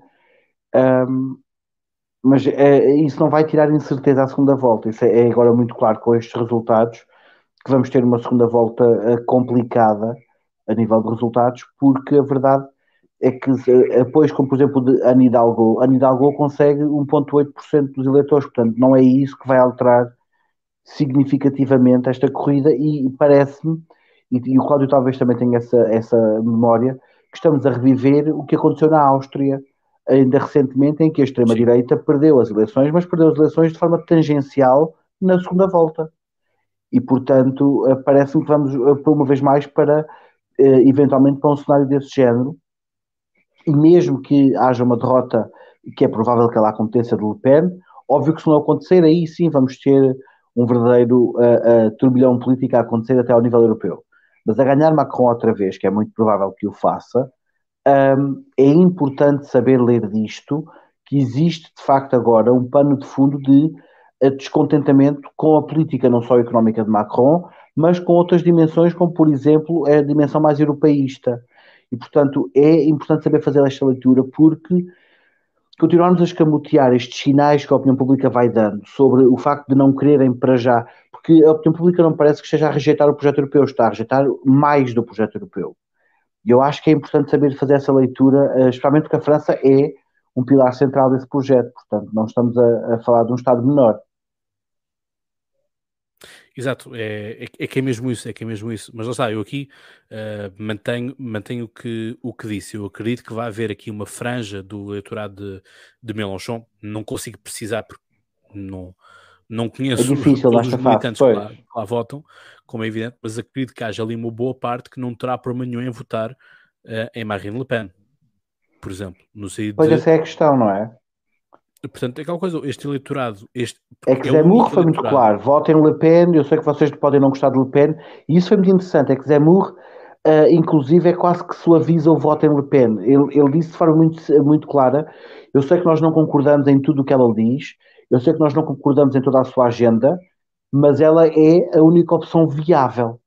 mas isso não vai tirar incerteza à segunda volta. Isso é agora muito claro com estes resultados, que vamos ter uma segunda volta complicada a nível de resultados, porque a verdade é que apoios como, por exemplo, de Ana Hidalgo consegue 1,8% dos eleitores, portanto não é isso que vai alterar significativamente esta corrida, e parece-me, e o Cláudio talvez também tenha essa memória, que estamos a reviver o que aconteceu na Áustria ainda recentemente, em que a extrema-direita perdeu as eleições, mas perdeu as eleições de forma tangencial na segunda volta. E, portanto, parece-me que vamos, por uma vez mais, eventualmente para um cenário desse género, e mesmo que haja uma derrota, que é provável que ela aconteça de Le Pen, óbvio que se não acontecer, aí sim vamos ter um verdadeiro turbilhão político a acontecer até ao nível europeu. Mas a ganhar Macron outra vez, que é muito provável que o faça, é importante saber ler disto, que existe de facto agora um pano de fundo de descontentamento com a política não só económica de Macron, mas com outras dimensões, como por exemplo a dimensão mais europeísta. E portanto é importante saber fazer esta leitura, porque continuarmos a escamotear estes sinais que a opinião pública vai dando sobre o facto de não quererem para já, porque a opinião pública não parece que esteja a rejeitar o projeto europeu, está a rejeitar mais do projeto europeu. E eu acho que é importante saber fazer essa leitura, especialmente porque a França é um pilar central desse projeto, portanto não estamos a falar de um Estado menor. Exato, é que é mesmo isso, mas lá está, eu aqui mantenho o que disse. Eu acredito que vai haver aqui uma franja do eleitorado de Mélenchon, não consigo precisar porque não conheço todos os militantes que lá votam, como é evidente, mas acredito que haja ali uma boa parte que não terá problema nenhum em votar em Marine Le Pen, por exemplo. No pois essa é a questão, não é? Portanto, é aquela coisa, este eleitorado... É que Zemmour foi muito claro, votem Le Pen, eu sei que vocês podem não gostar de Le Pen, e isso foi muito interessante, é que Zemmour, inclusive, é quase que suaviza o voto em Le Pen. Ele disse de forma muito, muito clara, eu sei que nós não concordamos em tudo o que ela diz, eu sei que nós não concordamos em toda a sua agenda, mas ela é a única opção viável.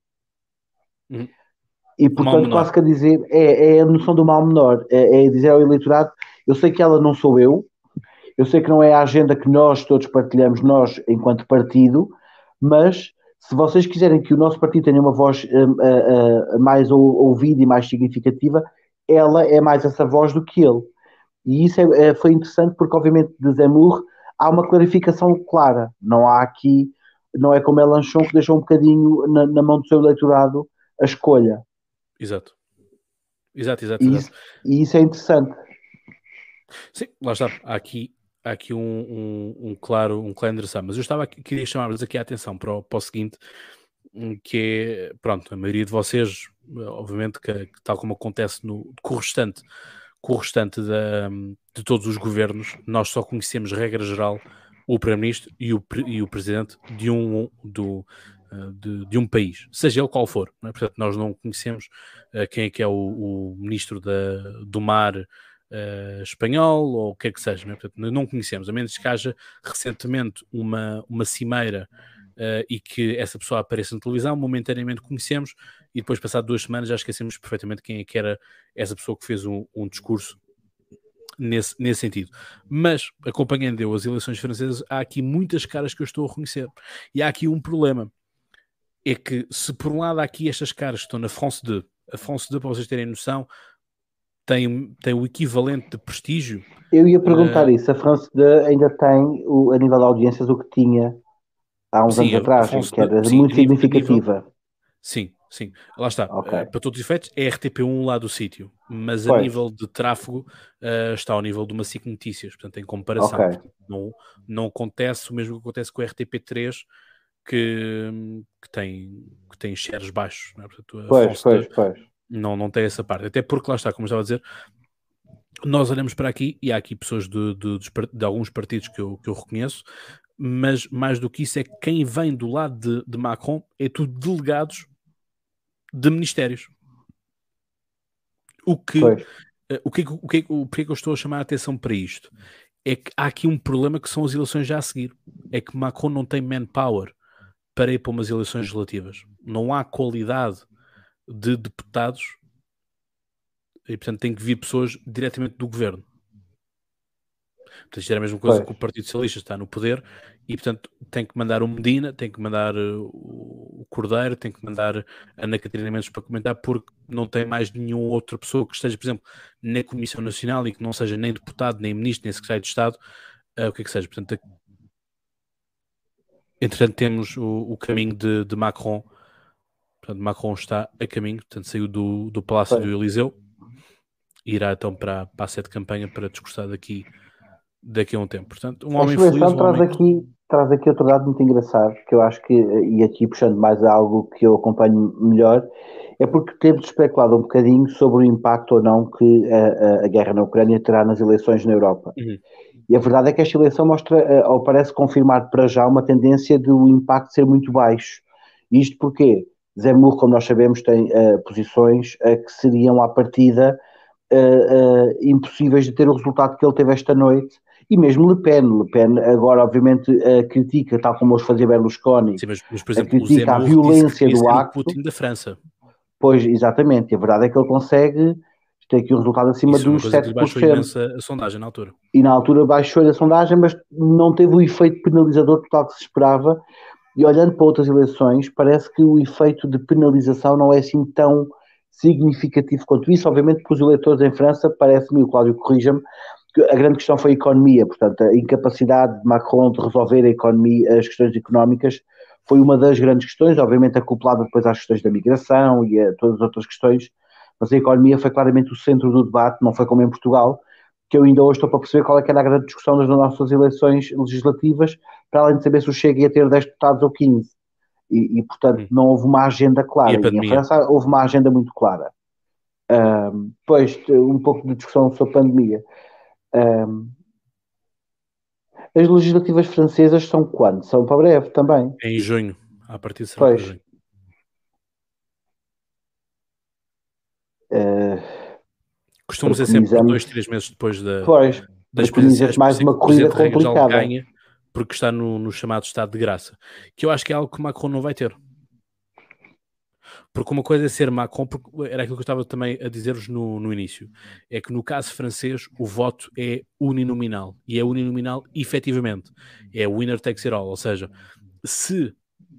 E, portanto, quase que a dizer, é a noção do mal menor, é dizer ao eleitorado, eu sei que ela não sou eu sei que não é a agenda que nós todos partilhamos, nós, enquanto partido, mas se vocês quiserem que o nosso partido tenha uma voz mais ouvida e mais significativa, ela é mais essa voz do que ele. E isso foi interessante porque, obviamente, de Zemmour há uma clarificação clara. Não há aqui, não é como Mélenchon que deixou um bocadinho na mão do seu eleitorado a escolha. Exato. E isso é interessante. Sim, lá está. Há aqui um claro endereçado. Mas eu queria chamar-vos aqui a atenção para o seguinte, que é, pronto, a maioria de vocês, obviamente, que tal como acontece com o restante de todos os governos, nós só conhecemos, regra geral, o Primeiro-Ministro e o Presidente de um país, seja ele qual for. Não é? Portanto, nós não conhecemos quem é que é o Ministro do Mar espanhol ou o que é que seja. Não é? Portanto, não conhecemos, a menos que haja recentemente uma cimeira e que essa pessoa apareça na televisão, momentaneamente conhecemos e depois, passado 2 semanas, já esquecemos perfeitamente quem é que era essa pessoa que fez um discurso nesse sentido. Mas, acompanhando eu as eleições francesas, há aqui muitas caras que eu estou a reconhecer. E há aqui um problema. É que, se por um lado há aqui estas caras que estão na France 2, a France 2, para vocês terem noção, tem o equivalente de prestígio. Eu ia perguntar isso. A France 2 ainda tem, a nível de audiências, o que tinha há uns anos atrás, que era muito significativa. Sim. Lá está. Okay. Para todos os efeitos, é RTP1 lá do sítio. Mas a nível de tráfego está ao nível de uma SIC Notícias. Portanto, em comparação. Okay. Portanto, não acontece o mesmo que acontece com a RTP3, que tem shares baixos. Não é? Portanto, pois. Não tem essa parte. Até porque, lá está, como eu estava a dizer, nós olhamos para aqui e há aqui pessoas de alguns partidos que eu reconheço, mas mais do que isso é que quem vem do lado de Macron é tudo delegados de ministérios. Porquê que eu estou a chamar a atenção para isto? É que há aqui um problema que são as eleições já a seguir. É que Macron não tem manpower para ir para umas eleições legislativas. Não há qualidade de deputados e, portanto, tem que vir pessoas diretamente do governo. Portanto, isto era a mesma coisa que o Partido Socialista está no poder e, portanto, tem que mandar o Medina, tem que mandar o Cordeiro, tem que mandar a Ana Catarina Mendes para comentar, porque não tem mais nenhuma outra pessoa que esteja, por exemplo, na Comissão Nacional e que não seja nem deputado, nem ministro, nem secretário de Estado, o que é que seja. Portanto, entretanto, temos o caminho de Macron. Portanto, Macron está a caminho, portanto, saiu do Palácio do Eliseu e irá então para a sede de campanha para discursar daqui a um tempo. Portanto, um homem feliz. Traz aqui outro dado muito engraçado, que eu acho que, e aqui puxando mais a algo que eu acompanho melhor, é porque temos especulado um bocadinho sobre o impacto ou não que a guerra na Ucrânia terá nas eleições na Europa. Uhum. E a verdade é que esta eleição mostra, ou parece confirmar para já, uma tendência do impacto ser muito baixo. Isto porque Zemmour, como nós sabemos, tem posições que seriam à partida impossíveis de ter o resultado que ele teve esta noite, e mesmo Le Pen agora obviamente critica, tal como os fazia Berlusconi. Sim, mas por exemplo, critica a violência do acto. O Putin da França. Pois, exatamente, e a verdade é que ele consegue ter aqui um resultado acima dos 7%. Baixou imenso a sondagem na altura. E na altura baixou a sondagem, mas não teve o efeito penalizador total que se esperava. E olhando para outras eleições, parece que o efeito de penalização não é assim tão significativo quanto isso. Obviamente, para os eleitores em França, parece-me, o Cláudio corrija-me, que a grande questão foi a economia. Portanto, a incapacidade de Macron de resolver a economia, as questões económicas, foi uma das grandes questões, obviamente acoplada depois às questões da migração e a todas as outras questões, mas a economia foi claramente o centro do debate, não foi como em Portugal, que eu ainda hoje estou para perceber qual é que era a grande discussão das nossas eleições legislativas, para além de saber se o Chega ia ter 10 deputados ou 15. E portanto, não houve uma agenda clara. E em França houve uma agenda muito clara. Depois, um pouco de discussão sobre a pandemia. As legislativas francesas são quando? São para breve também. Em junho. A partir de será para junho. Costuma ser sempre 2, 3 meses depois das presidências. Mais uma corrida complicada. Ganha porque está no chamado estado de graça. Que eu acho que é algo que Macron não vai ter. Porque uma coisa é ser Macron, era aquilo que eu estava também a dizer-vos no início, é que no caso francês o voto é uninominal, e é uninominal efetivamente, é winner takes it all, ou seja, se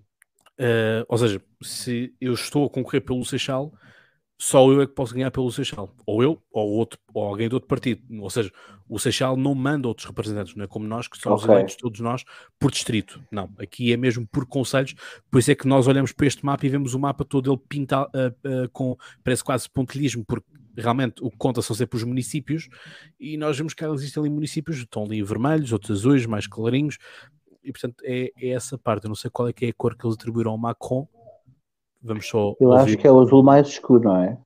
eu estou a concorrer pelo Seixal, só eu é que posso ganhar pelo Seixal, ou eu, ou alguém de outro partido, ou seja, o Seixal não manda outros representantes, não é como nós que somos eleitos todos nós por distrito, não, aqui é mesmo por concelhos, por isso é que nós olhamos para este mapa e vemos o mapa todo ele pintado parece quase pontilhismo, porque realmente o que conta são sempre os municípios, e nós vemos que existem ali municípios, estão ali vermelhos, outros azuis, mais clarinhos, e portanto é essa parte, eu não sei qual é que é a cor que eles atribuíram ao Macron. Vamos só eu acho que é o azul mais escuro, não é?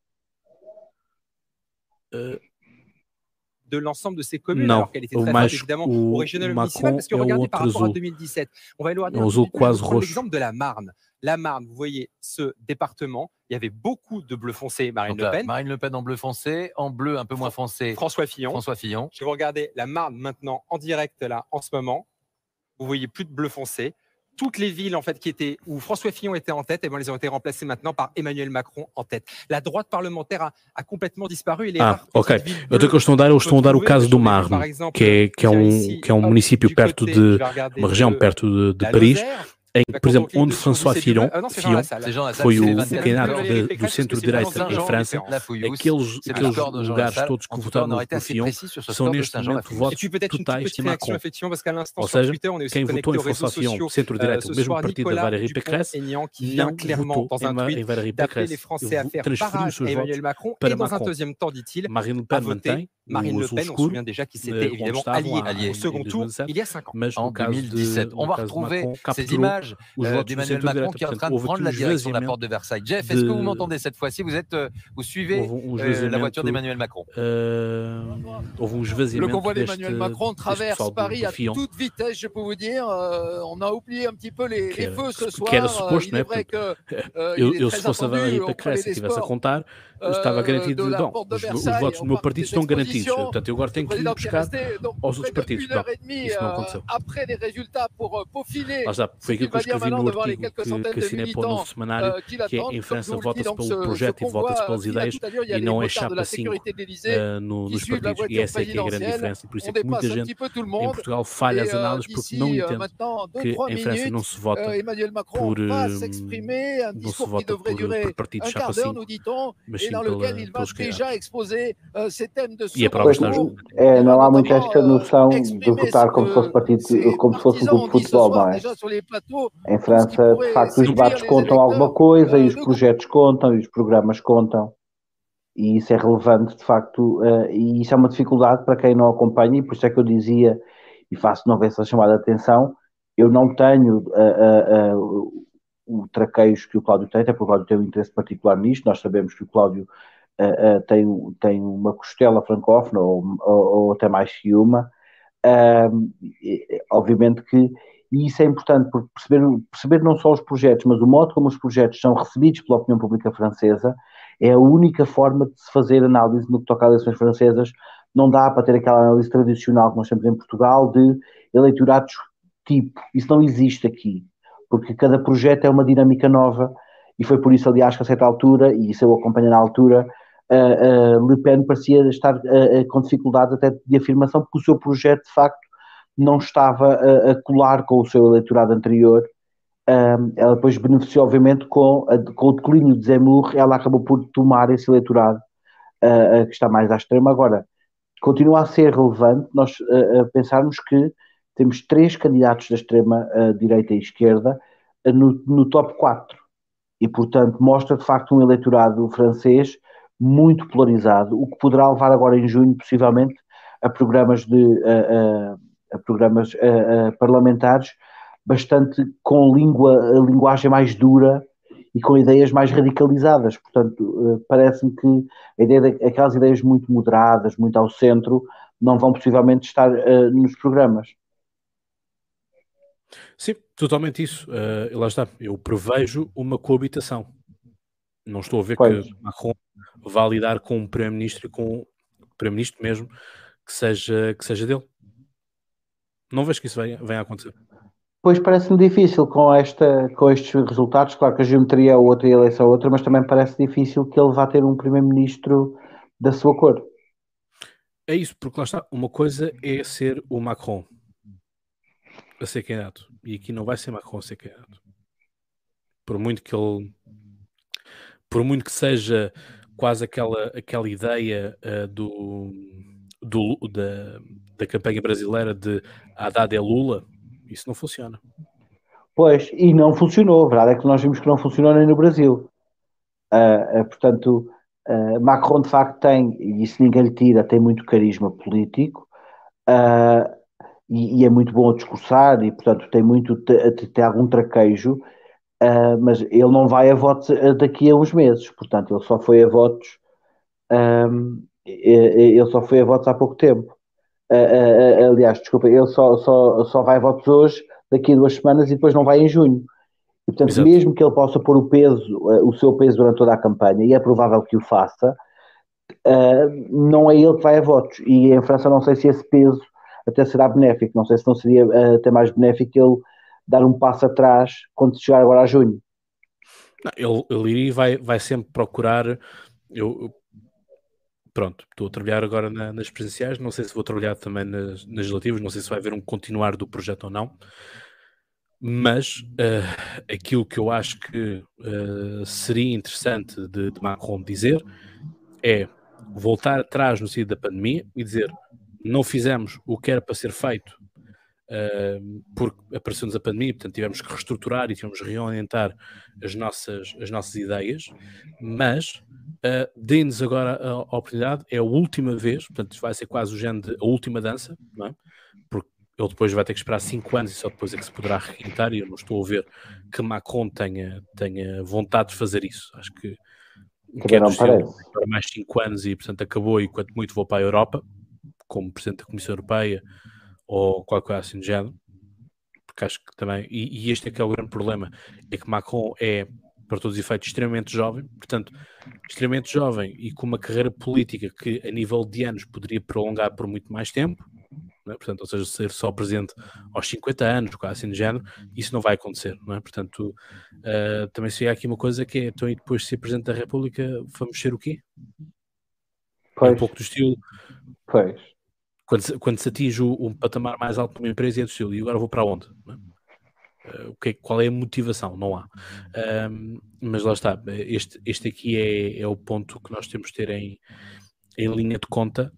De l'ensemble de ces communes, alors qu'elle était très forte, évidemment, au régional municipal, parce que regardez par rapport à 2017, on va éloigner l'exemple de la Marne. La Marne, vous voyez ce département, il y avait beaucoup de bleu foncé, Marine Le Pen. Marine Le Pen en bleu foncé, en bleu un peu moins foncé, François Fillon. Je vais vous regarder la Marne maintenant en direct là, en ce moment. Vous voyez plus de bleu foncé. Toutes les villes en fait où François Fillon était en tête, elles ont été remplacées maintenant par Emmanuel Macron en tête. La droite parlementaire a complètement disparu. Ok. Então que eles estão a dar o caso do Marne, que é um município perto de uma região perto de Paris. Em que, por exemplo, onde François Fillon foi o candidato do centro-direita em França, aqueles lugares todos que votaram no Fillon são neste momento votos totais de Macron. Ou seja, quem votou em François Fillon, centro-direita, o mesmo partido da Valérie Pécresse, não votou em Valérie Pécresse, transferiu os seus votos para Macron. Marine Le Pen mantém Marine Le Pen, on se souvient déjà qu'ils s'étaient évidemment alliés au second tour il y a 5 ans. En 2017, on va retrouver ces images d'Emmanuel Macron qui est en train de prendre la direction de la porte de Versailles. Jeff, est-ce que vous m'entendez cette fois-ci? Vous suivez la voiture d'Emmanuel Macron? Le convoi d'Emmanuel Macron traverse Paris à toute vitesse, je peux vous dire. On a oublié un petit peu les feux ce soir. Il est vrai que se fosse a Valérie Pécresse que estivesse a contar, estava garantido, os votos do meu partido estão garantidos. Portanto, eu agora tenho que ir buscar aos outros partidos. Isso não aconteceu. Lá está, foi aquilo que eu escrevi no artigo que assinei para o Novo Semanário, que é em França vota-se pelo projeto e vota-se pelas ideias e não é chapa 5 nos partidos. E essa é que é a grande diferença. Por isso é que muita gente em Portugal falha as análises porque não entende que em França não se vota por partidos chapa 5, mas sim pelos candidatos. E é para o não há muito esta noção de votar como se fosse partido, como se fosse um clube de futebol, não é? Em França, de facto, os debates contam alguma coisa, e os projetos contam, e os programas contam, e isso é relevante, de facto, e isso é uma dificuldade para quem não acompanha, e por isso é que eu dizia, e faço de novo essa chamada de atenção, eu não tenho o traqueio que o Cláudio tem, até porque o Cláudio tem um interesse particular nisto. Nós sabemos que o Cláudio tem uma costela francófona, ou até mais que uma. Obviamente que isso é importante, porque perceber não só os projetos, mas o modo como os projetos são recebidos pela opinião pública francesa é a única forma de se fazer análise no que toca a eleições francesas. Não dá para ter aquela análise tradicional que nós temos em Portugal de eleitorados tipo. Isso não existe aqui, porque cada projeto é uma dinâmica nova, e foi por isso, aliás, que a certa altura, e isso eu acompanho na altura, Le Pen parecia estar com dificuldade até de afirmação, porque o seu projeto, de facto, não estava a colar com o seu eleitorado anterior. Ela depois beneficiou, obviamente, com o declínio de Zemmour, ela acabou por tomar esse eleitorado que está mais à extrema. Agora, continua a ser relevante nós pensarmos que temos 3 candidatos da extrema direita e esquerda no top 4, e portanto mostra de facto um eleitorado francês muito polarizado, o que poderá levar agora em junho possivelmente a programas parlamentares bastante com linguagem mais dura e com ideias mais radicalizadas. Portanto, parece-me que a ideia aquelas ideias muito moderadas, muito ao centro, não vão possivelmente estar nos programas. Sim, totalmente isso. Lá está. Eu prevejo uma coabitação. Não estou a ver que Macron vá lidar com um primeiro-ministro e com um primeiro-ministro mesmo que seja dele. Não vejo que isso venha a acontecer. Pois parece-me difícil com estes resultados. Claro que a geometria é outra e a eleição é outra, mas também parece difícil que ele vá ter um primeiro-ministro da sua cor. É isso, porque lá está. Uma coisa é ser o Macron a ser candidato. E aqui não vai ser Macron a ser candidato. Por muito que seja quase aquela ideia da campanha brasileira de Haddad é Lula, isso não funciona. Pois, e não funcionou. A verdade é que nós vimos que não funcionou nem no Brasil. Portanto, Macron de facto tem, e isso ninguém lhe tira, tem muito carisma político, e é muito bom a discursar, e portanto tem algum traquejo, mas ele não vai a votos daqui a uns meses. Portanto, ele só foi a votos há pouco tempo. Aliás, desculpa, ele só vai a votos hoje, daqui a 2 semanas, e depois não vai em junho. E, portanto, Exato. Mesmo que ele possa pôr o seu peso durante toda a campanha, e é provável que o faça, não é ele que vai a votos. E em França não sei se esse peso até será benéfico. Não sei se não seria até mais benéfico ele dar um passo atrás quando chegar agora a junho. Não, ele iria e vai sempre procurar... Pronto, estou a trabalhar agora nas presidenciais, não sei se vou trabalhar também nas legislativas, não sei se vai haver um continuar do projeto ou não, mas aquilo que eu acho que seria interessante de Macron dizer é voltar atrás no sentido da pandemia e dizer, não fizemos o que era para ser feito porque apareceu-nos a pandemia, portanto tivemos que reestruturar e tivemos que reorientar as nossas ideias, mas dê-nos agora a oportunidade, é a última vez, portanto vai ser quase o género de a última dança, não é? Porque ele depois vai ter que esperar 5 anos e só depois é que se poderá requintar, e eu não estou a ver que Macron tenha vontade de fazer isso. Acho que quer para mais 5 anos e portanto acabou, e quanto muito vou para a Europa como Presidente da Comissão Europeia ou qualquer coisa assim do género, porque acho que também, e este é que é o grande problema, é que Macron é, para todos os efeitos, extremamente jovem, portanto, extremamente jovem e com uma carreira política que a nível de anos poderia prolongar por muito mais tempo, não é? Portanto, ou seja, ser só presidente aos 50 anos, quase assim do género, isso não vai acontecer, não é? Portanto, também se há aqui uma coisa que é, então, e depois de ser Presidente da República, vamos ser o quê? Pois. É um pouco do estilo... Pois. Quando se atinge um patamar mais alto de uma empresa, é do estilo, e agora vou para onde? Qual é a motivação? Não há. Mas lá está, este aqui é o ponto que nós temos de ter em linha de conta,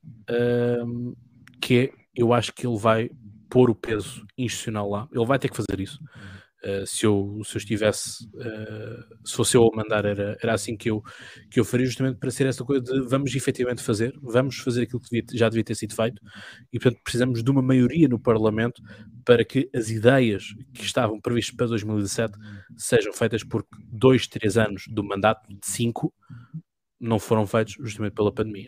que é, eu acho que ele vai pôr o peso institucional lá, ele vai ter que fazer isso. Se eu estivesse, se fosse eu a mandar, era assim que eu faria, justamente para ser essa coisa de vamos efetivamente vamos fazer aquilo que já devia ter sido feito, e portanto precisamos de uma maioria no Parlamento para que as ideias que estavam previstas para 2017 sejam feitas, porque 2, 3 anos do mandato de 5 não foram feitos justamente pela pandemia.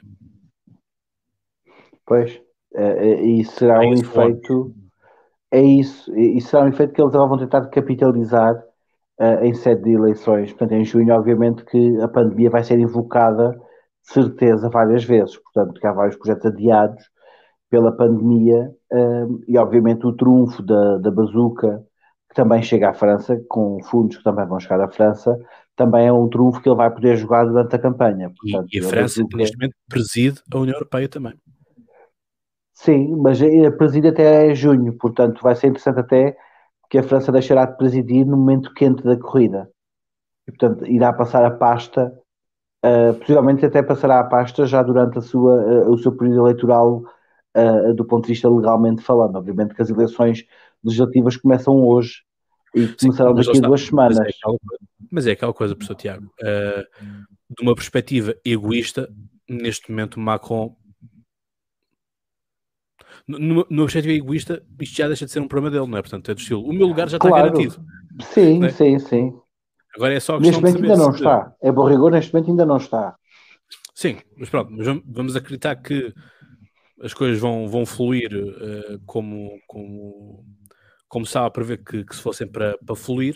Pois, e será um efeito... É isso, e será um efeito que eles vão tentar capitalizar em sede de eleições. Portanto, em junho, obviamente, que a pandemia vai ser invocada, de certeza, várias vezes. Portanto, que há vários projetos adiados pela pandemia, e, obviamente, o trunfo da bazuca, que também chega à França, com fundos que também vão chegar à França, também é um trunfo que ele vai poder jogar durante a campanha. Portanto, e a França, neste momento, preside a União Europeia também. Sim, mas preside até junho, portanto vai ser interessante até que a França deixará de presidir no momento quente da corrida. E, portanto, irá passar a pasta, possivelmente até passará a pasta já durante o seu período eleitoral, do ponto de vista legalmente falando. Obviamente que as eleições legislativas começam hoje e começarão daqui a 2 semanas. Mas é aquela coisa, professor Tiago, de uma perspectiva egoísta, neste momento Macron... No objetivo egoísta, isto já deixa de ser um problema dele, não é? Portanto, é do estilo, o meu lugar já está garantido. Sim, é? sim. Agora é só a questão de saber. Neste momento ainda não está. É bom rigor, neste momento ainda não está. Sim, mas pronto, vamos acreditar que as coisas vão fluir como como estava a prever que se fossem para fluir,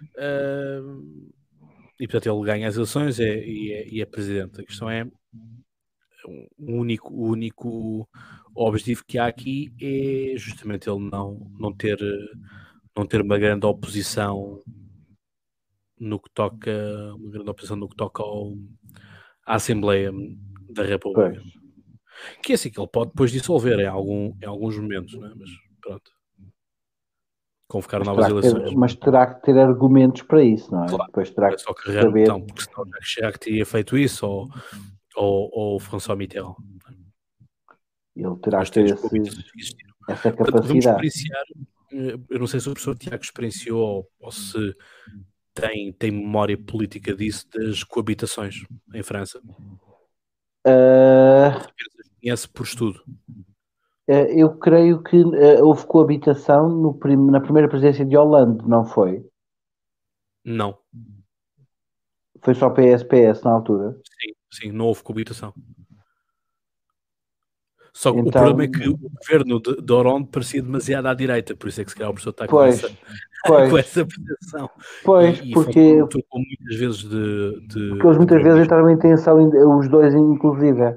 e portanto ele ganha as eleições e é presidente. A questão é, o único objetivo que há aqui é justamente ele não ter uma grande oposição no que toca à Assembleia da República. Pois. Que é assim que ele pode depois dissolver em alguns momentos, não é? Mas pronto. Convocar novas eleições. Mas terá que ter argumentos para isso, não é? Claro. Depois terá que saber... Então, porque senão Jacques Chirac teria feito isso ou François Mitterrand. Ele terá que ter essa capacidade. Eu não sei se o professor Tiago experienciou ou se tem memória política disso, das coabitações em França. Conhece por estudo. Eu creio que houve coabitação na primeira presidência de Hollande, não foi? Não. Foi só PS na altura? Sim, não houve coabitação. Só que então, o problema é que o governo de Hollande parecia demasiado à direita, por isso é que se calhar o professor está com essa percepção. Pois, porque muitas vezes porque eles muitas vezes entraram em tensão, os dois inclusive.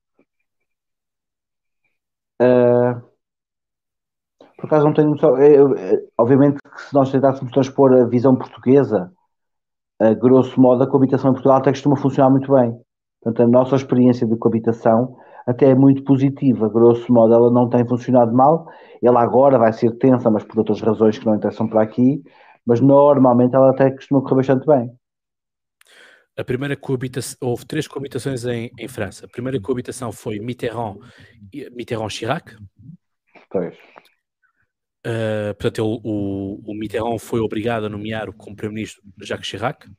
Por acaso não tenho noção. Obviamente que se nós tentássemos transpor a visão portuguesa, grosso modo, a coabitação em Portugal até costuma funcionar muito bem. Portanto, a nossa experiência de coabitação até é muito positiva. Grosso modo, ela não tem funcionado mal. Ela agora vai ser tensa, mas por outras razões que não interessam para aqui. Mas normalmente ela até costuma correr bastante bem. A primeira coabitação, houve 3 coabitações em França. A primeira coabitação foi Mitterrand-Chirac. Pois. Portanto, o Mitterrand foi obrigado a nomear como primeiro-ministro Jacques Chirac.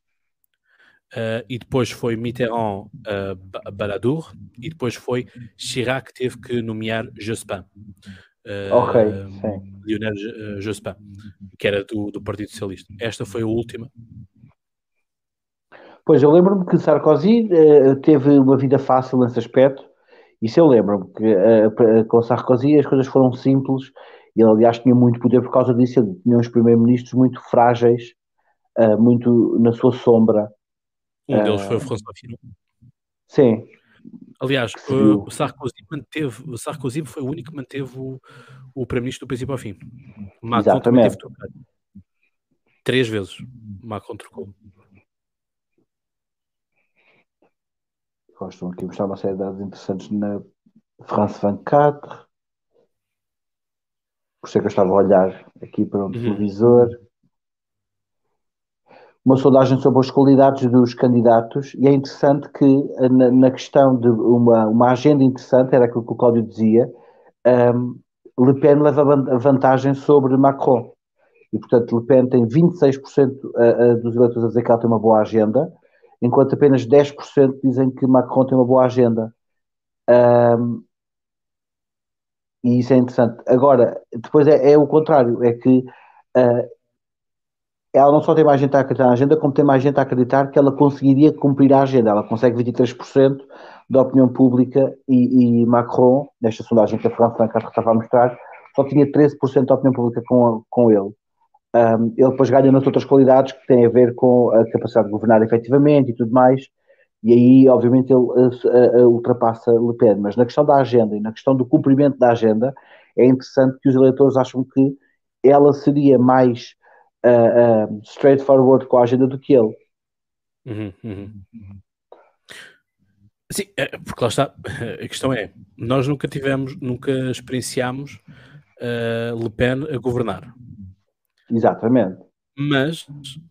E depois foi Mitterrand-Balladur. E depois foi Chirac que teve que nomear Jospin. Lionel Jospin, que era do Partido Socialista. Esta foi a última. Pois, eu lembro-me que Sarkozy teve uma vida fácil nesse aspecto. Isso eu lembro-me que com Sarkozy as coisas foram simples. E ele, aliás, tinha muito poder por causa disso. Ele tinha uns primeiros-ministros muito frágeis, muito na sua sombra. Um deles foi o François Fillon. Sim. Aliás, o Sarkozy foi o único que manteve o primeiro-ministro do princípio ao fim. Macron também teve trocado. 3 vezes Macron trocou. Gostam aqui de mostrar uma série de dados interessantes na France 24. Por isso é que eu estava a olhar aqui para um televisor. Uma sondagem sobre as qualidades dos candidatos, e é interessante que na questão de uma agenda interessante, era aquilo que o Cláudio dizia, Le Pen leva vantagem sobre Macron. E, portanto, Le Pen tem 26% dos eleitores a dizer que ela tem uma boa agenda, enquanto apenas 10% dizem que Macron tem uma boa agenda. E isso é interessante. Agora, depois é o contrário, é que ela não só tem mais gente a acreditar na agenda, como tem mais gente a acreditar que ela conseguiria cumprir a agenda. Ela consegue 23% da opinião pública e Macron, nesta sondagem que a France 24 estava a mostrar, só tinha 13% da opinião pública com ele. Ele depois ganha nas outras qualidades que têm a ver com a capacidade de governar efetivamente e tudo mais, e aí, obviamente, ele ultrapassa Le Pen. Mas na questão da agenda e na questão do cumprimento da agenda, é interessante que os eleitores acham que ela seria mais straightforward com a agenda do que ele. Sim, porque lá está, a questão é, nós nunca experienciámos Le Pen a governar. Exatamente. Mas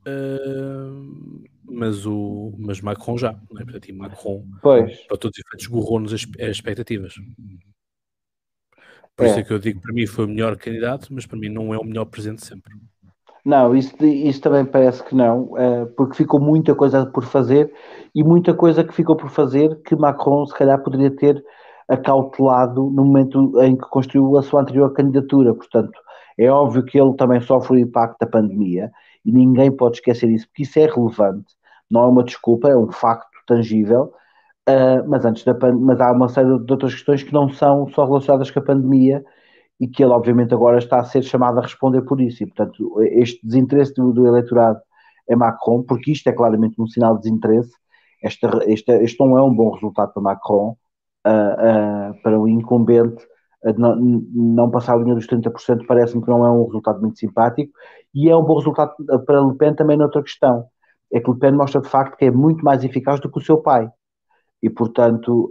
Macron já, não é? Portanto, Macron, para todos os efeitos, esgorrou-nos as expectativas. Por isso é que eu digo, para mim foi o melhor candidato, mas para mim não é o melhor presidente sempre. Não, isso também parece que não, porque ficou muita coisa por fazer, e muita coisa que ficou por fazer que Macron se calhar poderia ter acautelado no momento em que construiu a sua anterior candidatura. Portanto, é óbvio que ele também sofre o impacto da pandemia, e ninguém pode esquecer isso, porque isso é relevante, não é uma desculpa, é um facto tangível, mas há uma série de outras questões que não são só relacionadas com a pandemia e que ele obviamente agora está a ser chamado a responder por isso, e portanto este desinteresse do eleitorado é Macron, porque isto é claramente um sinal de desinteresse. Este não é um bom resultado para Macron, para o incumbente. Não passar a linha dos 30% parece-me que não é um resultado muito simpático, e é um bom resultado para Le Pen também noutra questão, é que Le Pen mostra de facto que é muito mais eficaz do que o seu pai, e portanto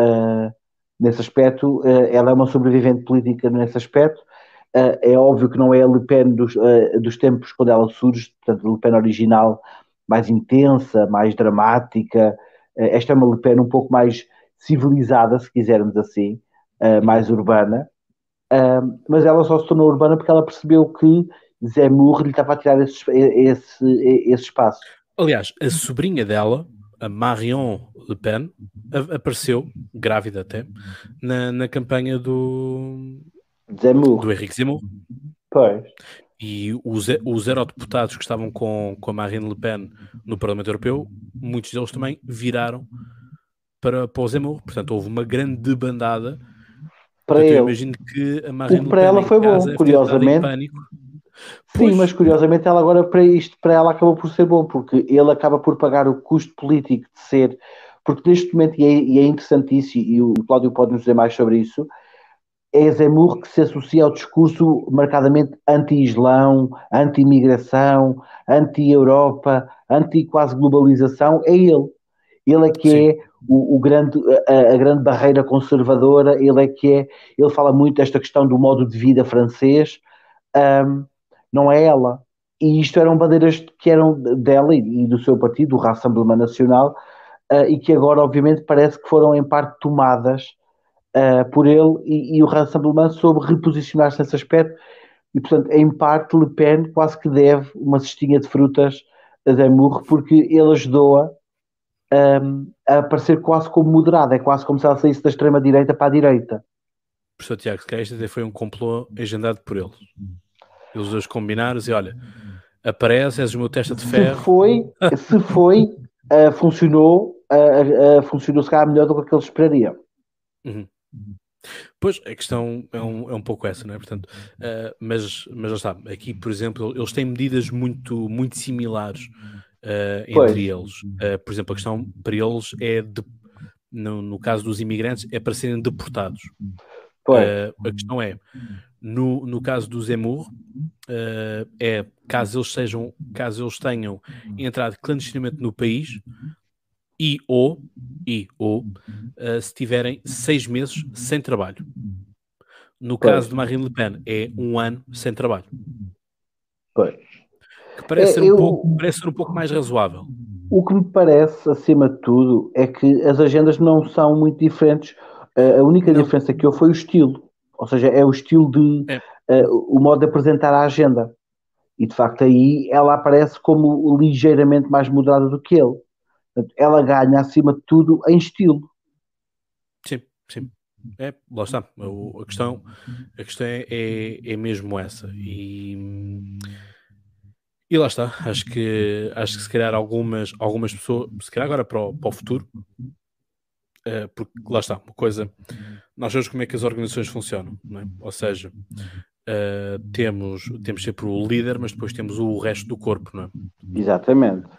nesse aspecto ela é uma sobrevivente política nesse aspecto. É óbvio que não é a Le Pen dos tempos quando ela surge, portanto a Le Pen original, mais intensa, mais dramática. Esta é uma Le Pen um pouco mais civilizada, se quisermos assim, mais urbana, mas ela só se tornou urbana porque ela percebeu que Zemmour lhe estava a tirar esse espaço. Aliás, a sobrinha dela, a Marion Le Pen, apareceu, grávida até, na campanha do Henrique Zemmour. Pois. E os eurodeputados que estavam com a Marine Le Pen no Parlamento Europeu, muitos deles também viraram para o Zemmour. Portanto, houve uma grande debandada. Para ele. Eu imagino que a Marine Le Pen para ela foi bom, curiosamente. Sim, mas curiosamente ela agora para ela acabou por ser bom, porque ele acaba por pagar o custo político de ser, porque neste momento, e é interessantíssimo, e o Cláudio pode nos dizer mais sobre isso, é Zemmour que se associa ao discurso marcadamente anti-islão, anti-imigração, anti-Europa, anti-quase globalização, é ele. Ele é que Sim. é a grande barreira conservadora, ele fala muito desta questão do modo de vida francês, não é ela. E isto eram bandeiras que eram dela e do seu partido, o Rassemblement National, e que agora obviamente parece que foram em parte tomadas por ele, e o Rassemblement soube reposicionar-se nesse aspecto, e portanto em parte Le Pen quase que deve uma cestinha de frutas a Zemmour, porque ele ajudou-a a aparecer quase como moderada, é quase como se ela saísse da extrema-direita para a direita. Professor Tiago, se calhar isto até foi um complô agendado por eles. Eles dois combinaram e olha, aparece, és o meu testa de ferro. Se foi, funcionou se calhar melhor do que eles esperariam. Uhum. Pois, a questão é um pouco essa, não é? Portanto, mas já está, aqui, por exemplo, eles têm medidas muito, muito similares entre eles. Por exemplo, a questão para eles é, no caso dos imigrantes, é para serem deportados. A questão é, no caso do Zemmour, caso eles tenham entrado clandestinamente no país ou se tiverem 6 meses sem trabalho. No caso de Marine Le Pen, é 1 ano sem trabalho. Que parece ser um pouco mais razoável. O que me parece, acima de tudo, é que as agendas não são muito diferentes. A única diferença que houve foi o estilo. Ou seja, é o estilo o modo de apresentar a agenda. E, de facto, aí ela aparece como ligeiramente mais moderada do que ele. Portanto, ela ganha, acima de tudo, em estilo. Sim. Lá está. A questão é mesmo essa. E lá está. Acho que se calhar algumas pessoas, se calhar agora para o futuro, porque lá está, uma coisa, nós sabemos como é que as organizações funcionam, não é? Ou seja, temos sempre o líder, mas depois temos o resto do corpo, não é? Exatamente.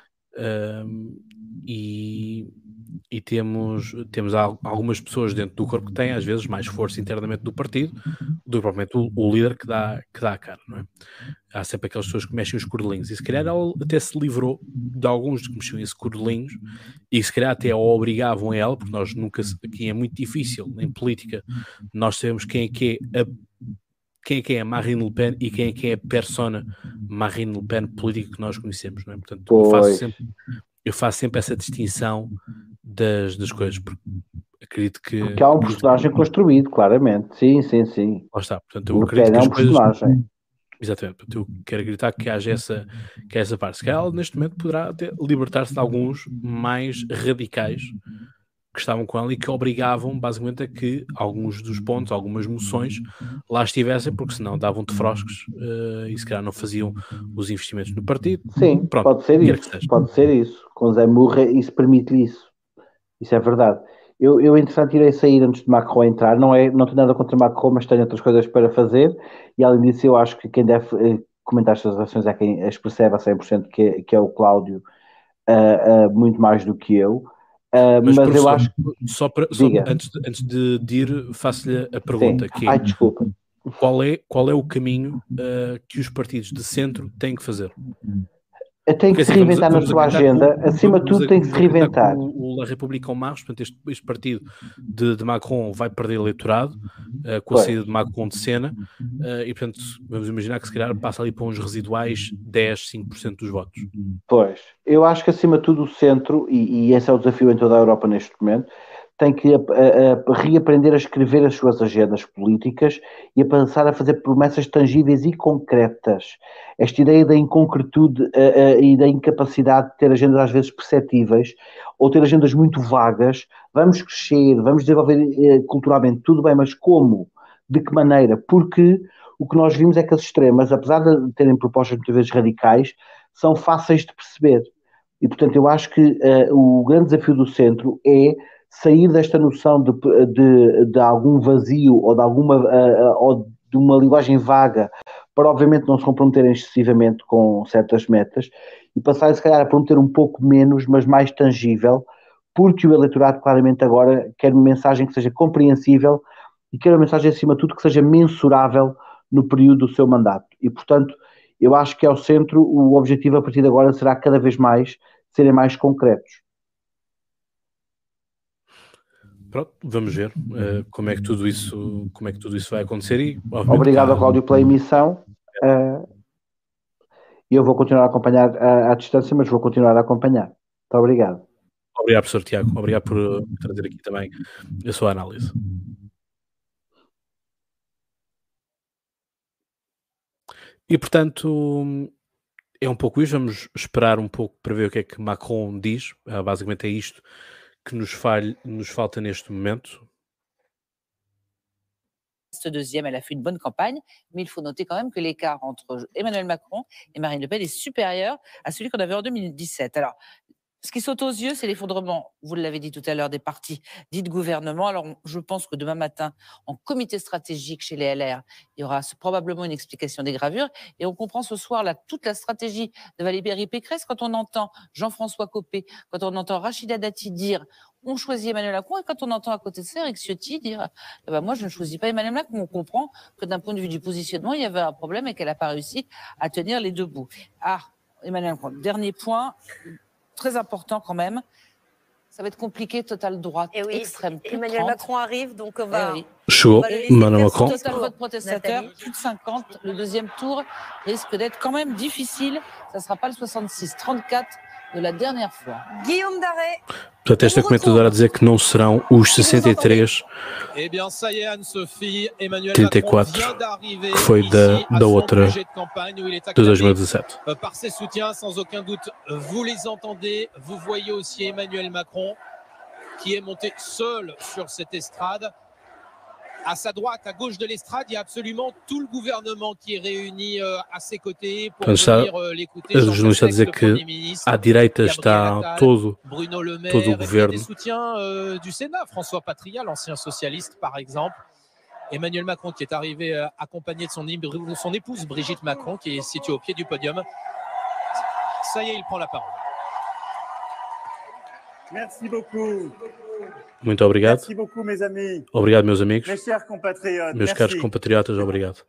E temos algumas pessoas dentro do corpo que têm às vezes mais força internamente do partido do que propriamente o líder que dá a cara, não é? Há sempre aquelas pessoas que mexem os cordelinhos, e se calhar ela até se livrou de alguns que mexiam esses cordelinhos, e se calhar até a obrigavam a ela, porque nós nunca, aqui é muito difícil em política, nós sabemos quem é que é a Marine Le Pen e quem é que é a persona Marine Le Pen política que nós conhecemos, não é? Portanto, eu faço sempre essa distinção das coisas, porque acredito que... Porque há um personagem construído, claramente. Sim. Lá está. Portanto, eu acredito que as coisas... personagem. Exatamente. Portanto, eu quero acreditar que haja essa parte. Se calhar ela, neste momento, poderá até libertar-se de alguns mais radicais que estavam com ela e que obrigavam, basicamente, a que alguns dos pontos, algumas moções, lá estivessem, porque senão davam-te froscos e se calhar não faziam os investimentos no partido. Sim, pode ser isso. Com Zemmour isso permite-lhe isso. Isso é verdade. Eu entretanto, irei sair antes de Macron entrar. Não tenho nada contra Macron, mas tenho outras coisas para fazer. E além disso, eu acho que quem deve comentar estas ações é quem as percebe a 100%, que é o Cláudio, muito mais do que eu. Mas eu acho que... Antes de ir, faço-lhe a pergunta. Sim. Que é, desculpa. Qual é o caminho que os partidos de centro têm que fazer? Tem que se reinventar na sua agenda, acima de tudo tem que se reinventar. O La République En Marche, portanto, este partido de Macron vai perder eleitorado com a saída de Macron de cena e, portanto, vamos imaginar que se calhar passa ali para uns residuais 5% dos votos. Pois, eu acho que acima de tudo o centro, e esse é o desafio em toda a Europa neste momento, tem que reaprender a escrever as suas agendas políticas e a passar a fazer promessas tangíveis e concretas. Esta ideia da inconcretude e da incapacidade de ter agendas às vezes perceptíveis ou ter agendas muito vagas, vamos crescer, vamos desenvolver culturalmente, tudo bem, mas como? De que maneira? Porque o que nós vimos é que as extremas, apesar de terem propostas muitas vezes radicais, são fáceis de perceber. E, portanto, eu acho que o grande desafio do centro é sair desta noção de algum vazio ou de uma linguagem vaga para, obviamente, não se comprometerem excessivamente com certas metas e passar, se calhar, a prometer um pouco menos, mas mais tangível, porque o eleitorado claramente agora quer uma mensagem que seja compreensível e quer uma mensagem, acima de tudo, que seja mensurável no período do seu mandato. E, portanto, eu acho que ao centro o objetivo a partir de agora será cada vez mais serem mais concretos. Pronto, vamos ver como é que tudo isso vai acontecer. E, obrigado, Cláudio, pela emissão. Eu vou continuar a acompanhar à distância, mas vou continuar a acompanhar. Muito obrigado. Obrigado, professor Tiago. Obrigado por trazer aqui também a sua análise. E, portanto, é um pouco isso. Vamos esperar um pouco para ver o que é que Macron diz. Basicamente é isto que nos falta neste momento. Deuxième, elle a fait une bonne campagne, mais il faut noter quand même que l'écart entre Emmanuel Macron et Marine Le Pen est supérieur à celui qu'on avait en 2017. Alors, ce qui saute aux yeux, c'est l'effondrement, vous l'avez dit tout à l'heure, des partis dits de gouvernement. Alors, je pense que demain matin, en comité stratégique chez les LR, il y aura probablement une explication des gravures. Et on comprend ce soir là toute la stratégie de Valérie Pécresse quand on entend Jean-François Copé, quand on entend Rachida Dati dire on choisit Emmanuel Macron, et quand on entend à côté de ça Éric Ciotti dire moi je ne choisis pas Emmanuel Macron. On comprend que d'un point de vue du positionnement, il y avait un problème et qu'elle n'a pas réussi à tenir les deux bouts. Emmanuel Macron, dernier point très important quand même, ça va être compliqué, totale droite, extrême. Emmanuel Macron arrive, donc on va... Chaud, Emmanuel Macron. Total vote protestateur, plus de 50. Le deuxième tour risque d'être quand même difficile. Ça ne sera pas le 66, 34 de la dernière fois. Guillaume Daré. Portanto, esta comentadora a dizer que não serão os 63, 34, que foi da outra de 2017. Par ses soutiens, sans aucun doute, vous les entendez. Vous voyez aussi Emmanuel Macron qui est monté seul sur cette estrade. À sa droite, à gauche de l'estrade, il y a absolument tout le gouvernement qui est réuni à ses côtés pour venir l'écouter. O jornalista a dizer que à direita está todo o governo. Des soutiens du Sénat, François Patria, l'ancien socialiste par exemple. Emmanuel Macron qui est arrivé accompagné de son épouse Brigitte Macron qui est située au pied du podium. Ça y est, il prend la parole. Merci beaucoup. Muito obrigado. Merci beaucoup, mes amis. Obrigado, meus amigos. Mes chers compatriotes. Meus caros compatriotas, obrigado.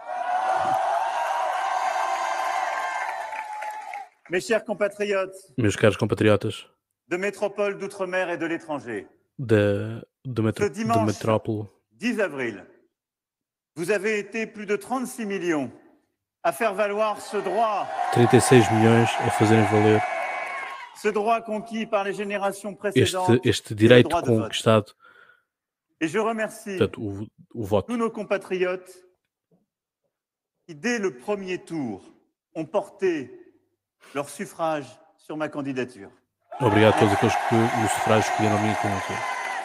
Mes chers compatriotes. Meus caros compatriotas. De métropole, d'outre-mer et de l'étranger. De métropole. 10 avril, vous avez été plus de 36 millions à faire valoir ce droit. 36 milhões a fazerem valer. Ce droit conquis par les générations précédentes. Este direito conquistado. Et je remercie o voto. Tous nos compatriotes qui, dès le premier tour, ont porté leur suffrage sur ma candidature. Obrigado a todos aqueles que no sufrágio escolheram a minha candidatura.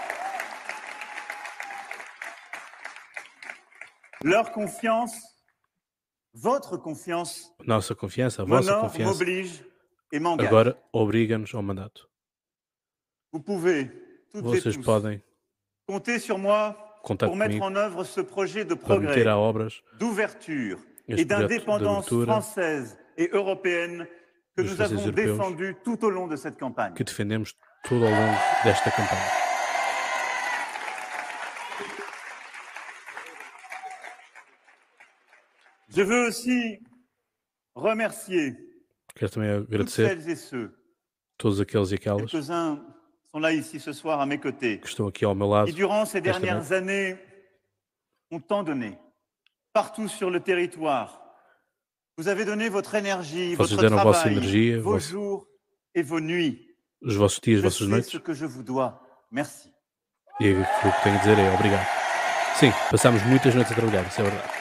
Leur confiance, votre confiance, nossa confiança, a vossa confiança, m'oblige et m'engage. Agora obriga-nos ao mandato. Vous pouvez Vocês podem contar comigo para meter a obras este projeto de abertura dos franceses europeus que defendemos todo ao longo desta campanha. Je veux aussi remercier Quero também agradecer todos aqueles e aquelas que estão aqui ao meu lado. E durant ces dernières années ont tant donné partout sur le territoire. Vous avez donné votre énergie, votre travail, vos jours et vos nuits. Os vossos dias, as vossas noites. Ce que je vous dois. Merci. E o que tenho a dizer é obrigado. Sim, passámos muitas noites a trabalhar, isso é verdade.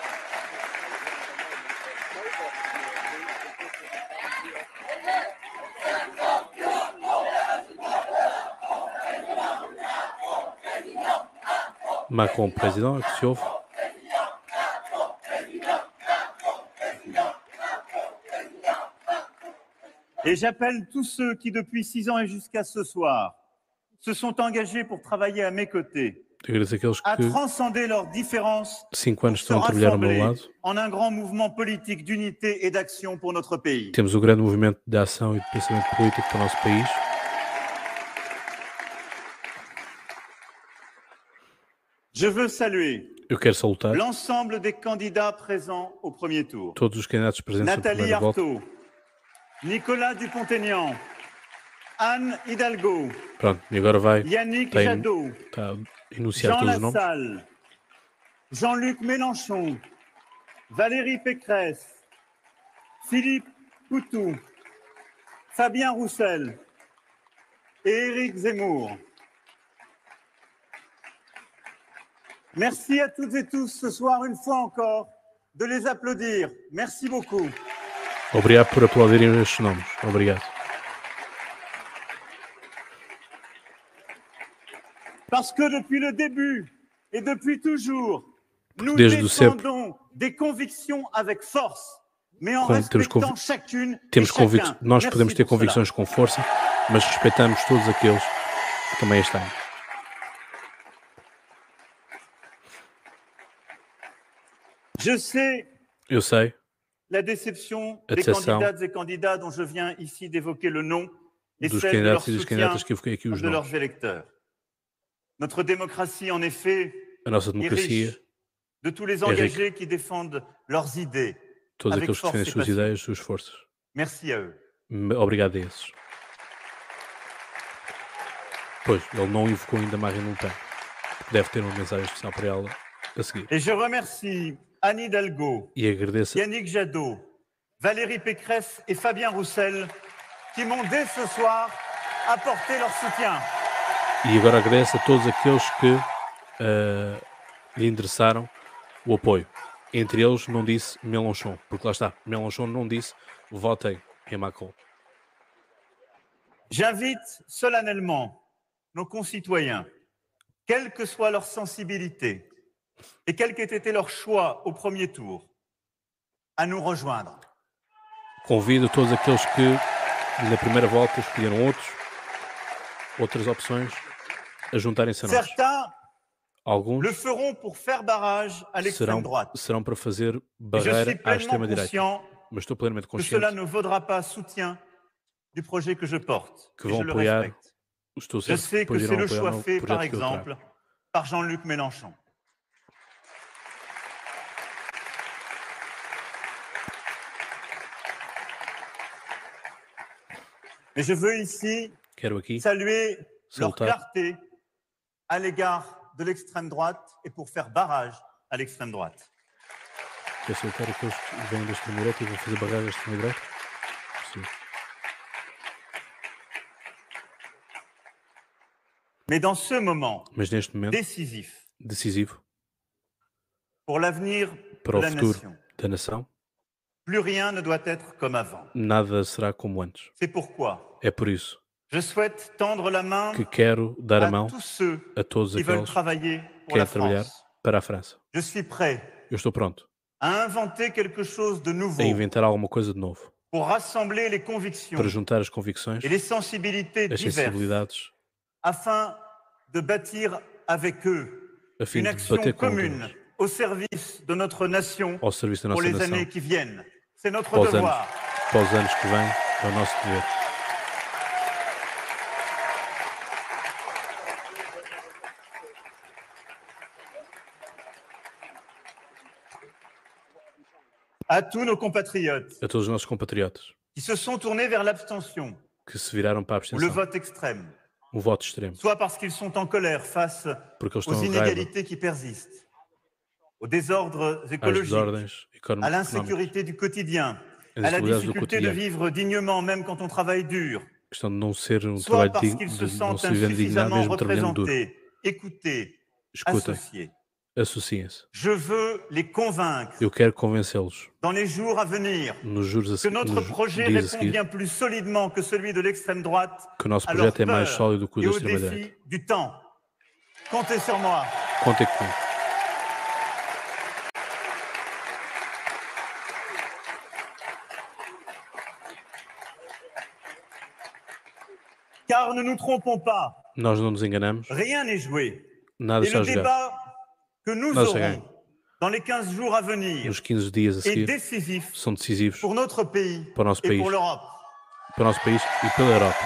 Macron, président, é que se ouve. Et j'appelle tous ceux qui, depuis 6 ans et jusqu'à ce soir, se sont engagés pour travailler à mes côtés, à transcender leurs différences, 5 anos estão a trabalhar ao meu lado. En un grand mouvement politique d'unité et d'action pour notre pays. Temos o grande movimento de ação e de pensamento político para o nosso país. Je veux saluer l'ensemble des candidats présents au premier tour. Todos os candidatos presentes no primeiro voto. Nicolas Dupont-Aignan, Anne Hidalgo, pronto, e agora vai Yannick Jadot, está a enunciar todos os nomes. Jean Lassalle, Jean-Luc Mélenchon, Valérie Pécresse, Philippe Poutou, Fabien Roussel et Éric Zemmour. Merci à toutes et tous ce soir, une fois encore, de les applaudir. Merci beaucoup. Obrigado por aplaudirem estes nomes. Obrigado. Parce que depuis le début et depuis toujours, nous défendons des convictions avec force, mais en respectant chacune et chacun. Nós podemos ter convicções com força, mas respeitamos todos aqueles que também estão. Eu sei la déception des candidates et candidats dont je viens ici d'évoquer le nom et celle de leur soutien de leurs électeurs. Notre démocratie, en effet, est riche de tous les engagés qui défendent leurs idées avec force et passion. Merci à eux. Obrigado a esses. Pois, ele não invocou ainda Marine Le Pen. Deve ter uma mensagem especial para ela a seguir. Et je remercie Anne Hidalgo, Yannick Jadot, Valérie Pécresse et Fabien Roussel qui m'ont dès ce soir apporté leur soutien. E agora agradeço a todos aqueles que lhe endereçaram o apoio. Entre eles não disse Mélenchon, porque lá está, Mélenchon não disse votem em Macron. J'invite solennellement nos concitoyens, quelle que soit leur sensibilité, et quel qu'ait été leur choix au premier tour, à nous rejoindre. Convido todos aqueles que na primeira volta escolheram outras opções a juntarem-se a nós. Alguns le feront pour faire barrage à l'extrême droite. Serão para fazer barreira à extrema-direita. Mas estou plenamente consciente que cela ne vaudra pas soutien du projet que je porte. Que vão apoiar. Je sais que c'est le choix fait, par exemple, par Jean-Luc Mélenchon. Mais je veux ici saluer leur clarté à l'égard de l'extrême droite et pour faire barrage à l'extrême droite. Quer salutar aqueles que vêm da extrema-direita e vão fazer barragem à extrema-direita? Sim. Mais dans ce moment neste momento decisivo pour l'avenir para o de la futuro nation, da nação, plus rien ne doit être comme avant. Nada será como antes. C'est pourquoi é por isso je souhaite tendre la main que quero dar a mão a todos aqueles que querem trabalhar para a França. Je suis prêt Eu estou pronto a inventer quelque chose de nouveau, a inventar alguma coisa de novo pour rassembler les convictions para juntar as convicções, et les sensibilités as sensibilidades afin de bâtir avec eux une action commune au service de notre nation pour les années qui viennent. C'est notre devoir. Para os anos que vêm, é o nosso dever. À tous nos compatriotes a todos os nossos compatriotas qui se sont tournés vers l'abstention que se viraram para a ou abstenção, le vote extrême, o voto extremo, soit parce qu'ils sont en colère face aux inégalités qui persistent, aux désordres écologiques, à l'insécurité du quotidien, à la difficulté de vivre dignement même quand on travaille dur, soit parce qu'ils se sentent insuffisamment représentés, écoutés, associés. Associem-se. Je veux les convaincre. Eu quero convencê-los. Dans les jours à venir, que notre projet répond bien plus solidement que celui de l'extrême droite que o nosso projeto é mais sólido que o da extrema-direita. Du temps. Comptez sur moi. Contem comigo. Car ne nous trompons pas. Nós não nos enganamos. Rien n'est joué. Nada está jogado. Que nous aurons dans les 15 jours à venir nos 15 dias a seguir são decisivos pour notre pays para o nosso país, pour l'Europe. Para o nosso país e pela Europa.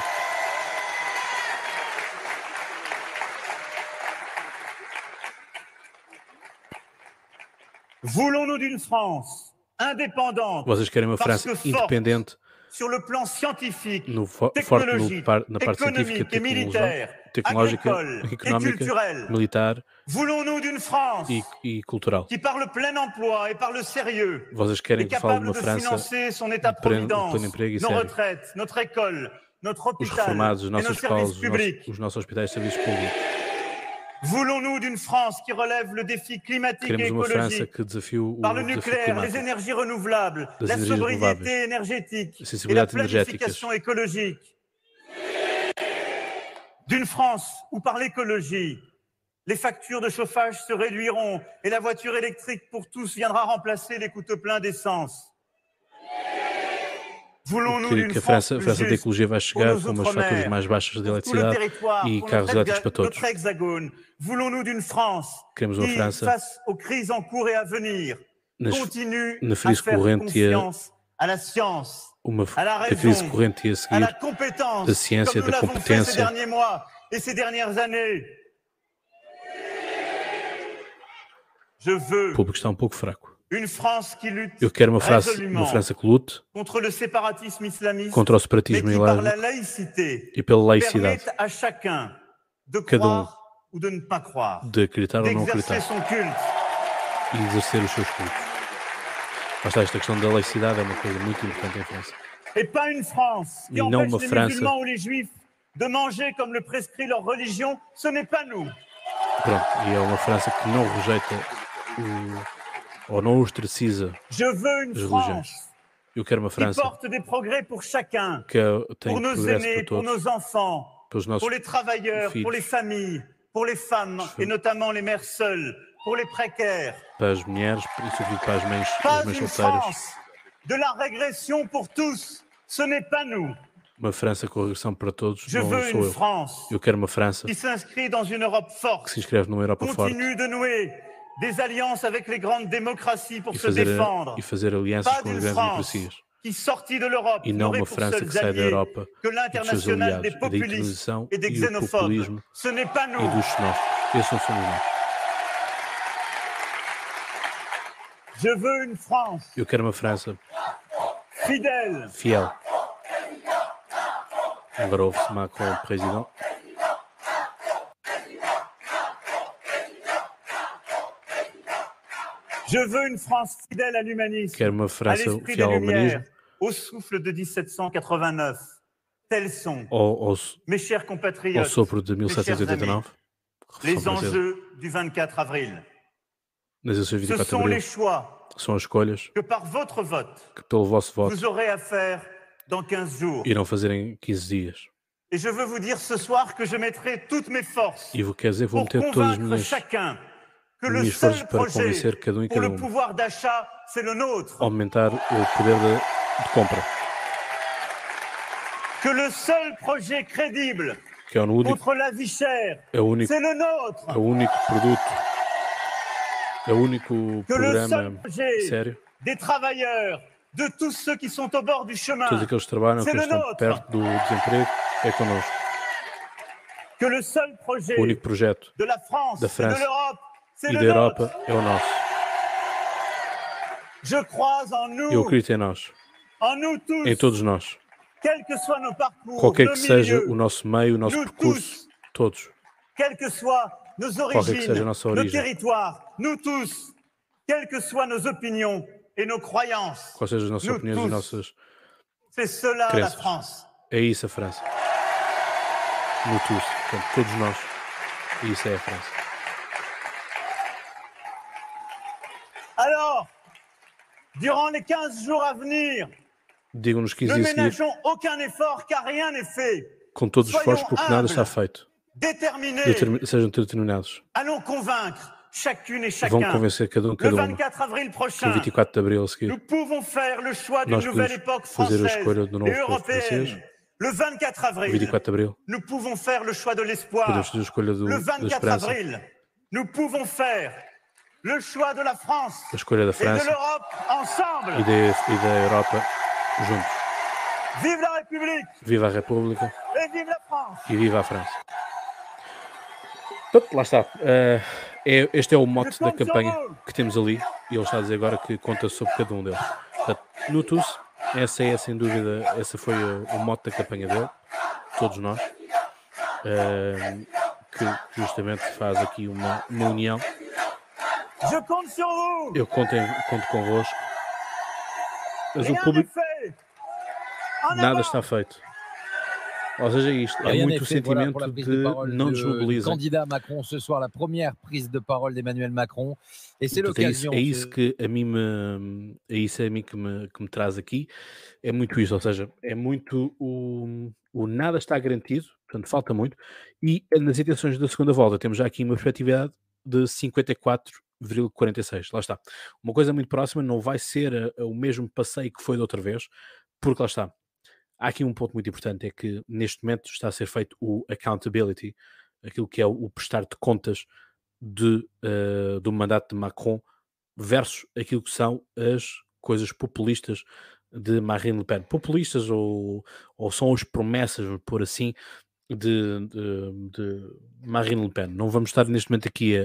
Voulons-nous d'une France indépendante? Vocês querem uma França independente sur le plan scientifique, technologique, na parte científica, tecnológica, económica, militar e cultural. Qui par le plein emploi et par le sérieux, vocês querem que fale de uma França de pleno emprego e sério. Notre école, notre hôpital, os reformados, as nossas escolas, os nossos hospitais e serviços públicos. Voulons-nous d'une France qui relève le défi climatique et écologique par le nucléaire, les énergies renouvelables, la sobriété énergétique et la planification écologique? D'une France où par l'écologie, les factures de chauffage se réduiront et la voiture électrique pour tous viendra remplacer les coûteux pleins d'essence? Que a França da ecologia vai chegar com umas faturas mais baixas de eletricidade e carros elétricos para todos. Queremos uma França na crise corrente e a crise corrente e a seguir da ciência, da competência. O público está um pouco fraco. Eu quero uma França que lute contra o separatismo islâmico e pela laicidade. Cada de acreditar ou não acreditar e exercer os seus cultos. Mas esta questão da laicidade é uma coisa muito importante em França. E não uma França de manger comme le prescrit leur religion, ce n'est pas nous. Pronto, e é uma França que não rejeita ou não ostraciza as religiões. Eu quero uma França que tem progresso para todos, pelos nossos filhos, pour les femmes et notamment les mères seules, pour les précaires. Para as mulheres e sobretudo para as mães solteiras. De la régression pour tous, ce n'est pas nous. Uma França com regressão para todos, não sou eu. Eu quero uma França que se inscreve numa Europa forte des alliances avec les grandes démocraties pour se défendre. E fazer alianças com as grandes democracias. E não uma França que sai da Europa e dos seus aliados, da internalização e do populismo e dos xenófobos. Esses não somos nós. Eu quero uma França fiel. Agora ouve-se Macron, o presidente. Je veux une France fidèle à l'humanisme, quero uma França fiel ao humanismo, au souffle de 1789. Tels sont, mes chers compatriotes, ao sopro de 1789, les enjeux du 24 avril. Ce sont les choix são as escolhas que par votre vote, que pelo vosso voto vous aurez à faire dans 15 jours. Irão fazer em 15 dias. Et je veux vous dire ce soir que je mettrai toutes mes forces quer dizer, vou meter todas as minhas forças para convencer cada e cada aumentar o poder de compra. Que le seul projet crédible que é o único, contre la vie chère. C'est le nôtre. É o único produto, é o único programa sério. Des travailleurs, de tous ceux qui sont au bord du chemin. Todos aqueles que trabalham, que estão perto do desemprego, é connosco. Que le seul projet o único projeto de la France, da França et da Europa é o nosso. Je crois en nous. Eu acredito em nós, en nous tous, em todos nós. Quel que soit nos parcours, qualquer que seja o nosso meio, o nosso percurso, todos. Quelles que soient nos origines, nos territoires, nous tous, quelles que soient nos opinions et nos croyances. Quais sejam as nossas opiniões e nossas c'est cela crenças. La France. É isso a França. No tous, portanto, todos nós. E isso é a França. Alors, durant les 15 jours à venir, digam-nos 15 dias a seguir, aucun effort, car rien n'est fait. Com todos os esforços, porque nada está feito. Sejam determinados. Allons convaincre chacune et chacun. Vão convencer cada um, cada uma. Que o 24 de abril a seguir, nous pouvons faire le choix d'une nouvelle époque fazer a escolha do novo povo francês. Le 24 avril, 24 de abril, nous pouvons faire le choix de l'espoir. Podemos fazer a escolha le 24 avril, nous pouvons faire le choix de la France. A escolha da França et de l'Europe ensemble. E da Europa juntos. Vive la République. Viva a República. Et vive la France. E viva a França. Lá está. Este é o mote da campanha que temos ali. E ele está a dizer agora que conta sobre cada um deles. Portanto, no TUS, essa é sem dúvida, essa foi o mote da campanha dele. Todos nós. Que justamente faz aqui uma união. Eu conto convosco. Mas o público, nada está feito. Ou seja, isto é muito o sentimento de não desmobilizar. Candidat Macron ce soir, la première prise de parole d'Emmanuel Macron, et c'est l'occasion. É isso que a mim que me traz aqui. É muito isso, ou seja, é muito o nada está garantido, portanto falta muito. E nas intenções da segunda volta temos já aqui uma efetividade de 54,46. Lá está. Uma coisa muito próxima, não vai ser o mesmo passeio que foi da outra vez, porque lá está. Há aqui um ponto muito importante, é que neste momento está a ser feito o accountability, aquilo que é o prestar de contas do mandato de Macron versus aquilo que são as coisas populistas de Marine Le Pen. Populistas ou são as promessas, por assim, de Marine Le Pen. Não vamos estar neste momento aqui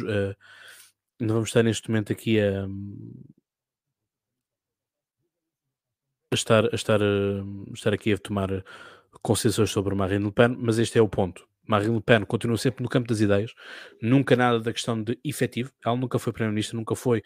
estar aqui a tomar concessões sobre Marine Le Pen, mas este é o ponto. Marine Le Pen continua sempre no campo das ideias, nunca nada da questão de efetivo. Ela nunca foi Primeiro-Ministro, nunca foi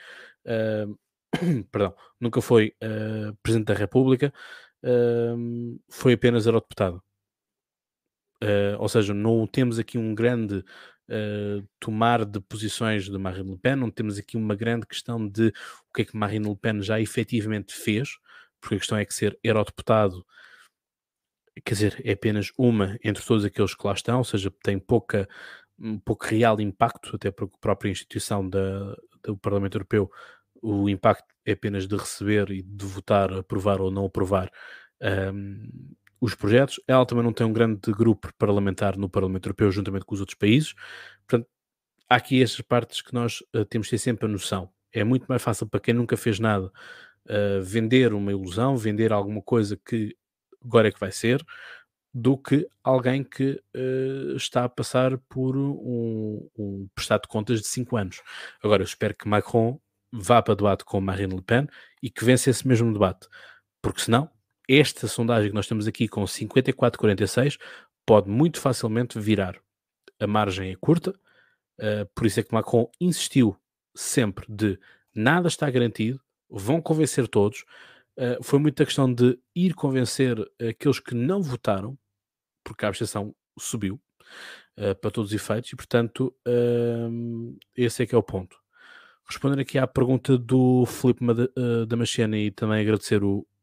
nunca foi Presidente da República, foi apenas eurodeputada. Ou seja, não temos aqui um grande tomar de posições de Marine Le Pen, não temos aqui uma grande questão de o que é que Marine Le Pen já efetivamente fez, porque a questão é que ser eurodeputado, quer dizer, é apenas uma entre todos aqueles que lá estão, ou seja, tem pouco real impacto, até porque a própria instituição do Parlamento Europeu, o impacto é apenas de receber e de votar, aprovar ou não aprovar os projetos. Ela também não tem um grande grupo parlamentar no Parlamento Europeu, juntamente com os outros países. Portanto, há aqui estas partes que nós temos de ter sempre a noção. É muito mais fácil para quem nunca fez nada vender uma ilusão, vender alguma coisa que agora é que vai ser, do que alguém que está a passar por um prestado de contas de 5 anos. Agora, eu espero que Macron vá para debate com Marine Le Pen e que vença esse mesmo debate, porque senão esta sondagem que nós temos aqui com 54,46 pode muito facilmente virar. A margem é curta, por isso é que Macron insistiu sempre de nada está garantido, vão convencer todos. Foi muita questão de ir convencer aqueles que não votaram, porque a abstenção subiu para todos os efeitos, e portanto esse é que é o ponto. Respondendo aqui à pergunta do Filipe Damasceno e também agradecer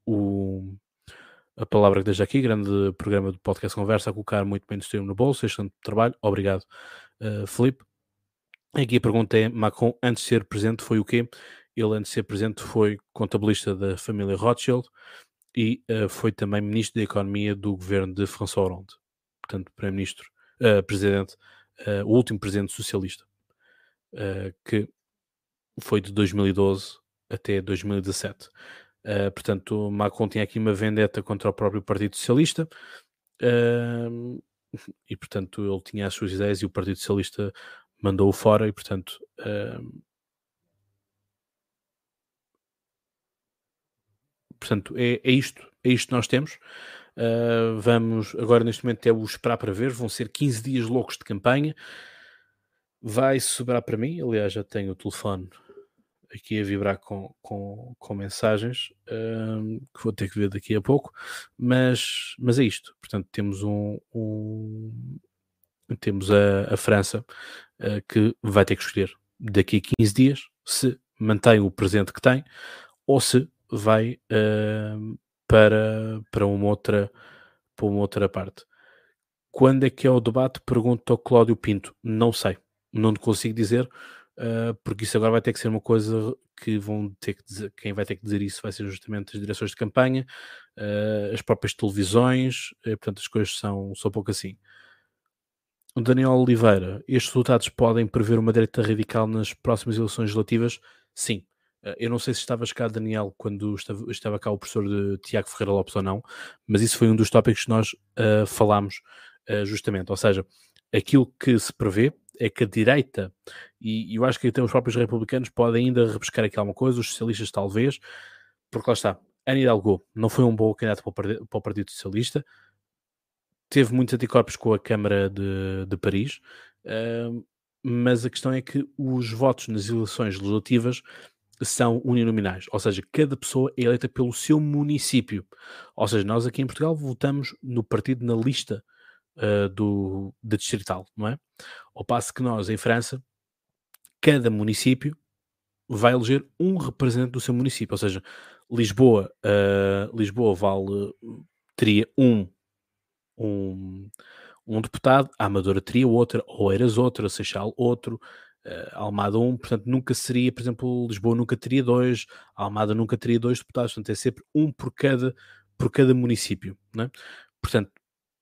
a palavra que deixa aqui, grande programa do Podcast Conversa, a colocar muito bem o no bolso, excelente trabalho, obrigado Filipe. Aqui a pergunta é: Macron antes de ser presidente foi o quê? Ele antes de ser presidente foi contabilista da família Rothschild e foi também ministro da Economia do governo de François Hollande. portanto, primeiro-ministro, presidente, o último presidente socialista, que foi de 2012 até 2017. Portanto, Macron tinha aqui uma vendetta contra o próprio Partido Socialista, e, portanto, ele tinha as suas ideias e o Partido Socialista mandou-o fora, e, portanto, é isto que nós temos. Vamos agora, neste momento, é o esperar para ver. Vão ser 15 dias loucos de campanha. Vai sobrar para mim, aliás, já tenho o telefone aqui a vibrar com mensagens, que vou ter que ver daqui a pouco, mas é isto. Portanto, temos temos a França, que vai ter que escolher daqui a 15 dias se mantém o presente que tem ou se vai para uma outra parte. Quando é que é o debate? Pergunta ao Cláudio Pinto. Não sei, não consigo dizer, porque isso agora vai ter que ser uma coisa que vão ter que dizer. Quem vai ter que dizer isso vai ser justamente as direções de campanha, as próprias televisões, portanto as coisas são pouco assim. O Daniel Oliveira, estes resultados podem prever uma direita radical nas próximas eleições legislativas? Sim. Eu não sei se estavas cá, Daniel, quando estava cá o professor de Tiago Ferreira Lopes ou não, mas isso foi um dos tópicos que nós falámos justamente. Ou seja, aquilo que se prevê é que a direita, e eu acho que até os próprios republicanos podem ainda rebuscar aqui alguma coisa, os socialistas talvez, porque lá está, Anne Hidalgo não foi um bom candidato para o Partido Socialista, teve muitos anticorpos com a Câmara de Paris, mas a questão é que os votos nas eleições legislativas são uninominais, ou seja, cada pessoa é eleita pelo seu município. Ou seja, nós aqui em Portugal votamos no partido na lista da distrital, não é? Ao passo que nós, em França, cada município vai eleger um representante do seu município. Ou seja, Lisboa teria um deputado, a Amadora teria outra, Oeiras outra, Seixal outro, Almada portanto nunca seria, por exemplo, Lisboa nunca teria 2, Almada nunca teria 2 deputados, portanto é sempre um por cada município, não é? Portanto,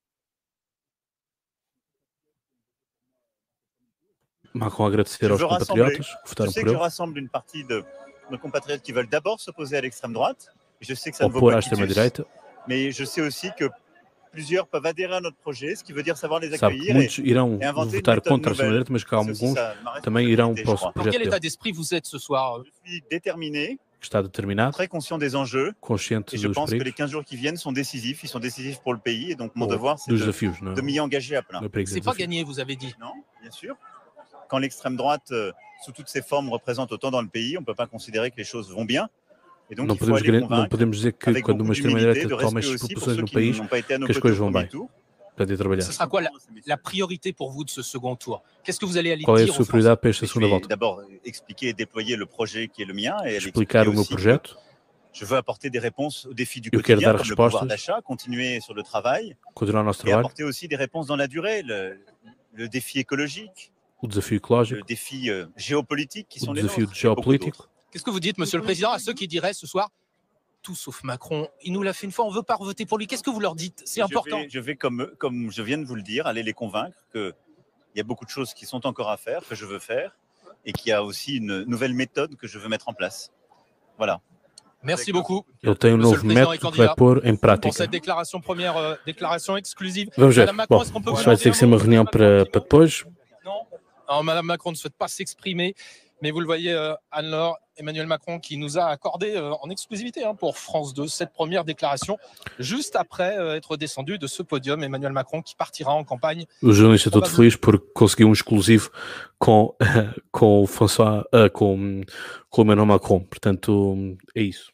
Macron agradecer aos compatriotas que votaram por ele. Je rassemble une partie de nos compatriotes qui veulent d'abord s'opposer à l'extrême droite. Je sais que ça ne vaut pas quitus, mais je sais aussi que plusieurs peuvent adhérer à notre projet, ce qui veut dire savoir les accueillir. Muitos irão votar contra a extrema-direita, mas que alguns também irão para o projeto dele. Dans quel état d'esprit vous êtes ce soir? Je suis déterminé, está determinado, très conscient des enjeux, consciente et je dos pense que les perigos, 15 jours qui viennent sont décisifs, ils sont décisifs pour le pays, et donc mon devoir c'est dos desafios, de m'y engager à plein. C'est pas gagné, vous avez dit. Non, bien sûr. Quand l'extrême droite, sous toutes ses formes, représente autant dans le pays, on ne peut pas considérer que les choses vont bien. Et donc, não podemos dizer que quando uma extrema-direita toma estas proporções no país, que as coisas vão bem. Ce sera quoi la priorité pour vous de ce second tour? Qu'est-ce que vous allez aller Qual é a dire sua prioridade para esta segunda volta? D'abord, expliquer et déployer le projet qui est le mien. Et explicar o meu projeto. Je veux apporter des réponses aux défis du quotidien, comme le pouvoir d'achat, continuer sur le travail, continuar o nosso et trabalho, apporter aussi des réponses dans la durée, le défi écologique, o desafio ecológico, le défi géopolitique qui sont les desafio nôtres. geopolítico. Qu'est-ce que vous dites, Monsieur le Président, à ceux qui diraient ce soir, tout sauf Macron, il nous l'a fait une fois, on ne veut pas voter pour lui. Qu'est-ce que vous leur dites? C'est important. Je vais comme je viens de vous le dire, aller les convaincre qu'il y a beaucoup de choses qui sont encore à faire, que je veux faire, et qu'il y a aussi une nouvelle méthode que je veux mettre en place. Voilà. Merci beaucoup. Eu tenho novo método que vai pôr em prática. Pour cette déclaration, première déclaration exclusive. Vamos ver. Bom, isto vai ter que ser uma reunião para depois. Non, Madame Macron ne souhaite pas s'exprimer, mais vous le voyez, Anne-Laure, Emmanuel Macron qui nous a accordé en exclusivité pour France 2 cette première déclaration, juste après être descendu de ce podium. Emmanuel Macron qui partira en campagne. O jornalista todo feliz porque conseguiu exclusivo com François, com Emmanuel Macron. Portanto, é isso.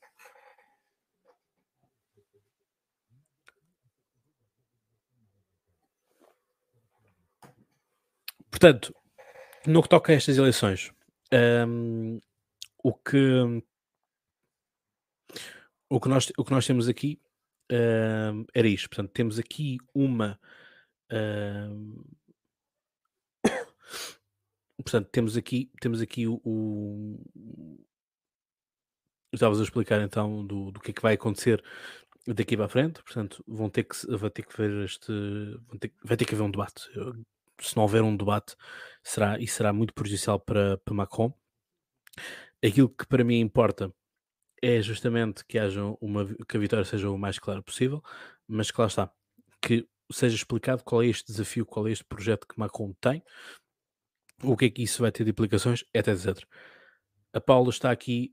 Portanto, no que toca a estas eleições, o que nós temos aqui era isto. Portanto, temos aqui uma portanto, temos aqui estavas a explicar então do que é que vai acontecer daqui para a frente, portanto, vai ter que ver vai ter que haver um debate. Se não houver um debate, será muito prejudicial para Macron. Aquilo que para mim importa é justamente que que a vitória seja o mais clara possível, mas que lá está, que seja explicado qual é este desafio, qual é este projeto que Macron tem, o que é que isso vai ter de implicações, etc. A Paula está aqui.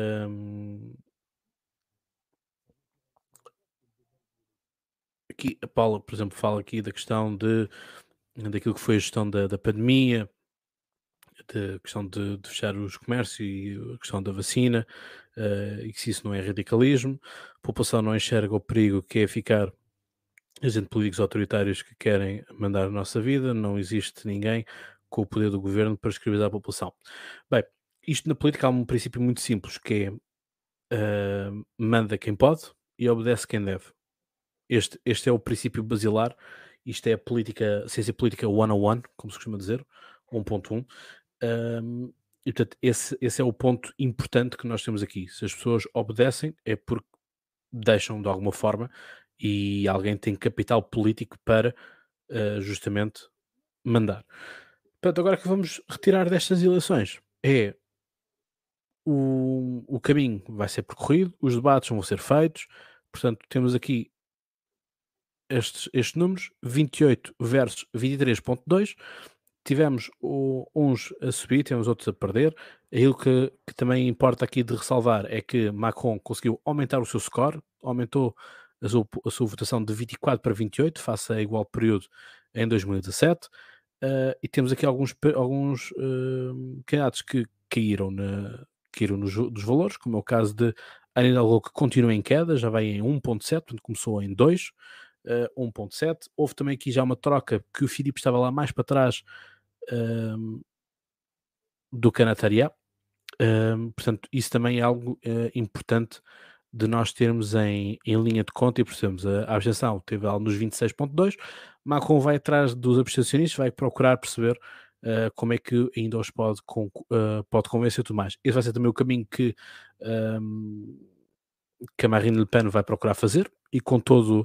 Aqui a Paula, por exemplo, fala aqui da questão daquilo que foi a gestão da pandemia, da questão de fechar os comércios e a questão da vacina, e que se isso não é radicalismo. A população não enxerga o perigo que é ficar gente políticos autoritários que querem mandar a nossa vida, não existe ninguém com o poder do governo para escravizar a população. Bem, isto na política há um princípio muito simples, que é manda quem pode e obedece quem deve. Este é o princípio basilar, isto é a ciência política 101, como se costuma dizer, 1.1. E portanto, esse é o ponto importante que nós temos aqui. Se as pessoas obedecem, é porque deixam de alguma forma e alguém tem capital político para justamente mandar. Portanto, agora que vamos retirar destas eleições o caminho vai ser percorrido, os debates vão ser feitos, portanto temos aqui estes números, 28 versus 23.2, tivemos uns a subir, temos outros a perder. Aquilo que também importa aqui de ressalvar é que Macron conseguiu aumentar o seu score, aumentou a sua votação de 24 para 28, face a igual período em 2017, e temos aqui alguns candidatos que caíram dos valores, como é o caso de Anne Hidalgo, que continua em queda, já vai em 1.7, portanto começou em 2, 1.7. Houve também aqui já uma troca, que o Filipe estava lá mais para trás do Canataria, portanto isso também é algo importante de nós termos em linha de conta, e percebemos a abstenção teve algo nos 26.2, Macron vai atrás dos abstencionistas, vai procurar perceber como é que ainda os pode convencer e tudo mais. Esse vai ser também o caminho que a Marine Le Pen vai procurar fazer, e com todo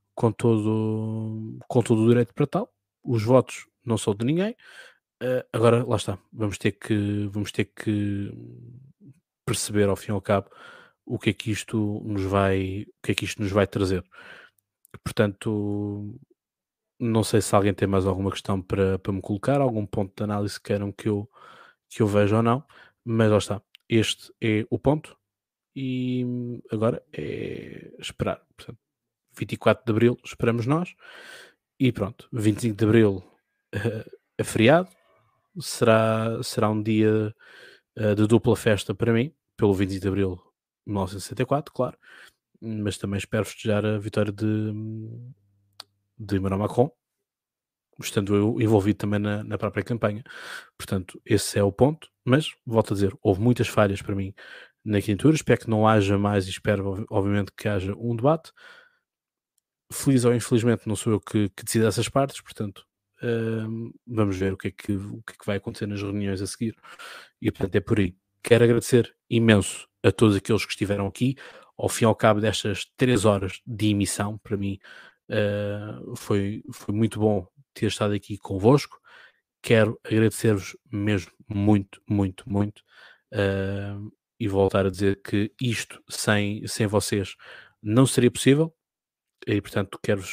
o direito para tal. Os votos não são de ninguém. Agora, lá está. Vamos ter que perceber, ao fim e ao cabo, o que é que isto nos vai trazer. Portanto, não sei se alguém tem mais alguma questão para me colocar, algum ponto de análise que queiram que eu veja ou não, mas lá está. Este é o ponto, e agora é esperar. Portanto, 24 de Abril esperamos nós, e pronto, 25 de Abril é feriado, será um dia de dupla festa para mim, pelo 25 de Abril de 1964, claro, mas também espero festejar a vitória de Emmanuel Macron, estando eu envolvido também na própria campanha. Portanto, esse é o ponto, mas volto a dizer, houve muitas falhas para mim na candidatura, espero que não haja mais, e espero obviamente que haja um debate. Feliz ou infelizmente não sou eu que decido essas partes, portanto vamos ver o que é que vai acontecer nas reuniões a seguir, e portanto é por aí. Quero agradecer imenso a todos aqueles que estiveram aqui, ao fim e ao cabo destas 3 horas de emissão. Para mim foi muito bom ter estado aqui convosco. Quero agradecer-vos mesmo muito, muito, muito, e voltar a dizer que isto sem vocês não seria possível, e portanto quero-vos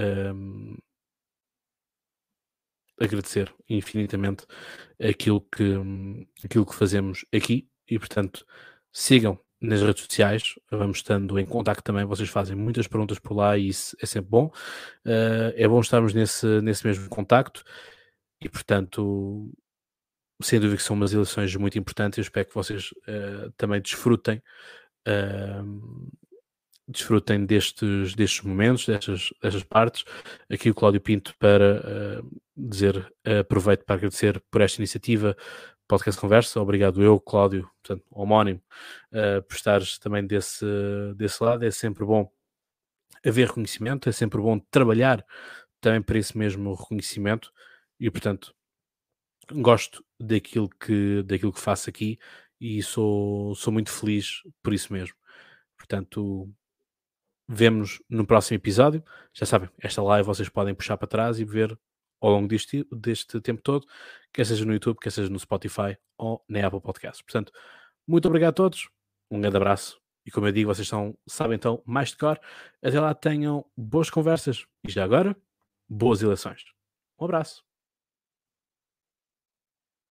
agradecer infinitamente aquilo que fazemos aqui, e portanto sigam nas redes sociais, vamos estando em contacto também, vocês fazem muitas perguntas por lá e isso é sempre bom. É bom estarmos nesse mesmo contacto, e portanto sem dúvida que são umas eleições muito importantes. Eu espero que vocês também desfrutem destes momentos, destas partes. Aqui o Cláudio Pinto para dizer, aproveito para agradecer por esta iniciativa, Podcast Conversa. Obrigado eu, Cláudio, portanto, homónimo, por estares também desse lado. É sempre bom haver reconhecimento, é sempre bom trabalhar também para esse mesmo reconhecimento, e portanto gosto daquilo que faço aqui, e sou muito feliz por isso mesmo. Portanto, vemo-nos no próximo episódio. Já sabem, esta live vocês podem puxar para trás e ver ao longo deste tempo todo, quer seja no YouTube, quer seja no Spotify ou na Apple Podcasts. Portanto, muito obrigado a todos, um grande abraço e como eu digo, vocês sabem então mais de cor. Até lá tenham boas conversas e já agora, boas eleições. Um abraço.